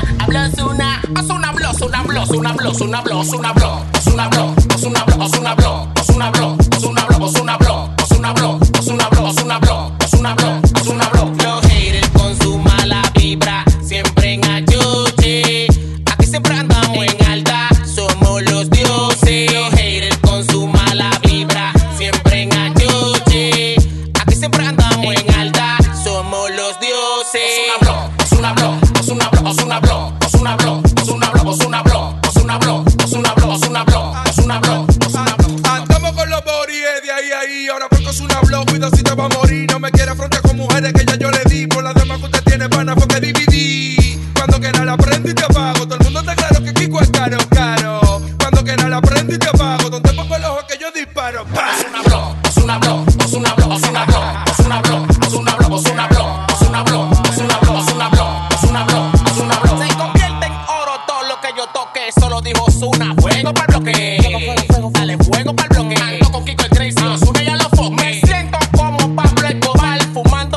haz una blos, una blos, una blos, una blos, una blos, haz una blos, haz una blos, haz una blos, haz una blos, haz una blos, haz una blos, haz una blos, haz una blos, haz una blos, haz una blos, haz una blos. Los haters con su mala vibra, siempre en ayude, aquí siempre andamos en alta, somos los dioses. Los haters con su mala vibra, siempre en ayude, aquí siempre andamos en alta, somos los dioses. Haz una blos, haz una blos, haz una blos, haz una blos, haz una blos, haz una blos, haz una blos, haz una blos, haz una blos, haz una blos, haz una blos. Andamos con los bories de ahí, ahora porque es una blog, cuida si te va a morir. No me quiere afrontar con mujeres que ya yo le di, por las demás que usted tiene pana fue que dividí. Cuando quiera la prendo y te apago, todo el mundo está claro que Kiko es caro, caro. Cuando quiera la prendo y te apago, donde pongo el ojo que yo disparo. Haz una blos, haz una blos, haz una blos, haz una blos, haz una blos, haz una blos, haz una blos, haz una blos, haz una blos, haz una blos, haz una blos, haz una blos. Se convierte en oro todo lo que yo toque, solo dijo Ozuna, fuego para el bloque, dale fuego para el bloque. Ando con Kiko el Crazy, Ozuna ya lo foque. Me siento como Pablo Escobar, fumando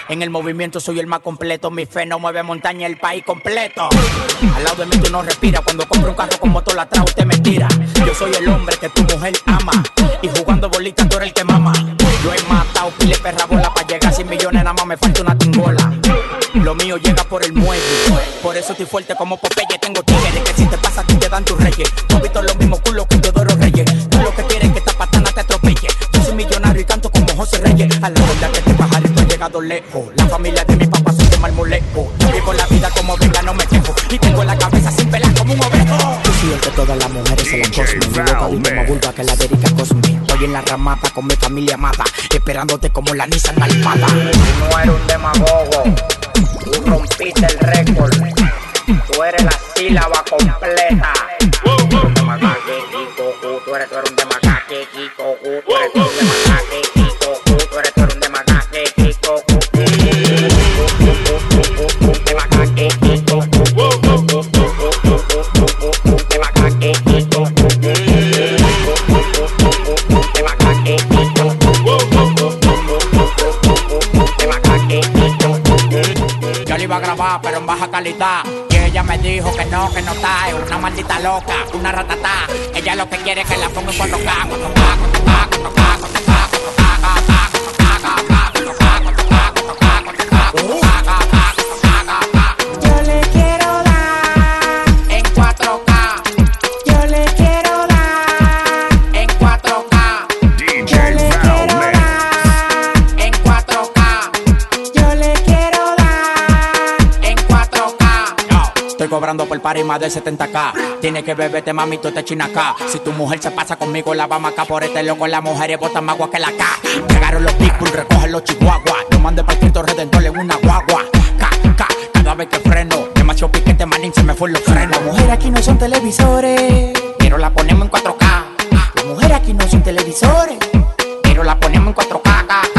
En el movimiento soy el más completo. Mi fe no mueve montaña, el país completo. Al lado de mí tú no respiras. Cuando compro un carro con motor atrás usted me tira. Yo soy el hombre que tu mujer ama. Y jugando bolitas tú eres el que mama. Yo he matado pile perra bola. Para llegar a 100 millones nada más me falta una tingola. Lo mío llega por el muelle. Por eso estoy fuerte como Popeye. Tengo tigres que si te pasa a ti te dan tus reyes. Tú has visto los mismos culos que Teodoro Reyes. Tú lo que quieres es que esta patana te atropelle. Yo soy millonario y canto como José Reyes. A la verdad que este pajarito ha llegado lejos. La familia de mi papá son de marmolejo. Vivo la vida como venga, no me quejo. Y tengo la cabeza sin pelar como un ovejo. Yo soy el que todas las mujeres se la cosmen. Mi boca dulce como vulva que la de Erika Cosme. Estoy en la ramapa con mi familia amada, esperándote como la Nissan Almada. Tú no eres un demagogo. Tú rompiste el récord. Tú eres la sílaba completa. Tú eres un demagogue, Kiko. Tú eres un demagogue, Kiko. Tú eres un demagogue, Kiko. Tú eres un demagogue, Kiko. Demagogue, Kiko. Yo le iba a grabar, pero en baja calidad. Y ella me dijo que no está. Es una maldita loca, una ratatá. Ella lo que quiere es que la ponga en 4K. Yo le quiero dar en 4K. Yo le quiero dar en 4K. Yo le quiero dar en 4K. Yo le quiero dar en 4K. Yo estoy cobrando por party más de 70K. Tienes que beberte, mami, tú te china acá. Si tu mujer se pasa conmigo, la vamos acá. Por este loco, las mujeres botan más agua que la K. Llegaron los pitbull, recogen los chihuahuas. Lo mandé para el Cristo Redentor en una guagua. Cada vez que freno, demasiado piquete, manín, se me fue los frenos. Las mujeres aquí no son televisores, pero la ponemos en 4K. Las mujeres aquí no son televisores, pero la ponemos en 4K.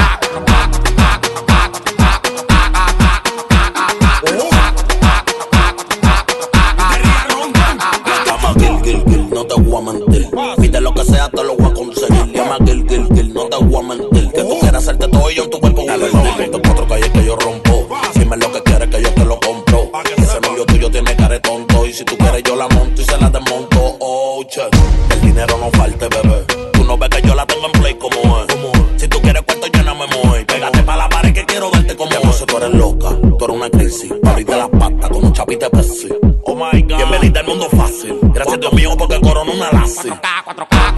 No te voy a mentir. Pide lo que sea, te lo voy a conseguir. Llama Gil, no te voy a mentir. Que tú quieras hacerte todo y yo en tu cuerpo. Dale, ponte 4 calles que yo rompo. Dime lo que quieres que yo te lo compro. Ese novio tuyo tiene cara de tonto. Y si tú quieres yo la monto y se la desmonto. Oh, che, el dinero no falte, bebé. Tú no ves que yo la tengo en play como es. Si tú quieres cuento yo no me muevo. Pégate pa' la pared que quiero verte como es. Tú eres loca, tú eres una crisis. Abrirte las patas con un chapite Pepsi. Oh my God, bienvenida al mundo fácil. Gracias Dios mío porque corona una lazi. 4K.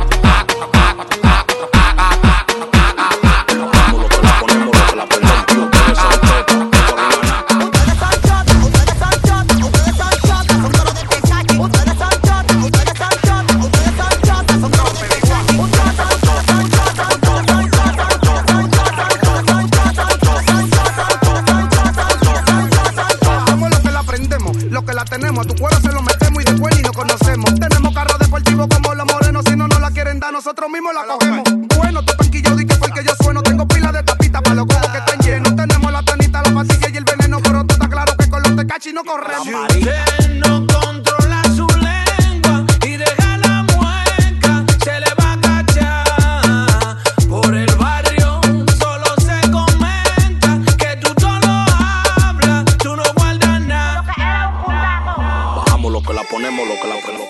Tenemos, a tu cuero se lo metemos y después ni nos conocemos. Tenemos carros deportivos como los morenos, si no nos la quieren dar, nosotros mismos la cogemos. Bueno, tú panquillo, di que porque yo sueno, tengo pila de tapita para los cojos que están llenos. Tenemos la tanita, la pastilla y el veneno, pero tú estás claro que con los tecachi no corremos. No controla su lengua y deja la mueca, se le va a cachar. Por el barrio solo se comenta que tú solo hablas, tú no guardas nada. Lo que la ponemos, lo que la ponemos.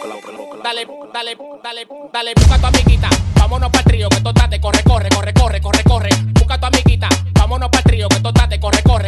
Dale, busca a tu amiguita, vámonos pa'l trío, que total te corre. Busca a tu amiguita, vámonos pa'l trío, que total te corre. Date,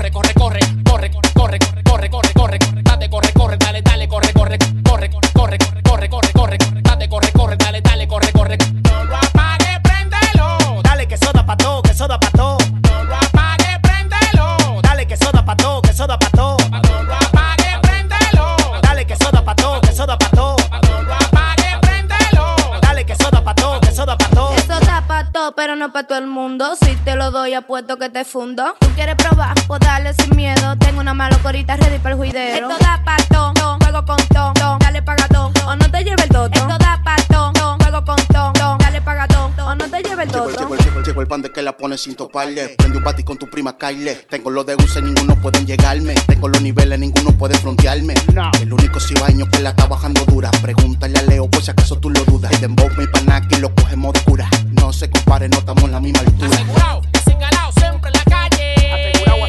corre. No lo apague, préndelo. Dale, que soda pa' todo. No lo apague, préndelo. Dale, que soda pa' todo. No lo apague, préndelo. Dale, que soda pa' todo. No lo apague, préndelo. Dale, que soda pa' todo. Eso da pa' todo, pero no pa' todo el mundo. Si te lo doy, apuesto que te fundo. ¿Tú quieres probar? Pues dale sin miedo. Tengo una malocorita ready para el juidero. Esto da pa' todo, juego con todo. Dale paga todo, o no te lleve el toto. Esto da pa' todo, juego con todo. Dale paga todo, o no te lleve el toto. Llegó el pan de que la pone sin toparle. Prende un bati con tu prima Kyle. Tengo los de UCE, ninguno pueden llegarme. Tengo los niveles, ninguno puede frontearme. El único cibaño que la está bajando dura. Pregúntale a Leo por si acaso tú lo dudas. El dembow, mi panaki, lo cogemos de cura. No se compare, no estamos en la misma altura. Asegurado, desengalado, siempre en la calle.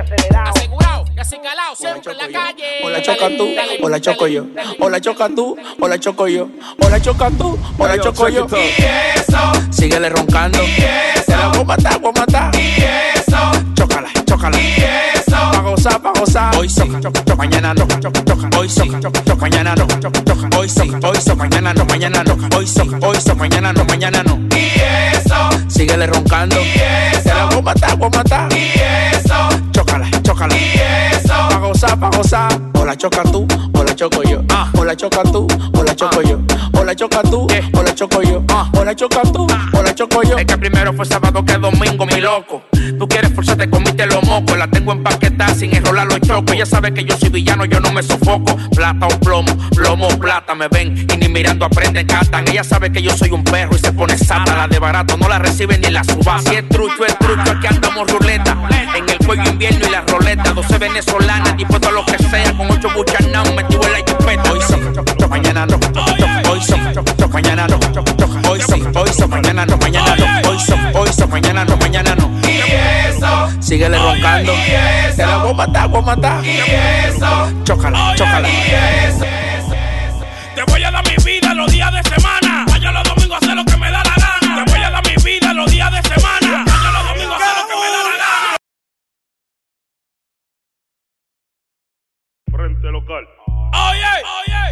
Asegurado, y así calado, siempre en la calle. O la chocas tú, o la choco yo. O la chocas tú, o la choco yo. O la chocas tú, o la choco yo. Y eso, síguele roncando. y eso, te la voy a matar, voy a matar. y eso, chócala, chócala. y eso, pa' gozar, pa' gozar. Hoy sí, mañana no. Hoy sí, mañana no. Hoy sí, mañana no, mañana no. Hoy sí, mañana no, mañana no. y eso, síguele roncando. y eso, te la voy a matar, voy a matar. y eso, chócala, chócala. y eso, pa' gozar, pa' gozar. O la chocas tú, o la choco yo. O la chocas tú, o la choco yo. O la chocas tú, o la choco yo. O la chocas tú, o la choco yo. Es que primero fue sábado que domingo, mi loco. Tú quieres forzarte, comiste los mocos. La tengo empaquetada sin enrolar los chocos. Ella sabe que yo soy villano, yo no me sofoco. Plata o plomo, plomo o plata. Me ven y ni mirando aprenden, catan. Ella sabe que yo soy un perro y se pone sata. La de barato no la reciben ni la subasta. Si es trucho, aquí andamos ruleta. En el cuello invierno y la roleta. 12 venezolanas, dispuesto a lo que sea. Con 8 buchanaos, metido en la chupeta. Hoy son, mañana no. Hoy son, mañana no. Hoy son, mañana no, mañana no. Hoy son, mañana no, mañana no. Y eso, síguele roncando. te la voy a matar, voy a matar. Y eso, chócala, chócala. Y eso, te voy a dar mi vida los días de semana. Vaya los domingos a hacer lo que me da la gana. Te voy a dar mi vida los días de semana. Vaya los domingos a hacer lo que me da la gana. Frente local. Oye,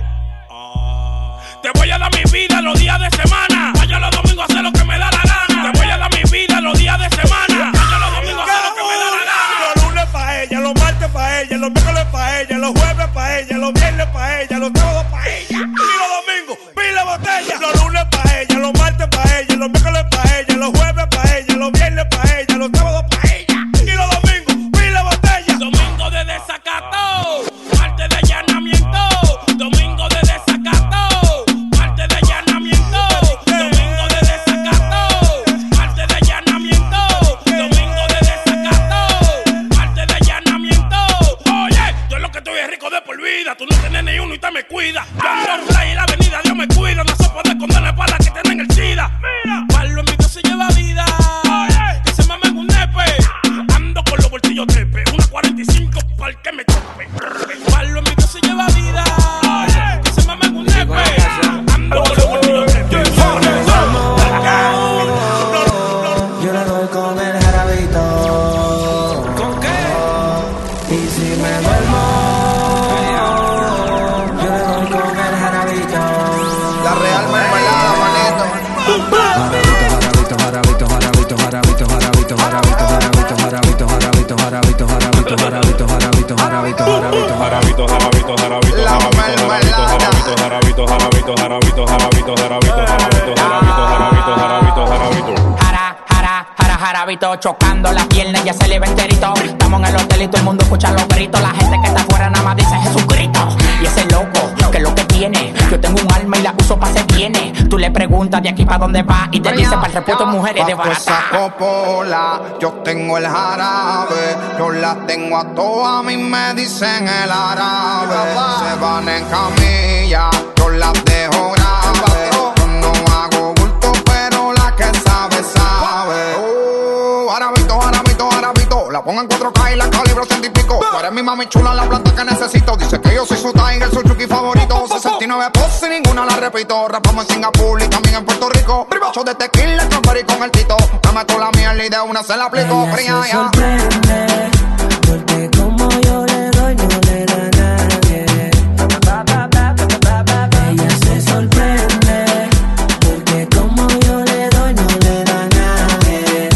te voy a dar mi vida los días de semana. Vaya los domingos a hacer lo que me da la gana. Te voy a dar mi vida los días de semana. Vaya los domingos a hacer lo que me da la gana. Los lunes pa' ella, los martes pa' ella, los miércoles pa' ella, los jueves pa' ella, los viernes pa' ella, los sábados pa' ella. Y los domingos, pila botella. Los lunes pa' ella, los martes pa' ella, los miércoles pa' ella, los jueves pa' ella, los viernes pa' ella, los sábados pa' ella. Y los domingos, pila botella. Domingo de desacato, martes de allanamiento. Domingo de desacato, martes de allanamiento. Domingo de desacato, martes de allanamiento. Domingo de desacato, martes de allanamiento. Oye, yo lo que estoy es rico de por vida. Tú no tienes ni uno y te me cuida. Yo ando por ahí en la avenida, Dios me cuida. No se puede esconder para la que tienen el SIDA. Pablo en mi Dios se lleva vida. Que se mame en un nepe. Ando con los bolsillos trepe. Una 45 para el que me chope. Pablo en mi Dios se lleva vida. Que se mame en un nepe. Ando con los bolsillos trepe. Yo le doy con el jarabito. ¿Con qué? Y si me duermo, yo le doy con el jarabito. La real mermelada, manito. Jarabito, jarabito, jarabito, jarabito, jarabito, jarabito, jarabito, jarabito, jarabito, jarabito, jarabito, jarabito, jarabito, jarabito, jarabito, jarabito, jarabito, jarabito, la mermelada. jarabito, jarabito, jarabito, jarabito, jarabito, jarabito, jarabito, jarabito. Jarabito, chocando las piernas, ya se le ve enterito. Estamos en el hotel y todo el mundo escucha los gritos. La gente que está afuera nada más dice Jesucristo. Y ese loco, que es lo que tiene. Yo tengo un alma y la uso pa' se tiene. Tú le preguntas de aquí pa' dónde va y te dice para el repuesto de mujeres de barata. Esa copola, yo tengo el jarabe. Yo la tengo a todas, a mí me dicen el árabe. Se van en camilla, yo las dejo grave. Yo no hago bulto, pero la que sabe, sabe. Jarabito, jarabito, jarabito. La pongo en 4K y la calibro 100 y pico. Tú eres mi mami chula, la planta que necesito. Dice que yo soy su tiger, su chuki favorito. 69 poses y ninguna la repito. Rapamos en Singapur y también en Puerto Rico. Bribacho de tequila, champari con el tito. Me meto la miel y de una se la aplico. Ella se sorprende, porque como yo le doy, no le da a nadie. Ella se sorprende, porque como yo le doy, no le da a nadie.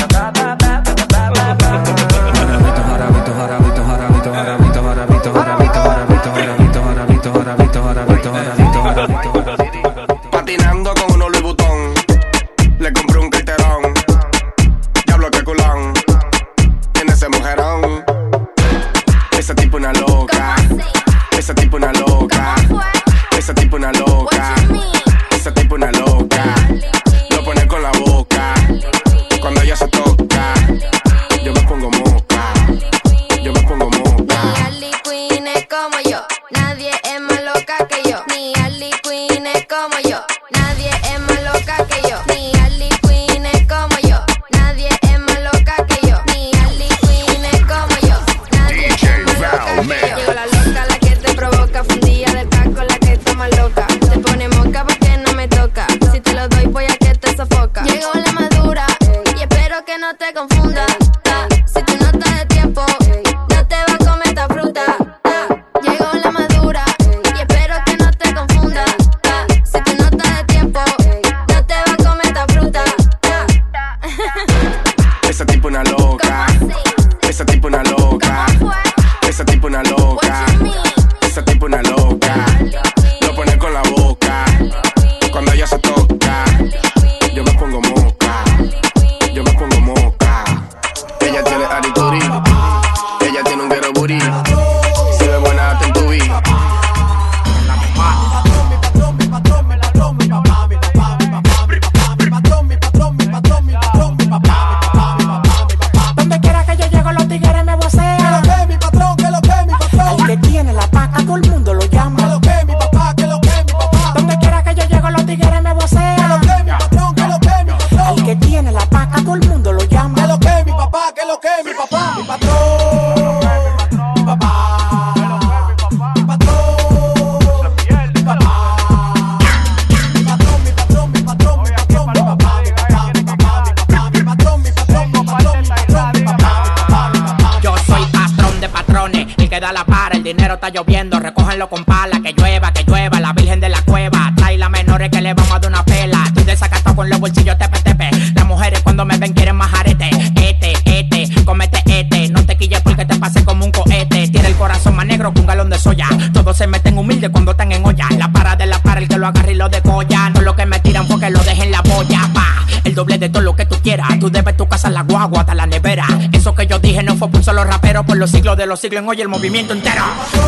Jarabito, jarabito, jarabito, jarabito, jarabito, jarabito, jarabito, jarabito, jarabito, jarabito, jarabito, jarabito, jarabito, jarabito. Patinando con unos Louis Vuitton, le compré un carterón. Diablo que culón, tiene ese mujerón. Esa tipo una loca, esa tipo una loca, esa tipo una loca, esa tipo una loca. Lo pone con la boca, cuando ella se toca, yo me pongo moca, yo me pongo moca. Ni Harley Quinn es como yo, nadie es más loca que yo. Ni Harley Quinn es como yo, nadie es más loca que yo. Ni Harley Quinn es como yo, nadie es más loca que yo. Ni Harley Quinn es como yo. loca. Esa tipo una loca. Esa tipo una loca. Lo pone con la boca. Cuando ella se toca, yo me pongo moca. Yo me pongo moca. Ella tiene arikuri. Ella tiene un guero booty. Si ve buena hasta en tu vida. Donde quiera que yo llego los tigres me vocean. Que lo que mi patrón, que lo que mi patrón. El que tiene la paca todo el mundo lo llama. Que lo que mi papá, que lo que mi papá. Donde quiera que yo llego los tigres me vocean. Que lo que mi patrón, que lo que mi patrón. El que tiene la paca todo el mundo lo llama. Que lo que mi papá, que lo que mi papá. Mi patrón, mi papá. Mi patrón, mi papá. Mi patrón, mi patrón, mi patrón, mi patrón, mi papá. Mi papá, mi papá, mi patrón, mi patrón, mi patrón, mi patrón, mi papá. Yo soy patrón de patrones, el que da la para, el dinero está lloviendo, recójanlo con pala, que llueva, la virgen de la cueva, trae las menores que le vamos a dar una pela, estoy desacatado con los bolsillos tepe, las mujeres cuando me ven quieren más arete, comete, no te quilles porque te pase como un cohete, tiene el corazón más negro que un galón de soya, todos se meten humildes cuando están en olla, la para, el que lo agarre y lo decolla, no lo que me tiran porque lo dejen la boya, pa, el doble de todo lo que tú quieras, tú debes tu casa, la guagua, hasta la nevera, eso que yo dije no fue por un solo rapero, por los siglos de los siglos en hoy el movimiento entero.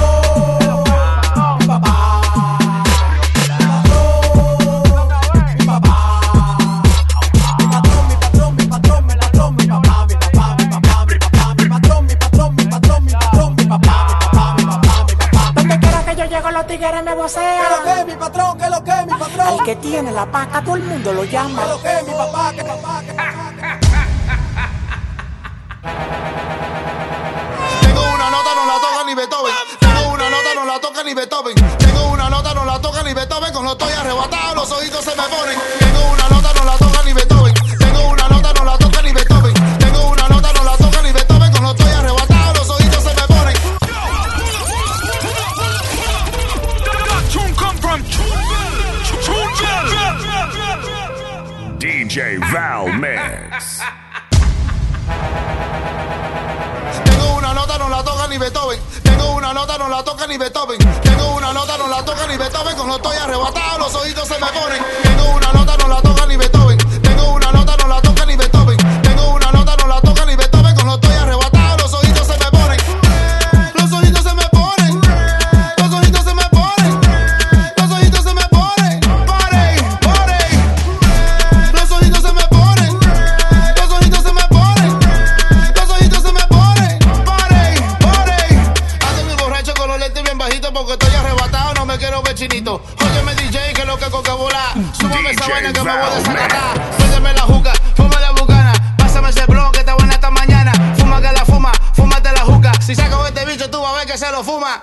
Donde quiera que yo llego los tigres me vocean. Que lo que mi patrón, que lo que mi patrón. El que tiene la paca todo el mundo lo llama. Que lo que mi papá, que papá, que papá. Tengo una nota, no la toca ni Beethoven. Tengo una nota, no la toca ni Beethoven. Tengo una nota, no la toca ni Beethoven. Cuando estoy arrebatado, los ojitos se me ponen. Tengo una nota, no la toca ni Beethoven. Tengo una nota, no la toca ni Beethoven. Tengo una nota, no la toca ni Beethoven. Cuando estoy arrebatado, los ojitos se me ponen. DJ Val Mix. Tengo una nota, no la toca ni Beethoven. Tengo una nota, no la toca ni Beethoven. Tengo una nota, no la toca ni Beethoven. Cuando estoy arrebatado, los ojitos se me ponen. Tengo una nota, no la toca ni Beethoven. Tengo una nota, no la toca ni Beethoven. Tengo una nota, no la toca ni Beethoven. Cuando estoy arrebatado, los ojitos se me ponen. Los ojitos se me ponen. Los ojitos se me ponen. Los ojitos se me ponen. Los ojitos se me ponen. Los ojitos se me ponen. Los ojitos se me ponen. Ando mi borracho con los lentes bien bajitos porque estoy arrebatado, no me quiero ver chinito. Óyeme DJ, que lo que coca bola. Súbame esa vaina que me voy a desacatar. Préndeme la juca, fuma la bucana. Pásame ese blon que está buena esta mañana. Fuma que la fuma, fúmate la juca. Si saco este bicho tú vas a ver que se lo fuma.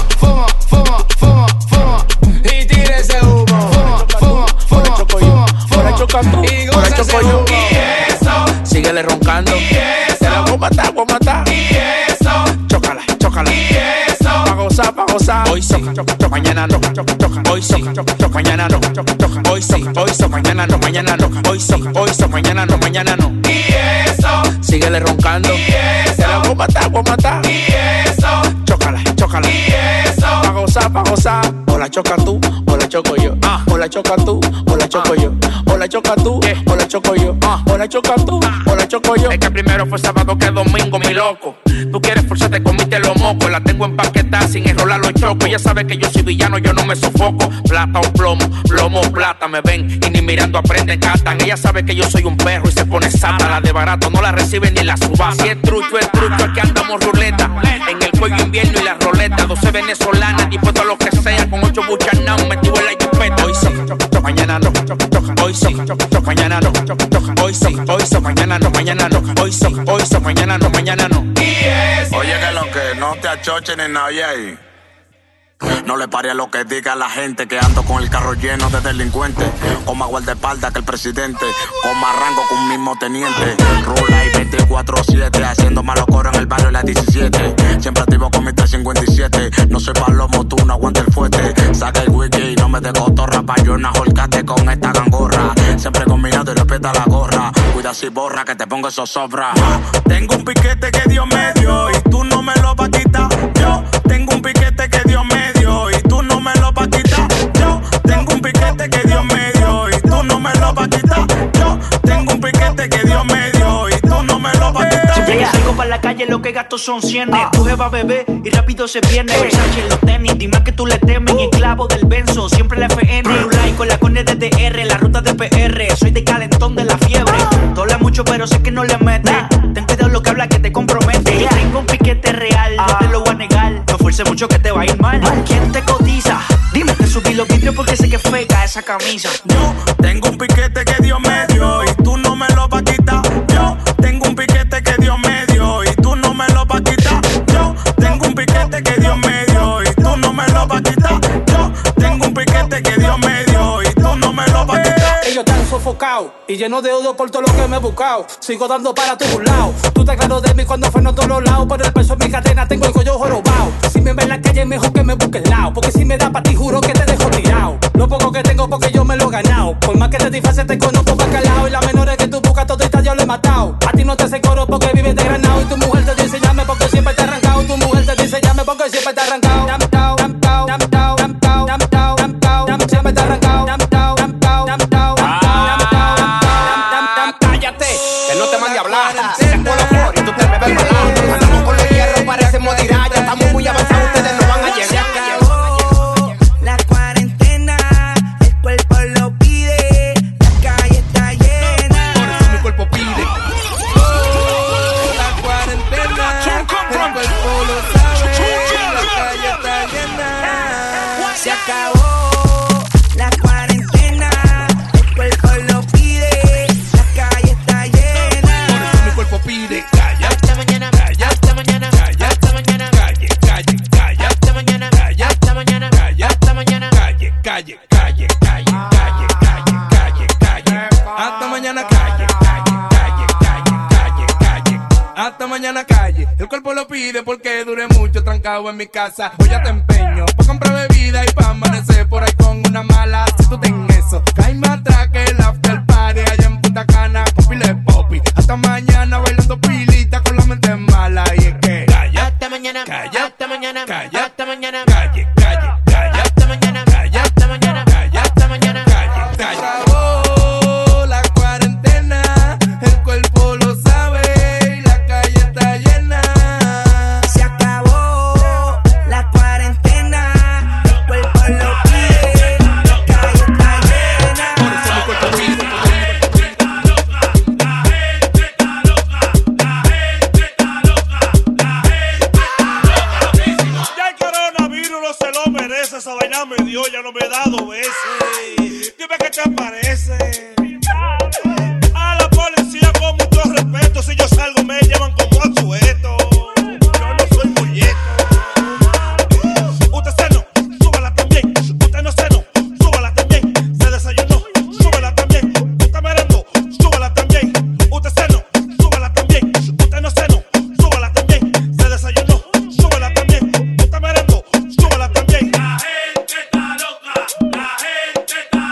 Fumo. Y tire ese humo. Fumo. Ahora chocando, Y ahora goza choco ese yo. humo. Y eso. Síguele roncando. Y eso. Te la voy a matar, voy a matar. Y eso. Chócala. Y eso. Pa' gozar. Hoy sí, mañana no. Hoy sí, mañana no. Hoy sí, mañana no. Hoy sí, mañana no. Y eso. Síguele roncando. Y eso. Te la voy a matar. Y eso. Chócala. Y eso. Pa' gozar. O la choca tú, o la choco yo. O la choca tú, o la choco yo. O la choca tú, o la choco yo. O la choca tú, o la choco yo. Es que primero fue sábado que domingo, mi loco. Tú quieres forzarte, comiste los mocos. La tengo empaquetada sin enrolar los chocos. Ella sabe que yo soy villano, yo no me sofoco. Plata o plomo, plata. Me ven y ni mirando aprenden, catan. Ella sabe que yo soy un perro y se pone sata. La de barato no la reciben ni la subasta. Si es trucho, es que andamos ruleta. En el cuello invierno y la roleta. 12 venezolanas, dispuesto a lo que sea. Con 8 buchanas, metido en la jipeta. Hoy sí, mañana no. Hoy sí, mañana no. Hoy sí, mañana no. Hoy sí, mañana no. Oye, que lo que no te achochen en nadie ahí. No le pare a lo que diga la gente, que ando con el carro lleno de delincuentes. Con más guardaespaldas que el presidente, con más rango que un mismo teniente. Rula y 24/7, haciendo malos coros en el barrio de las 17. Siempre activo con mi 357. No soy palomo, tú no aguantes el fuerte. Saca el wiki y no me de cotorra, pa' yo una holcate con esta gangorra. Siempre combinado y respeta la gorra. Cuida si borra que te pongo esos sobra. Yo tengo un piquete que Dios me dio y tú no me lo vas a quitar. Yo tengo un piquete que Dios me dio y tú no me lo vas a quitar. Yo tengo un piquete que Dios me dio y tú no me lo vas a quitar. Yo tengo un piquete que Dios me dio y tú no me lo vas a quitar. Siempre que salgo para la calle lo que gasto son cienes. Tu jeva bebé y rápido se pierde. Versace en los tenis, dime que tú le temes. Esclavo del benzo, siempre la FN. Rulay con la cone de DR, la ruta de PR. Soy de calentón de la fiebre. Dola mucho pero sé que no le mete. Ten cuidado lo que habla que te compromete. Yo tengo un piquete real, no te lo voy a negar. No fuerce mucho que te va a ir mal. ¿Quién te cotiza? Dime que subí los vidrios porque sé que feca esa camisa. Yo tengo un piquete que Dios me dio y tú no me lo vas a quitar. Yo tengo un piquete que Dios me dio y tú no me lo vas a quitar. Yo tengo un piquete que Dios me dio y tú no me lo vas a quitar. Yo tengo un piquete que Dios me dio y tú no me lo vas a quitar. Ellos están sofocados y llenos de odio por todo lo que me he buscado. Sigo dando para tu lado. Tú estás claro de mí cuando freno a todos los lados. Pero el peso en mi cadena tengo el cuello jorobado. Si me ves en la calle mejor que me busque el lado. Porque si me da pa' ti juro que te dejo tirado. Lo poco que tengo porque yo me lo he ganado. Por más que te disfraces te conozco pa' calado. Y las menores que tú buscas toditas yo le he matado. A ti no te hace coro porque vives de granado. Y tu mujer te dice llame porque siempre te ha arrancado. Tu mujer te dice llame porque siempre te ha arrancado. Siempre te ha arrancado. Cállate, que no te mande a hablar. Si saco los flores y tú te me ves malado. Andamos con los hierros, parecemos tirar. Ya estamos muy avanzados, ustedes no van a llegar. La cuarentena, el cuerpo lo pide, la calle está llena. Por eso mi cuerpo pide. La cuarentena, el cuerpo lo sabe, la calle está llena. Se acabó la cuarentena, el cuerpo lo pide, la calle está llena. Por eso mi cuerpo pide. Calla, hasta mañana, calla, hasta mañana, calla, hasta mañana, calle, calle, calla, hasta mañana, calla, hasta mañana, calla, hasta mañana, calle, calle, calle, calle, calle, calle, calle, calle, Hasta mañana calle, calle, calle, calle, calle, calle. Hasta mañana calle. El cuerpo lo pide porque duré mucho trancado en mi casa. Hoy ya te empeño pa' comprar bebida y pa' amanecer por ahí con una mala. Si tú tenés eso, cae más atrás que el after party allá en Punta Cana con pile de popi. Hasta mañana bailando pilita con la mente mala. Y es que calla, hasta mañana, calla, hasta mañana, calla, hasta mañana, calle, calle, calla, hasta mañana, calla, hasta mañana, calla, hasta mañana, calle, calla. Acabó la cuarentena, el cuerpo lo sabe y la calle está llena. se acabó la cuarentena, el cuerpo lo pide, la calle está llena. por eso mi cuerpo pide. Ya el coronavirus no se lo merece. Esa vaina me dio, ya no me he dado veces. Dime qué te parece. A la policía con mucho respeto. Si yo salgo me llevan como a sueto. Yo no soy molleto. Usted ceno, súbala también. Usted no ceno, súbala también. Se desayunó, súbala también. Usted merendó, súbala también. Usted ceno, súbala también. Usted no ceno, súbala también. Se desayunó, súbala también. Usted merendó, súbala también. La gente está loca, la gente está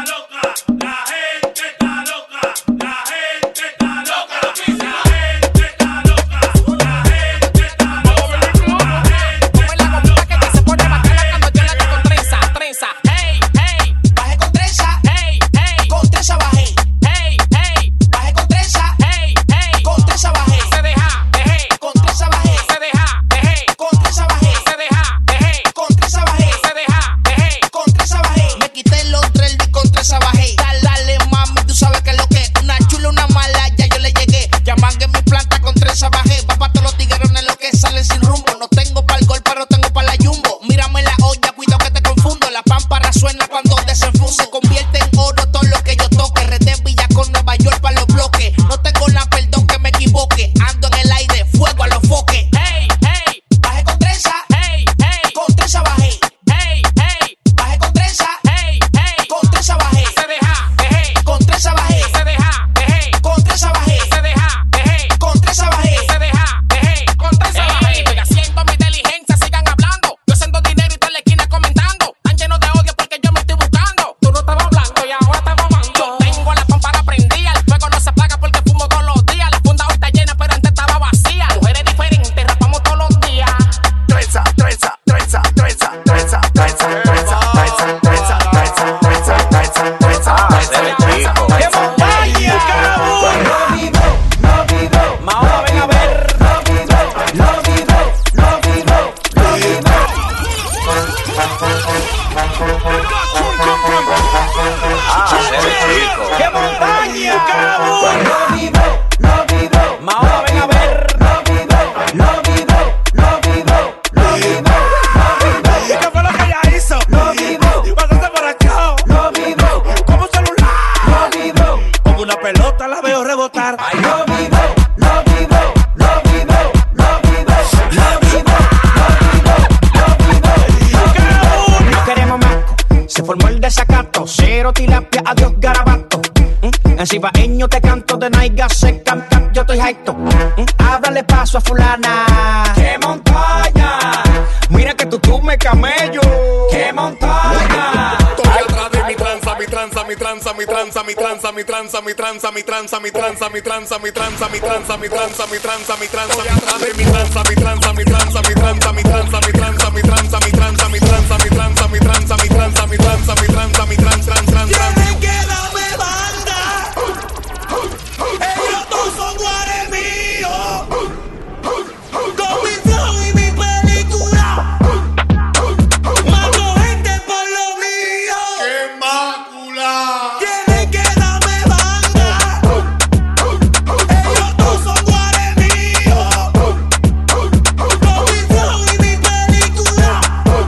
quiero tilapia, adiós garabato. En cibaeño te canto de naiga seca, yo estoy jaito. Háblale paso a fulana. ¡Qué montaña! Mira que tú me camello. ¡Qué montaña! Estoy atrás de mi tranza, mi tranza, mi tranza, mi tranza, mi tranza, mi tranza, mi tranza, mi tranza, mi tranza, mi tranza, mi tranza, mi tranza, mi tranza, mi tranza, mi tranza. Estoy atrás de mi tranza, mi tranza, mi tranza, mi tranza, mi tranza, mi tranza, mi tranza, mi tranza, mi tranza, mi tranza, mi tranza, mi tranza, mi tranza, mi tranza, mi tranza, Tienen que darme banda. Ellos todos son guares míos. Con mi flow y mi película. Mato gente por lo mío. ¡Qué mácula! Tienen que darme banda. Ellos todos son guares míos. Con mi flow y mi película.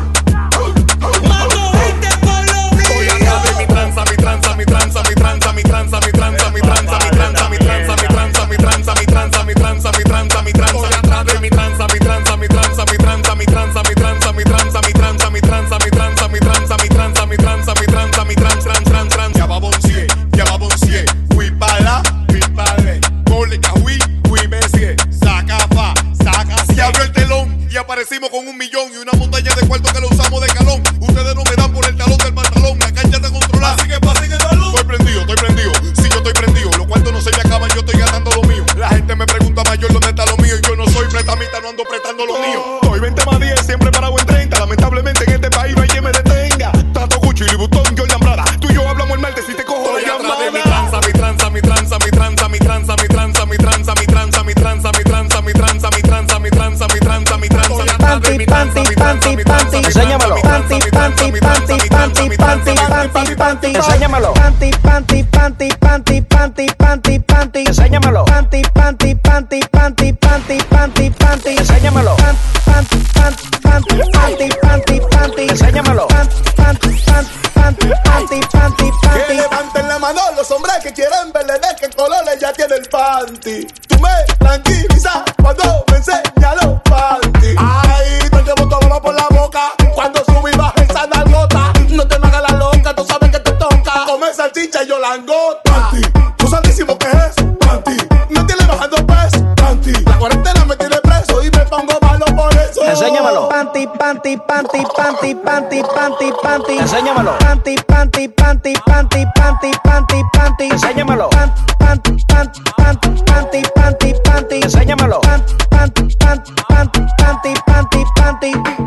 Mato gente por lo mío. Estoy atrás de mi tranza, mi tranza, mi tranza, mi tranza, mi tranza, mi tranza, mi tranza, mi tranza, mi tranza, mi tranza, mi tranza, mi tranza, mi tranza, mi tranza, mi tranza. Estoy atrás de mi tranza, mi tranza, mi tranza, mi tranza, mi tranza, mi tranza, mi tranza, mi tranza, mi tranza, mi tranza, mi tranza, mi tranza, mi tranza, mi tranza, mi tranza, Ya va boncier, oui para, oui pale. Mólica, oui Messi. Saca fa, saca. Se abrió el telón y aparecimos con 1 millón y una montaña de cuartos que lo usamos de calón. Ustedes no me dan por el talón del pantalón, la cancha está controlada. Así que pasen el balón. Estoy prendido. Sí, yo estoy prendido. Los cuartos no se me acaban, yo estoy gastando lo mío. La gente me pregunta mayor dónde está lo mío y yo no soy prestamita, no ando prestando lo mío. Estoy 20 más 10, siempre parado en 30. Lamentablemente en este país no hay quien me detenga. Tato Gucci, Louis Vuitton, Jordan Prada. Tú y yo hablamos el martes si te cojo la llamada. Mi tranza, mi tranza, mi tranza, mi tranza, mi tranza, mi tranza, mi tranza, mi tranza, mi tranza, mi tranza, mi tranza, mi tranza, mi tranza, mi tranza, mi tranza. Panty, panty, panty, panty. Enséñamelo. Panty, panty, panty, panty, panty, panty, panty. Enséñamelo. Panty, panty, panty, panty, panty, panty, panty. Enséñamelo. Panty, panty, panty, panty, panty, panty, panty. Enséñamelo. Panty, panty, panty, panty, panty, panty. Enséñamelo. Panty, panty, panty, panty, panty, Que panty. levanten la mano los hombres que quieren verle de qué colores ya tiene el panty. Tú me tranquilizas cuando me enseñas los panty. Ay, te llevo todo por la boca. Cuando subí baja esa nalgota. No te me hagas la loca, tú sabes que te toca. Come salchicha y yo langota. Panty, tú sabísimo que es eso. Panty, me tiene bajando peso. Panty, la cuarentena me tiene preso y me pongo malo por eso. Enséñamelo. Panty, panty, panty, panty, panty, panty, panty. Enséñamelo. Panty, panty, panty, panty, panty, panty, panty. Enséñamelo. Panty, panty, panty, panty, panty, panty. Enséñamelo. Panty, panty, panty, panty, panty, panty.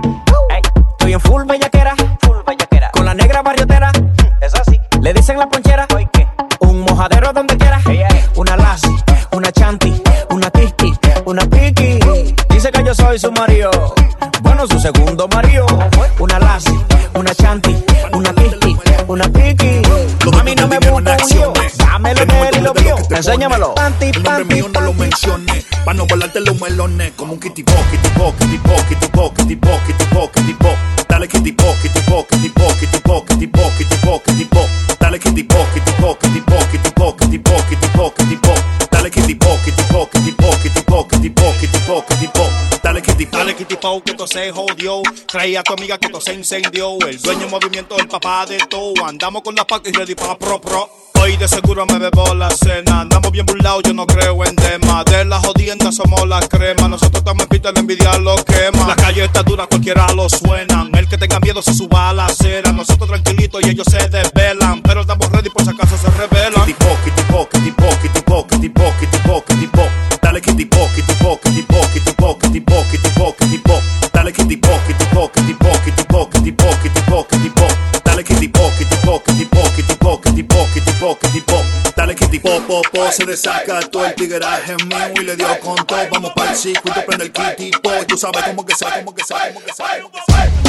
Estoy en full bellaquera, con la negra barriotera. Es así. Le dicen la ponchera. Un mojadero donde quiera. Una lassi, una chanti, una tisti, una piqui. Dice que yo soy su marido. Bueno, su segundo marido. Una lassi, una chanti, una tisti, una piqui. A mí no me busca un lío. Dame lo de él y lo mío. Enséñamelo. Panty, El nombre mío no lo mencioné, pa' no volarte los melones. Como un kitty po, kitty po, kitty po, kitty po, kitty po, kitty po, kitty po. Dale kitty po, kitty po, kitty po, kitty po, kitty po, kitty po, kitty po. Dale kitty po, kitty po, kitty po, kitty po, kitty po, kitty po, kitty po. Dale kitty po, kitty po, kitty po, kitty po, kitty po, kitty po, kitty po. Dale kitty po. Dale kitty po, que esto se jodió. Trae a tu amiga que esto se incendió. El dueño en movimiento, el papá de todo. Andamos con la paca y ready pa' pro. Hoy de seguro me bebo la cena. Andamos bien burlados, yo no creo en tema. De la jodienda somos la crema. Nosotros estamos en pista, la envidia lo quema. La calle está dura, cualquiera lo suena. El que tenga miedo se suba a la acera. Nosotros tranquilitos y ellos se desvelan. Pero estamos ready por si acaso se revelan. Kitty po, kitty po, kitty po, kitty po, kitty po, kitty po, kitty po. Dale kitty po, kitty po, kitty po, kitty po, kitty po, kitty po, kitty po. Dale kitty po, kitty po, kitty po, kitty po, kitty po, kitty po, kitty po. Dale kitty po, kitty po, kitty po, kitty po, kitty po, kitty po, kitty po. Dale kitty po, Se desacató el tigueraje mío y le dio con todo. Vamos para el circuito, prende el kitty po. Tú sabes cómo que sea, cómo que sea, cómo que sea, cómo que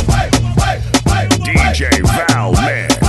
sea. DJ Val Mix.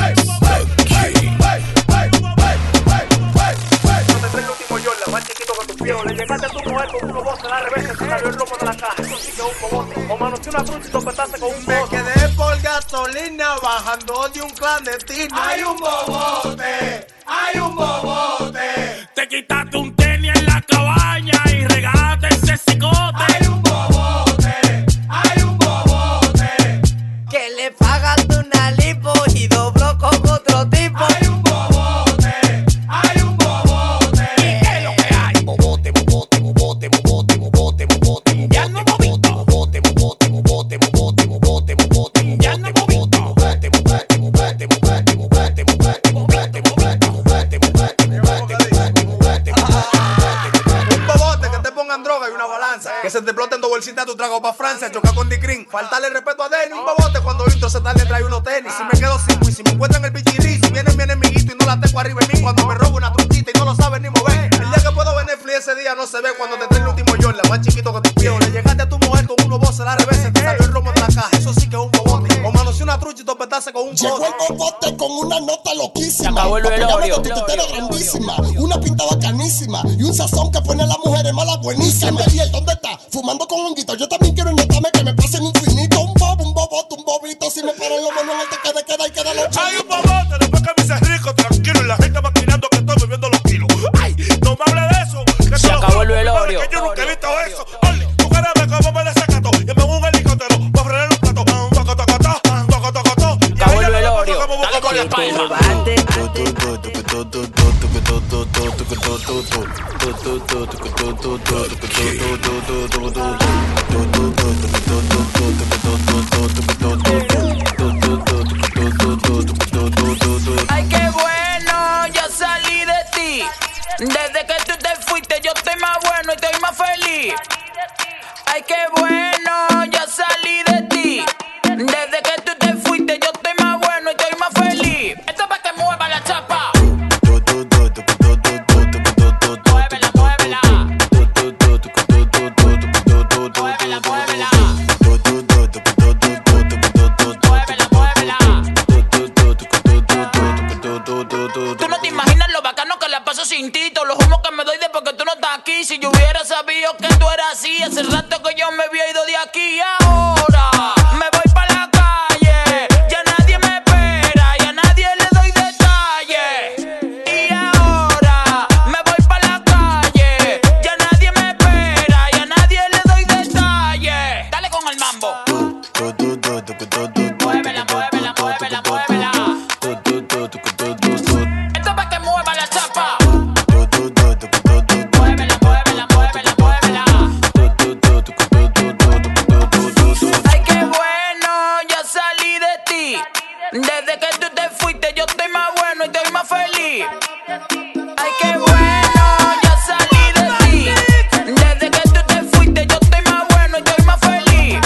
Más chiquito que tu pío, le llegaste a tu mujer con unos voces al revés, se salió el lomo de la caja, eso sí que es un bobote, o manoteé una fruta y topetaste con un bobote. Me quedé por gasolina bajando de un clandestino. ¡Hay un bobote! ¡Hay un bobote! Te quitaste un tenis en la cabaña y regalaste ese cicote. ¡Hay un bobote! ¡Hay un bobote! Que le pagaste una lipo y dobló con otro tipo. ¡Hay un Faltarle el respeto a Denny. Un bobote cuando intro se tarde trae unos tenis. Si me quedo sin y si me encuentran el bichilí. Si viene mi enemiguito y no la tengo arriba en mí. Cuando me robo una truchita y no lo saben ni mover. El día que puedo ver Netflix ese día no se ve. Cuando te trae el último Jordan, más chiquito que tu pie. Le llegaste a tu mujer con unos voces a la revés. Te salió el romo en la caja. Eso sí que es un bobote. O manoseé una trucha y topetaste con un bote. Llegó el bobote con una nota loquísima. Se acabó el velorio. Grandísima. Una pinta bacanísima. Y un sazón que pone a las mujeres malas buenísimas. Ariel, ¿dónde está? Fumando con un guito. Yo también quiero notarme que me pasen infinito. Un bobote, un bobito. Si me paran los manos, te queda y queda los Hay un bobote, después que me hice rico, tranquilo. Y la gente maquinando que estoy bebiendo los kilos. Ay, no me hable de eso. Que se acabó el velorio. Que yo nunca he visto eso. Oli, tú quieres ver cómo me desacato. Y me pongo un helicóptero para frenar un plato. Acabó el velorio. Dale con la palma. Ay, qué bueno, ya salí de ti. Desde que tú te fuiste, yo estoy más bueno y estoy más feliz. Ay, qué bueno, ya salí de ti. Desde que tú te fuiste, yo estoy más bueno y estoy más feliz. Esto es para que mueva la chapa. Muévela, muévela. Muévela, muévela. Muévela, muévela. Tú no te imaginas lo bacano que la paso sin ti. Todos los humos que me doy de porque tú no estás aquí. Si yo hubiera sabido que tú eras así, hace rato que yo me había ido de aquí. Ahora me voy para la calle, ya nadie me espera, ya nadie le doy detalles. Y ahora me voy para la calle, ya nadie me espera, ya nadie le doy detalles. Dale con el mambo. Muévela, muévela, muévela, muévela. Esto es para que mueva la chapa. Muévela, muévela, muévela, muévela. Ay, qué bueno, ya salí de ti. Desde que tú te fuiste, yo estoy más bueno y estoy más feliz. Ay, qué bueno, ya salí de ti. Desde que tú te fuiste, yo estoy más bueno y estoy más feliz.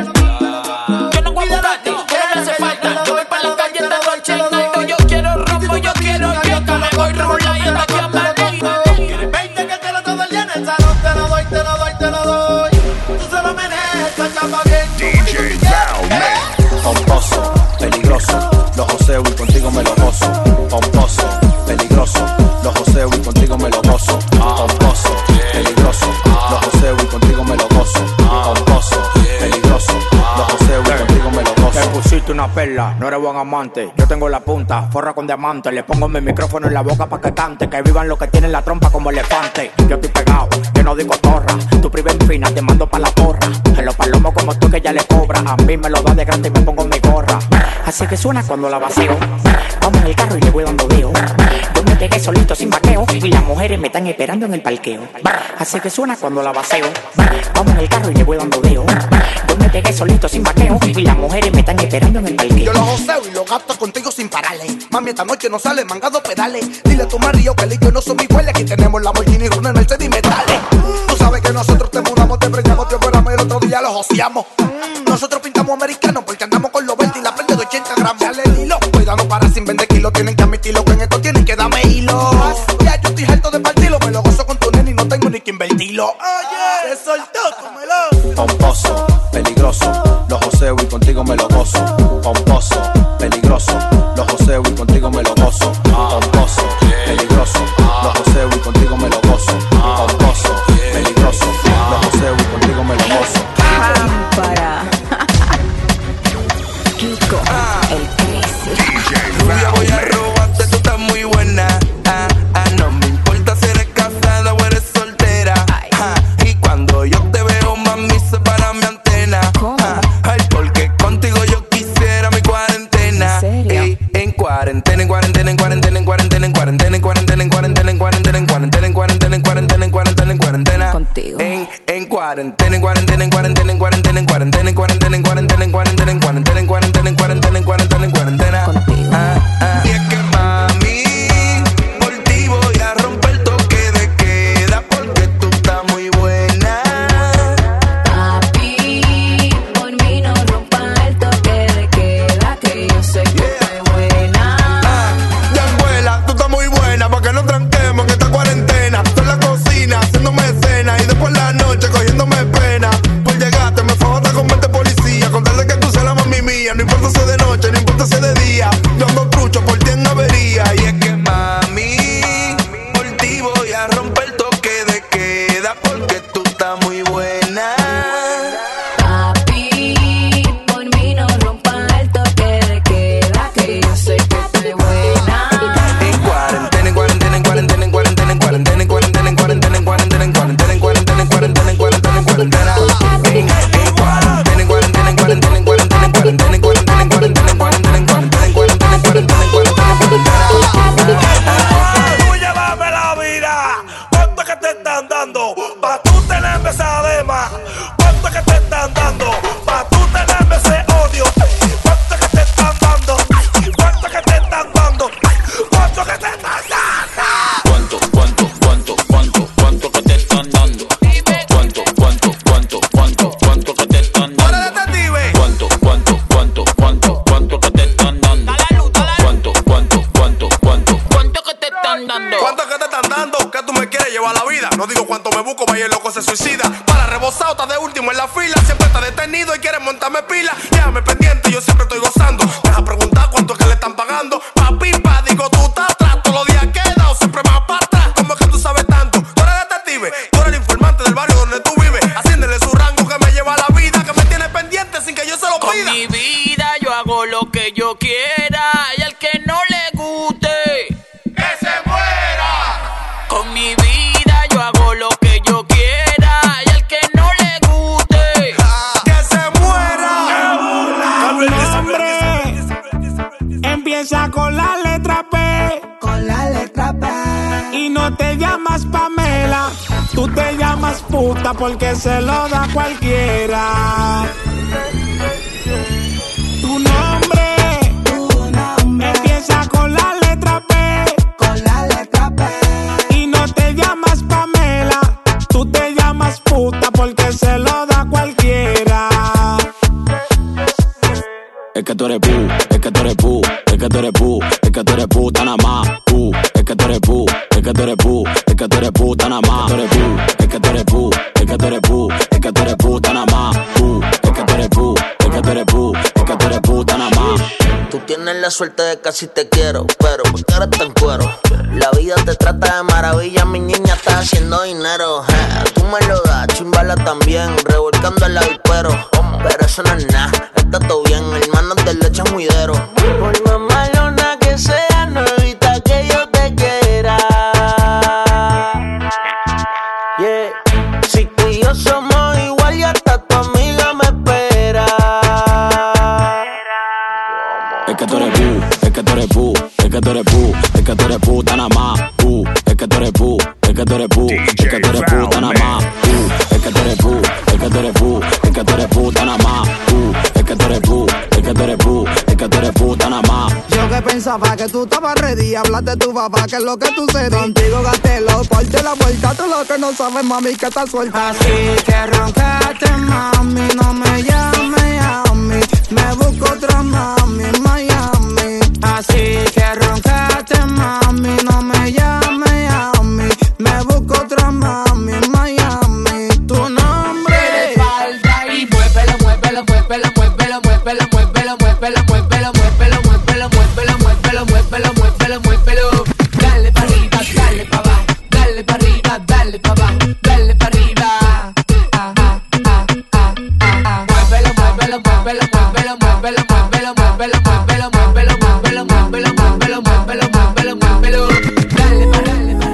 Yo no voy a buscarte, tú no me hace falta. Yo voy para la calle, te doy chinando. Yo quiero rompo, yo quiero que me voy rola y hasta que amanezca. ¿Quieres 20 que te lo todo el día en el salón? Te lo doy, te lo doy, te lo doy. Tú solo manejas esta chapa bien. DJ Valman. Pomposo, peligroso, los joseo y contigo me lo gozo. Pomposo, peligroso, los joseo y contigo me lo gozo. Pomposo, peligroso, los joseo y contigo me lo gozo. Pomposo, peligroso, los joseo y contigo me lo gozo. Te pusiste una perla, no eres buen amante. Yo tengo la punta, forra con diamante. Le pongo mi micrófono en la boca pa' que cante. Que vivan los que tienen la trompa como elefante. Yo estoy pegado, yo no digo torra. Tu priva en fina, te mando pa' la porra. En los palomos como tú que ya le cobra. A mí me lo da de grande y me pongo mi gorra. Así que suena cuando la vacío. Vamos en el carro y le voy dando deo. Yo me pegué solito sin vaqueo. Y las mujeres me están esperando en el parqueo. Así que suena cuando la vacío. Vamos en el carro y le voy dando deo. Yo me pegué solito sin vaqueo. Y las mujeres me están esperando en el parqueo. Yo lo joseo y lo gasto contigo sin pararle. Mami, esta noche no sale mangado pedales. Dile a tu marido que el yo no son iguales. Aquí tenemos la Lamborghini, Runner, Mercedes y metales. Tú sabes que nosotros te mudamos, te preñamos, te operamos y el otro día lo joseamos. Nosotros pintamos americanos porque andamos con los 20 y la prende de 80 gramos. Dale el hilo, cuidado para sin vender kilos. Tienen que admitirlo que en esto tienen que darme hilo. Ya yo estoy harto de partirlo, me lo gozo con tu nene y no tengo ni que invertirlo. Oye, se soltó, cómelo. Pomposo, peligroso, los joseo y contigo me lo gozo. Pomposo, peligroso, los joseo y contigo me lo gozo. Pomposo, peligroso, los joseo y contigo me lo gozo. Pomposo, peligroso, los joseo y contigo me lo gozo. Para Kiko, el crazy. Rubia, voy a robarte, tú estás muy buena. No me importa si eres casada o eres soltera. Y cuando yo te veo, mami, se para mi antena. Ay, porque contigo yo quisiera mi cuarentena. Ey, en cuarentena, en cuarentena, en cuarentena, en cuarentena, en cuarentena, en cuarentena, en cuarentena, en cuarentena, en cuarentena, en cuarentena, en cuarentena, en cuarentena, en cuarentena. Contigo. En cuarentena, en cuarentena, en cuarentena, en cuarentena, en cuarentena, en cuarentena, en cuarentena, en cuarentena, en cuarentena, en cuarentena, en cuarentena, en cuarentena, en cuarentena. Contigo. Y es que mami, por ti voy a romper toque de queda porque tú estás muy buena. Papi, por mí no llame pendiente, yo siempre estoy gozando. Deja preguntar cuánto es que le están pagando. Papi, digo, tú estás atrás. Todos los días quedado, siempre más para atrás. ¿Cómo es que tú sabes tanto? Tú eres detective, tú eres el informante del barrio donde tú vives. Asciéndele su rango que me lleva a la vida, que me tiene pendiente sin que yo se lo pida. Con mi vida yo hago lo que yo quiera, y al que no le guste, ¡que se muera! Con mi vida yo hago lo que yo quiera, y al que no le guste, ¡que se muera! Empieza con la letra P. Con la letra P. Y no te llamas Pamela, tú te llamas puta porque se lo da cualquiera. Tu nombre empieza con la letra P. Con la letra P. Y no te llamas Pamela, tú te llamas puta porque se lo da cualquiera. Es que tú eres pu, es que tú eres pu, es que tú eres pu, es que tú eres puta nada más. Es que tú eres pu, es que tú eres pu, es que tú eres puta nada más. Es que tú eres pu, es que tú eres pu, es que tú eres puta nada más. Es que tú eres pu, es que tú eres pu, es que tú eres puta nada más. Tú tienes la suerte de que así te quiero, pero ¿por qué eres tan cuero? La vida te trata de maravilla, mi niña está haciendo dinero. Tú me lo das, chimbala también, revolcando el avispero. Pero eso no es nada, está todo bien, hermanos de leche juidero. Por más malona que sea, no evita que yo te quiera. Yeah. Si tú y yo somos igual, ya hasta tu amiga me espera. Es que tú eres pu, es que tú eres pu, es que tú eres pu, es que tú eres puta nada más. Es que tú eres pu, es que tú eres pu, es que tú eres puta nada más. Es que tú eres pu, es que tú eres pu, es que tú eres puta nada más. Es que tú eres pu, es que tú eres pu, es que tú eres puta nada más. Yo que pensaba que tú estabas ready, hablaste de tu papá, que es lo que tú cedí. Contigo gasté los portes, la vuelta, tú lo que no sabes, mami, que estás suelta. Así que roncate, mami, no me llames a mí, me busco otra mami en Miami. Así que roncate, mami, no me llames a mí, me busco otra mami en Miami. Tu nombre de falda y muévelo, muévelo, muévelo, muévelo, muévelo, muévelo, muévelo, muévelo, muévelo, muévelo, muévelo, muévelo, muévelo, muévelo, muévelo. Dale pa' arriba, dale pa' abajo, dale pa' arriba, dale pa' abajo, dale pa' arriba. Muévelo, muévelo, muévelo, muévelo, muévelo, muévelo, muévelo, muévelo, muévelo, muévelo, muévelo, muévelo, muévelo, muévelo, muévelo. Dale pa' dale pa'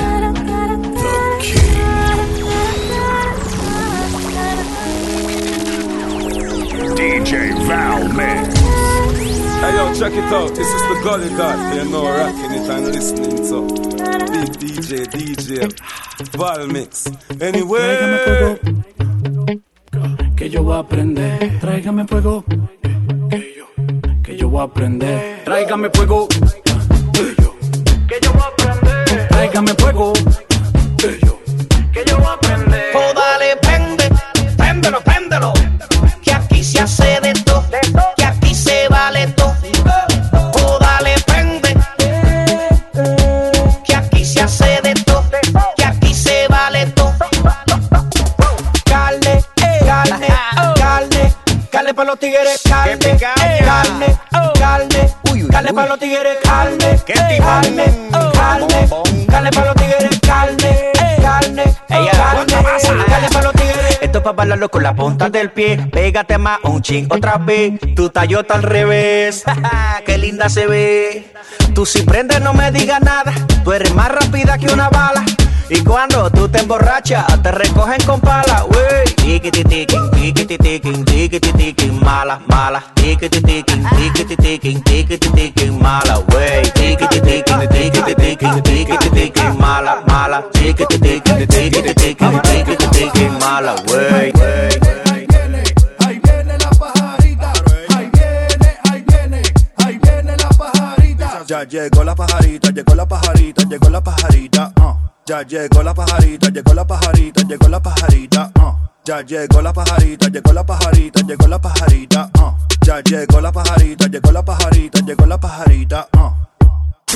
DJ Val Mix. Hey yo, check it out. This is the Gully God. You know, rocking it and listening to big DJ Val Mix. Anyway, tráigame fuego, que yo voy a aprender. Tráigame fuego, que yo voy a aprender. Tráigame fuego, que yo voy a aprender. Tráigame fuego, que yo voy a aprender. Oh, dale, prende, préndelo, préndelo, que aquí se hace de todo, que aquí se vale todo. Oh, dale, prende, que aquí se hace de todo, que aquí se vale todo. Carne, carne, carne, carne para los tigres, carne, carne, carne, carne para los tigres, carne, carne, carne, carne para los tigres, carne, carne, carne para los tigres. Esto es pa' bailarlo con la punta del pie. Pégate más un ching otra vez. Tu tallota al revés. Qué linda se ve. Tú si prendes no me digas nada. Tú eres más rápida que una bala. Y cuando tú te emborrachas, te recogen con pala, wey. Tiquiti-tiquin, tiquiti-tiquin, tiquiti-tiquin, mala, mala. Tiquiti-tiquin, tiquiti-tiquin, tiquiti-tiquin, mala, wey. Tiquiti-tiquin, tiquiti-tiquin, tiquiti-tiquin, mala, mala. Tiquiti-tiquin, tiquiti-tiquin, tiquiti-tiquin, mala, wey. Ahí viene la pajarita, ahí viene la pajarita. Ya llegó la pajarita, llegó la pajarita, llegó la pajarita. Ya llegó la pajarita, llegó la pajarita, llegó la pajarita. Ya llegó la pajarita, llegó la pajarita, llegó la pajarita. Ya llegó la pajarita, llegó la pajarita, llegó la pajarita.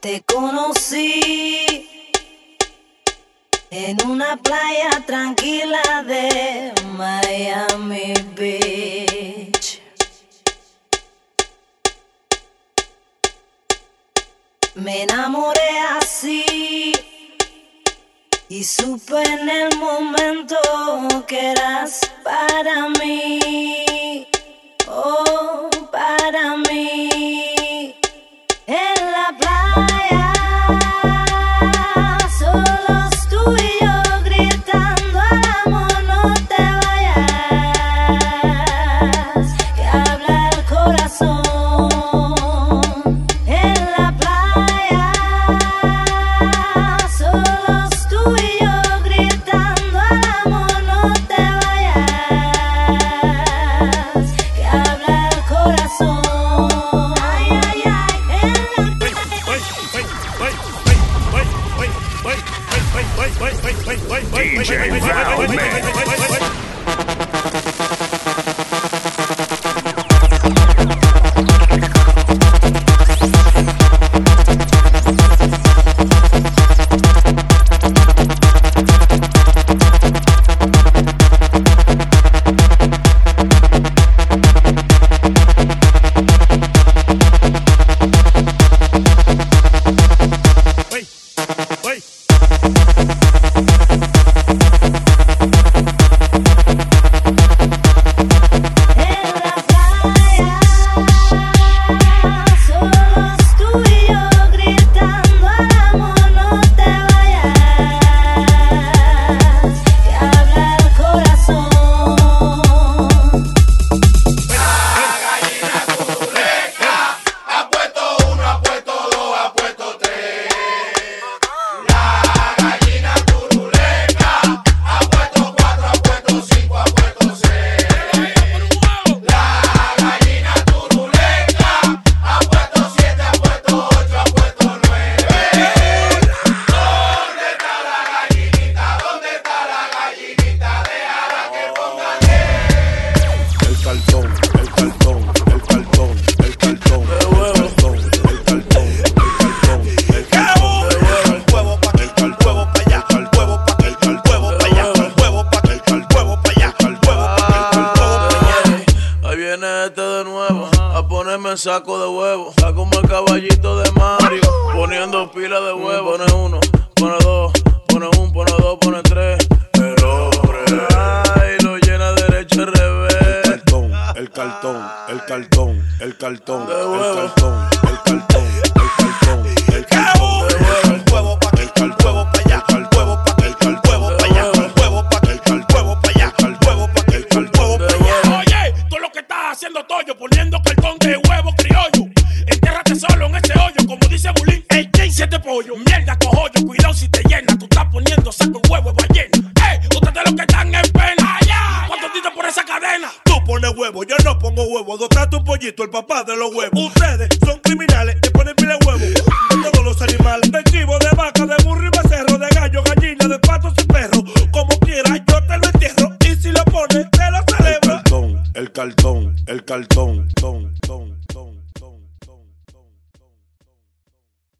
Te conocí en una playa tranquila de Miami Beach. Me enamoré así y supe en el momento que eras para mí, oh, para mí. En la playa, solos tú y yo gritando al amor, no te vayas, que habla el corazón. En la playa, solos tú y yo gritando al amor, no te vayas, que habla el corazón. DJ Val Man. Saco de huevo, saco como el caballito de Mario, poniendo pila de huevo. Pone uno, pone dos, pone un, pone dos, pone tres. El hombre, ay, lo llena derecho y revés. El cartón, el cartón, el cartón, de el huevo. cartón, el cartón, el cartón, el cartón, el huevo pa' aquí, el huevo pa' allá, el huevo pa' aquí, el huevo pa' allá, el huevo pa' aquí, el huevo pa' allá, el huevo pa' aquí, el huevo pa' allá. Oye, tú lo que estás haciendo toyo, poniendo cartón de huevo criollo. Entiérrate solo en ese hoyo, como dice Bulín. Ey, ¿quién siete pollo? Mierda, cojollo, cuidado si te llena. Tú estás poniendo saco en huevo ballena. Ustedes los que están en pena. ¿Cuántos tiros por esa cadena? Tú pones huevo, yo no pongo huevo. Dota tu pollito, el papá de los huevos. Ustedes son criminales, te ponen pila de huevo. De todos los animales, de chivo, de vaca, de burro y becerro, de gallo, gallina, de patos y perro. Como quiera, yo te lo entierro. Y si lo pones, te lo celebro. El cartón, el cartón, ton, ton.